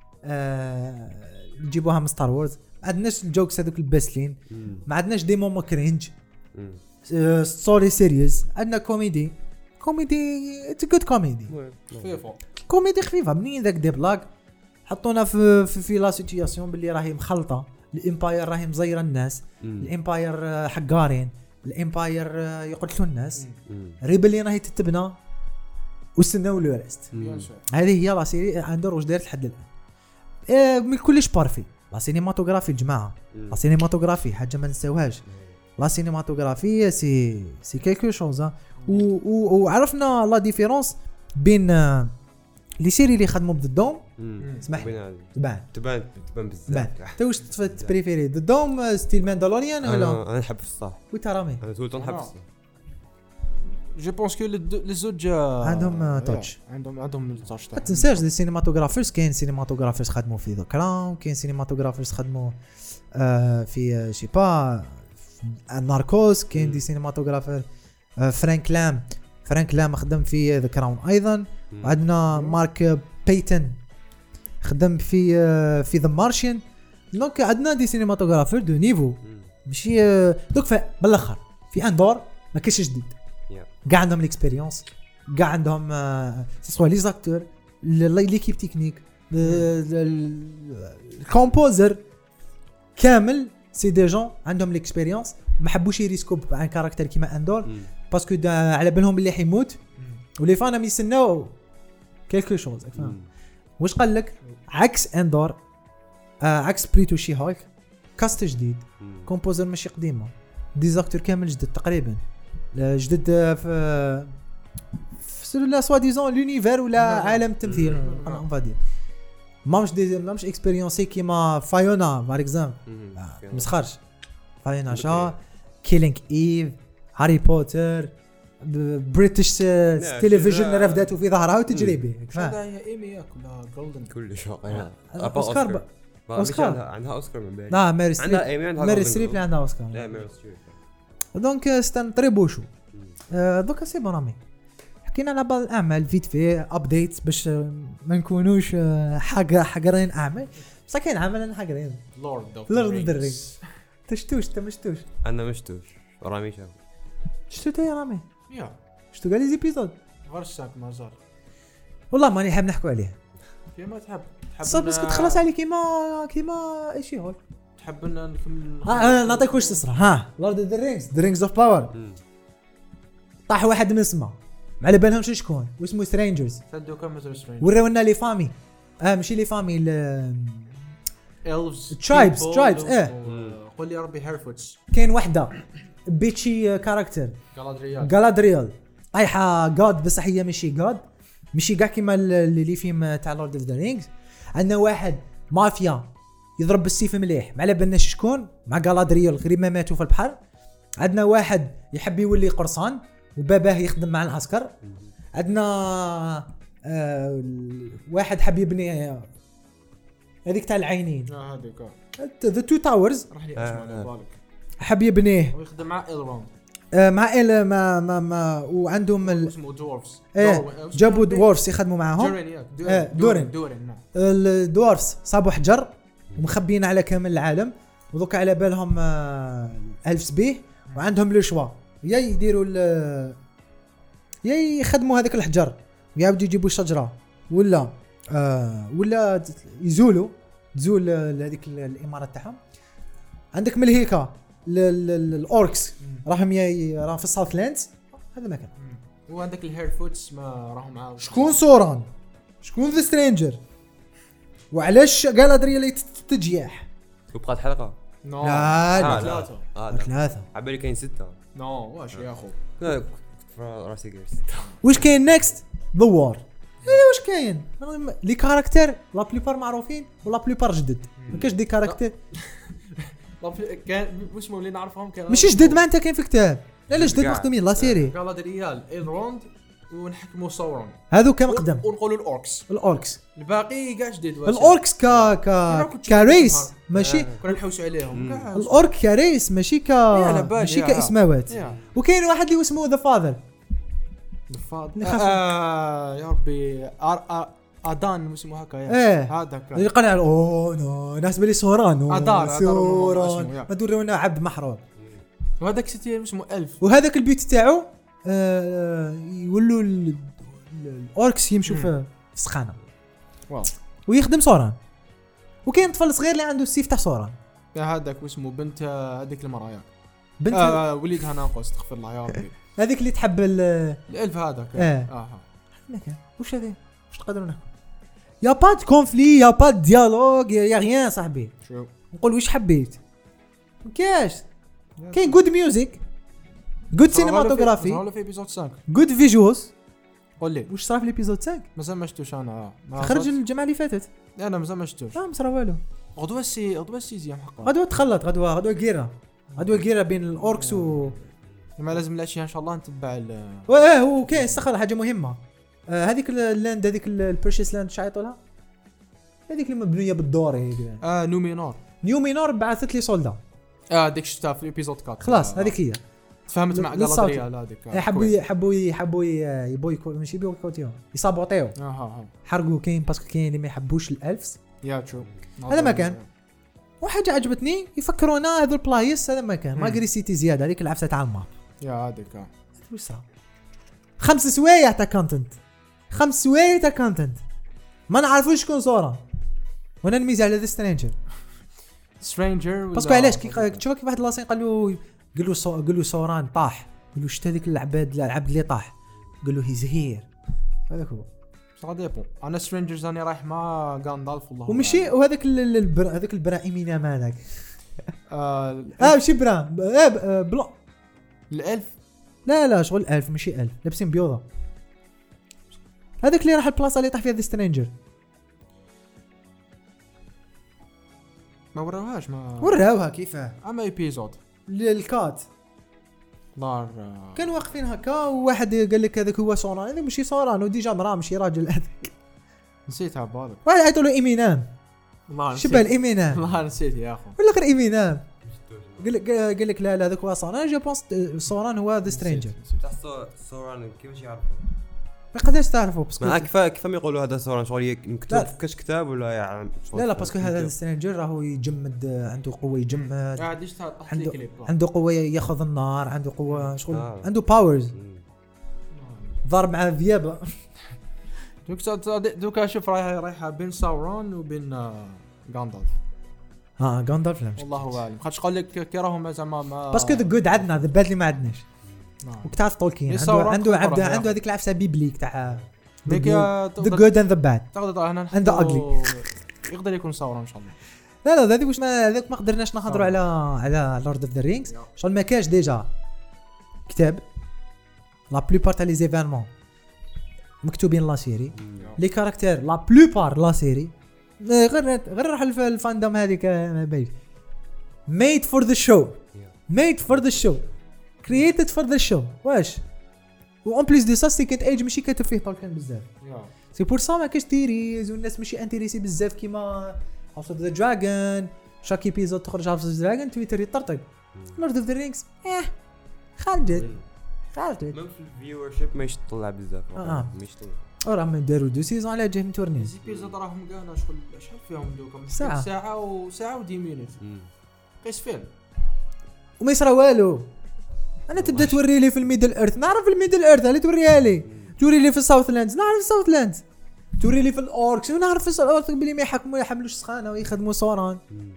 S1: نجيبوها من ستار وورز ما عندناش الجوكس هذوك الباسلين ما عندناش دي مومون كرينج ستوري سيريس عندنا كوميدي it's a good كوميدي خفيفه منين ذاك دي بلاك حطونا في لا سيتوياسيون باللي راهي مخلطه الامباير راهي مزيره الناس الامباير حقارين الامباير يقتلوا الناس ريبلين راهي تتبنى واستناو لو ريست. هذه هي لا سيري اندور واش دارت لحد الان من كلش بارفي. لا سينماتوغرافي الجماعه لا سينماتوغرافي حاجه ما نساوهاش. لا سينماتوغرافي سي كيلكو شوز وعرفنا لا ديفيرونس بين لي سيري اللي خدموا بالدوم اسمح
S3: تبان بزاف.
S1: انت واش تبريفيري الدوم ستيل ماندالوريان ولا؟
S3: انا نحب الصح
S1: وانت رامي
S3: انا طول نحب الصح.
S2: جو بونس كو لي زوج
S1: عندهم توتش
S2: عندهم التاتش.
S1: ما تنساش لي سينماتوغرافرز كاين سينماتوغرافرز خدموا في ذا كراون كاين سينماتوغرافرز خدموا في شي با ناركوس. كاين دي سينماتوغرافر فرانك لام خدم في ذا كراون ايضا. وعندنا مارك بيتن خدم في ذا مارشين. دونك عندنا دي سينماتوغرافر دو نيفو ماشي دوك بالاخر في اندور ما كاينش جديد كاع عندهم الاكسبيريونس كاع عندهم سوا لي زاكتور ليكيب تكنيك الكومبوزر كامل سي دي جون عندهم الاكسبيريونس ما حبوش يريسكو بان كاركتر كيما اندور باسكو على بالهم اللي حيموت ولي فانا يستناو كيلكو شوز فاهم واش قال لك عكس اندور عكس بريتو شي هولك كاست جديد كومبوزر ماشي قديمه ديزاكتور كامل جدد تقريبا جدد في لا سوا ديزون لونيفير ولا عالم التمثيل اون فادير ماش اكسبيريونسي كيما فايونا بار اكزامبل مسخرش فايونا شا كيلينغ ايف هاري بوتر بريتش تلفزيون رفداتو في ظهرها وتجري به
S2: هذا هي ايمي ياك ولا جولدن
S3: كل شيء
S1: اوسكار
S3: عندها اوسكار من بعد
S1: لا ميري ستريب
S3: عندها ايمي
S1: ميري ستريب عندها اوسكار
S3: لا ميري ستريب
S1: دونك ستان تريبوشو دوكا سي بون امي حكينا على بعض الاعمال فيت في ابديتس باش ما نكونوش حقرين اعمال بصح كاين عمل انا حقرين
S2: لورد اوف
S1: ذا رينجز انت مشتوش
S3: انا مشتوش رامي شاف
S1: شتو تاي رامي
S2: يا
S1: شتو قال لي زيبيزود
S2: غرساك مازال
S1: والله ماني حاب نحكوا عليه
S2: كيما تحب
S1: صافي بس تخلص عليه كيما ايشي هول
S2: تحب ان نكمل
S1: انا نعطيك واش تصرى ها لورد اوف ذا رينجز اوف باور طاح واحد من السما ما على بالهمش شكون واسمه سترينجرز
S2: سدوا كم سترينجرز
S1: وراونا لي فامي ماشي لي فامي
S2: الفز
S1: ترايبس
S2: قول لي ربي هيرفوتس
S1: كاين وحده بيتشي كاركتر غالادريال طايحه جاد بصح هي ماشي جاد ماشي كاع كيما اللي فيلم تاع لورد اوف ذا رينجز عندنا واحد مافيا يضرب بالسيف مليح ما على بالناش شكون مع غالادريال غير ما ماتوا في البحر عندنا واحد يحب يولي قرصان وباباه يخدم مع العسكر عندنا واحد حب يبني هذيك تاع العينين
S2: هذيك
S1: ذا تو تاورز
S2: راح لي اسمع بالك
S1: حب يبنيه
S2: ويخدم مع إلروند
S1: مع إل ما وعندهم
S2: اسمه دورفز
S1: جابوا دورفز يخدموا معاهم دورين الدورفز صابوا حجر ومخبيين على كامل العالم وذوك على بالهم ألف بيه وعندهم لو شوا يا يديروا يا يخدموا هذاك الحجر ويعاودوا يجيبوا شجره ولا تزول هذيك الامارات تاعهم عندك ملهيكا الاوركس راهم في الساوث لاندز هذا مكان
S2: وعندك الهيرفوتس ما راهم معاهم
S1: شكون سوران شكون ذا سترينجر وعلاش غالادريا اللي تتجيح
S3: وبقات حلقه
S1: لا ثلاثه
S3: عبالي كاين 6
S2: واش يا اخو
S3: راسي قال 6
S1: واش كاين نيكست ذا وار واش كاين لي كاركتر لا بليبار معروفين ولا بليبار جدد ما كاش دي كاركتر
S2: كان واش اللي نعرفهم كان
S1: ماشي جدد ما انت كاين في كتاب لا جدد مخدومين لا سيري
S2: غالادريال إلروند ونحكموا صورون
S1: هذو كان مقدم
S2: ونقولوا الاوركس الباقي كاع جديد
S1: الاوركس كاريس ماشي
S2: كنا نحوسوا عليهم
S1: الاورك كاريس ماشي كاسماوات وكاين واحد اللي اسمه ذا فاذر
S2: يا ربي ادان اسمه هكا
S1: هذاك يقنع نو ناس بلي سوران
S2: سوران
S1: ما دورونا عبد محرور
S2: وهذاك ستي اسمه ألف
S1: وهذاك البيت تاعو يولوا الاوركس يمشوا في السخانه ويخدم سوران وكاين طفل صغير اللي عنده السيف تاع سوران
S2: هذاك اسمه بنت هذيك المراه ياك بنت وليدها ناقص استغفر الله يا ربي
S1: هذيك اللي تحب
S2: الالف هذاك
S1: مكان واش هذا واش تقدروا نحكوا يا با دو كونفلي يا با دو ديالوج يا غيان صاحبي
S2: شو
S1: نقول واش حبيت مكاش كاين جود ميوزك جود سينماتوغرافي
S2: ولا في ايبيزود 5
S1: جود فيجوالز
S2: قول لي
S1: واش صار في الايبيزود 5
S2: مازال ما شفتوش انا
S1: خرج الجمعه اللي فاتت
S2: انا مازال ما شفتوش
S1: لا ما صرا والو
S2: غدوه السيزيام حقا
S1: غدوه تخلط غدوه كيرا بين الاوركس
S2: ما لازم الاشياء ان شاء الله نتبع
S1: هو كاين استخر حاجه مهمه هذيك اللاند هذيك البرشيس لاند شايطوا لها هذيك اللي مبنيه بالدور هيك
S2: نيومينور
S1: بعثت لي سولدا
S2: ديك شفتها في الابيزود 4
S1: خلاص هذيك هي
S2: تفهمت مع غالادريال هذيك
S1: حبوا يبويكوت ماشي بويكوتيو يصابوطيو حرقوا كاين باسكو كاين اللي ما يحبوش الالفز
S2: يا شو
S1: هذا ما كان وحاجه عجبتني يفكرونا هذو البلايص هذا ما كان ما قري سيتي زياده هذيك العفسه تاع الماب
S2: يا هذيك
S1: واش صار 5 سوايع تاع كونتنت 5 سوايع تاع كونتنت ما نعرفوش شكون صوره وانا نميز على ذا سترينجر باسكو علاش كي تشوف كيف واحد لاسين قال له سوران طاح قال له شتا هذيك العبد اللي طاح قال له هيز هير هذاك هو
S2: صا ديبون انا سترينجرز راني رايح مع غاندالف والله
S1: ومشي وهذاك هذاك البراهيمينا مالك ماشي برا بلا
S2: الالف
S1: لا شغل 1000 ماشي 1000 لابسين بيوضه هذاك اللي راح البلاصه اللي طاح فيها ذا سترينجر
S2: ما وراوهاش
S1: وراوها كيفاه
S2: اما ايبيزود
S1: الكات
S2: دار
S1: كانوا واقفين هكا وواحد قال لك هذاك هو سوران هذا ماشي سوران وديجا مرا ماشي راجل هذاك
S2: نسيتها بالك
S1: واحد عيطوا له ايمينام شبه الايمينام
S2: والله نسيت يا اخو
S1: ولا غير ايمينام قال لك لا هذاك هو سوران جو بونس سوران هو ذا سترينجر
S3: سوران كيفاش يعرفوا
S1: ما قدرش تعرفوا باسكو
S3: ما كيف يقولوا هذا سوران شغل مكتوب في كاش كتاب ولا يعني
S1: لا باسكو هذا سترينجر راهو يجمد عنده قوه يجمد عنده قوه ياخذ النار عنده قوه شغل عنده باورز ضرب مع ذيابه
S2: دوكا شوف رايحه بين ساورون وبين غاندالف
S1: غاندالف لا
S2: والله اعلم خاطش قال لك كي راهم زعما
S1: باسكو ذا جود عندنا ذا باد اللي ما عندناش وكتعرف تولكين عنده هذيك العفسه بيبليك تاع ذا جود اند ذا باد عنده اغلي
S2: يقدر يكون ساورون ان شاء الله
S1: لا هذيك واش هذاك ما قدرناش نهضروا على لورد اوف ذا رينجز شغل ما كاش ديجا كتاب لا بلوبار تاع لي زيفينمون مكتوبين لا سيري لي كاركتير لا بلوبار لا سيري غير راح الفاندوم هذيك باين made for the show created for the show واش وان بليس دي سا سيكنت ايج ماشي كاتب فيه طولكان بزاف سي بور سا ما كاش تيريز والناس ماشي انتريسي بزاف كيما هاوس اوف ذا دراجون شاك ايبيزود تخرج هاوس اوف ذا دراجون تويتر يطرطق لورد اوف ذا رينجز خالد
S3: مم في الفيورشيب ماشي تطلع بزاف ماشي تطلع
S1: راهم داروا 2 سيزون على جهه تورني
S2: ايبيزود راهم كاع شغل شحال فيهم دوكا ساعه و 10 مينوت قيس فيلم
S1: وما يصرا والو انا تبدا توري لي في الميدل ايرث نعرف الميدل ايرث اللي توريها لي توري لي في الساوث لاندز نعرف الساوث لاندز توري لي في الاوركس ونعرف في الاوركس بلي ما يحملوش سخانه ويخدموا صوران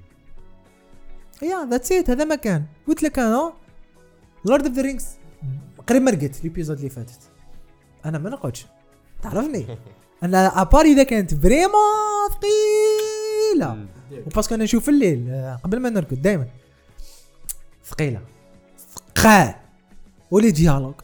S1: يا ذاتس ات هذا ما كان قلت لك انا لورد اوف ذا رينجز قريب ما رقدت الابيزود اللي فاتت انا ما نقعدش تعرفني انا اباري اذا كانت فريمون ثقيله وباسكو انا نشوف الليل قبل ما نرقد دائما ثقيله ولي ديالوج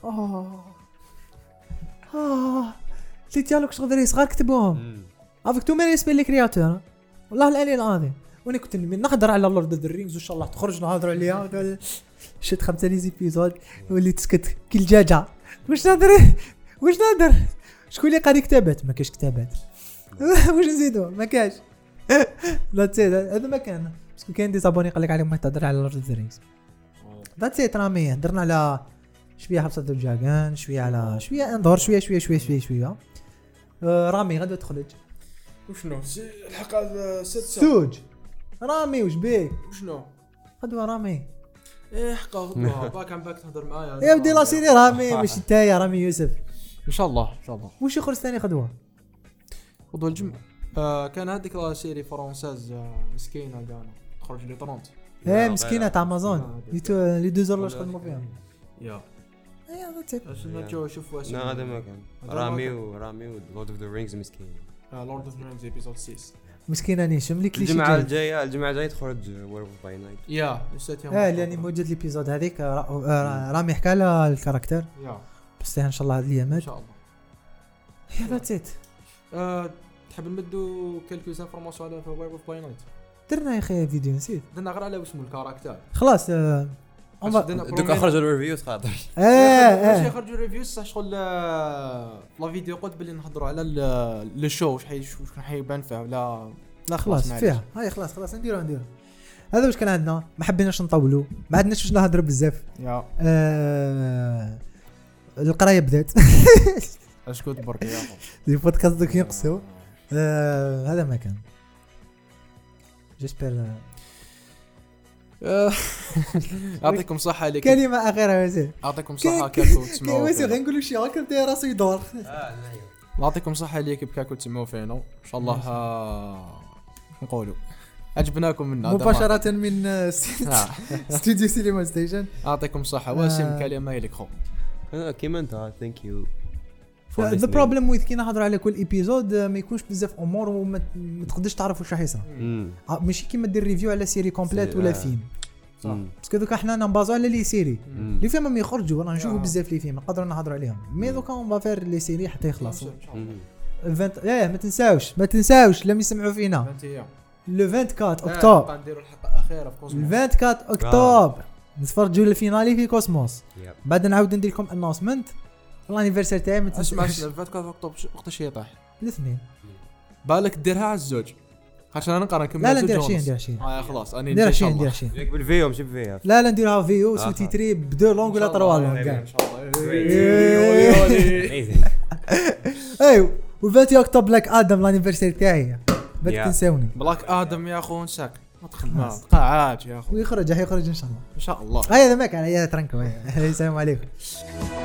S1: لي ديالوج صغار صغار كتبوهم افيك تو مي ريسبي لي كرياتور والله العلي العظيم وانا كنت نحضر على لورد اوف ذا رينجز وان شاء الله تخرج نهضروا عليها شد 5 ليزيبيزود ولي تسكت كل جاجه واش نهضر شكون اللي قاري كتابات ما كاش كتابات واش نزيدوا ما كاش لا تسيد هذا ما كان باسكو كاين دي زابوني قال لك عليهم ما تهضر على لورد اوف ذا رينجز ذاتس ات رامي هضرنا على شويه حبسه الدجاجان شويه على شويه اندور شويه رامي غدا تخرج
S2: وشنو الحلقه 6
S1: سوج رامي وش بيك
S2: وشنو
S1: غدوه رامي
S2: حقا غدوه باك تهضر معايا
S1: يا ودي لا سيري رامي مش انت يا رامي يوسف
S2: ان شاء الله
S1: وش يخرج ثاني غدوه
S2: الجمعه كان هذيك لا سيري فرونساز مسكينه قالوا تخرج لي 30
S1: مسكينه تاع امازون لي 2 زور واش خدموا فيها
S2: يا
S1: ذاتس
S2: ات شوف واش
S3: هذا ما كان رامي لورد اوف ذا رينجز مسكين
S2: لورد اوف ذا رينجز ايبيزود 6
S1: مسكينه نيشم لي كليشي
S3: الجمعه الجايه تخرج وير اوف باي نايت
S2: يا نسيت يوم
S1: لاني موجود ليبيزود هذيك رامي حكى لها الكاركتر بس ان شاء الله هذه الايامات
S2: ان شاء الله
S1: يا ذاتس ات
S2: تحب نمدو كالكو انفورماسيون على وير اوف باي نايت
S1: درنا يا اخي فيديو نسيت
S2: درنا غير على اسمه الكاركتر
S1: خلاص
S3: دوك خرجوا الريفيوز خاطر
S2: باش يخرجوا الريفيوز صح شغل لا فيديو قلت باللي نهضروا على لو شو واش حيبان فيه ولا
S1: لا خلاص فيها هاي خلاص نديروا هذا واش كان عندنا. ما حبيناش نطولوا، ما عندناش واش نهضر بزاف. القرايه بدات.
S2: اسكت برك يا اخو
S1: دي بودكاست دوك ينقصوا. هذا ما كان جيسبر.
S2: يعطيكم صحه لك.
S1: كلمه اخيره وزير.
S2: يعطيكم صحه كاكو تسمعوا.
S1: وزير غنقولوا شي هكا بدا راسو يدور.
S2: يعطيكم صحه ليك بكاكو تسمعوا فينا ان شاء الله. نقولوا عجبناكم منا
S1: مباشره من استوديو سينما ستيشن.
S2: يعطيكم صحه. واسم كلمه لك خو
S3: كيما انت. ثانك يو.
S1: ذا بروبليم ويز كي نهضروا على كل ايبيزود ما يكونش بزاف امور وما تقدرش تعرف واش راح يصرى. ماشي كيما دير ريفيو على سيري كومبليت ولا فيلم. صح باسكو دوكا حنا نبازو على لي سيري لي فيلم ما يخرجوا راه نشوفوا بزاف لي فيلم نقدروا نهضروا عليهم. مي دوكا اون فافير لي سيري حتى يخلصوا. ما تنساوش لم يسمعوا فينا لو 24 اكتوبر.
S2: نديروا الحلقه الاخيره في كوسموس.
S1: 24 اكتوبر نتفرجوا الفينالي في كوسموس. بعد نعاود ندير لكم انونسمنت الانيفرسير تاعي. ما
S2: تسمعش 24 اكتوبر وقتاش يطيح
S1: الاثنين.
S2: بالك ديرها على الزوج عشان انا نقرا نكمل.
S1: لا ندير شي
S2: خلاص انا
S1: ندير شي
S3: ياك بالفيو ماشي بفيها.
S1: لا نديرها فيو سو تيتري بدو لونغ ولا طروا لونغ
S2: ان شاء الله.
S1: ايوا و20 اكتوبر بلاك ادم الانيفرسير تاعي ما تنساوني.
S2: بلاك ادم يا اخو نساك ما تخدم قاعات يا اخو.
S1: ويخرج ان شاء الله
S2: ان شاء الله.
S1: هذا ما كان. هيا ترنكو. السلام عليكم.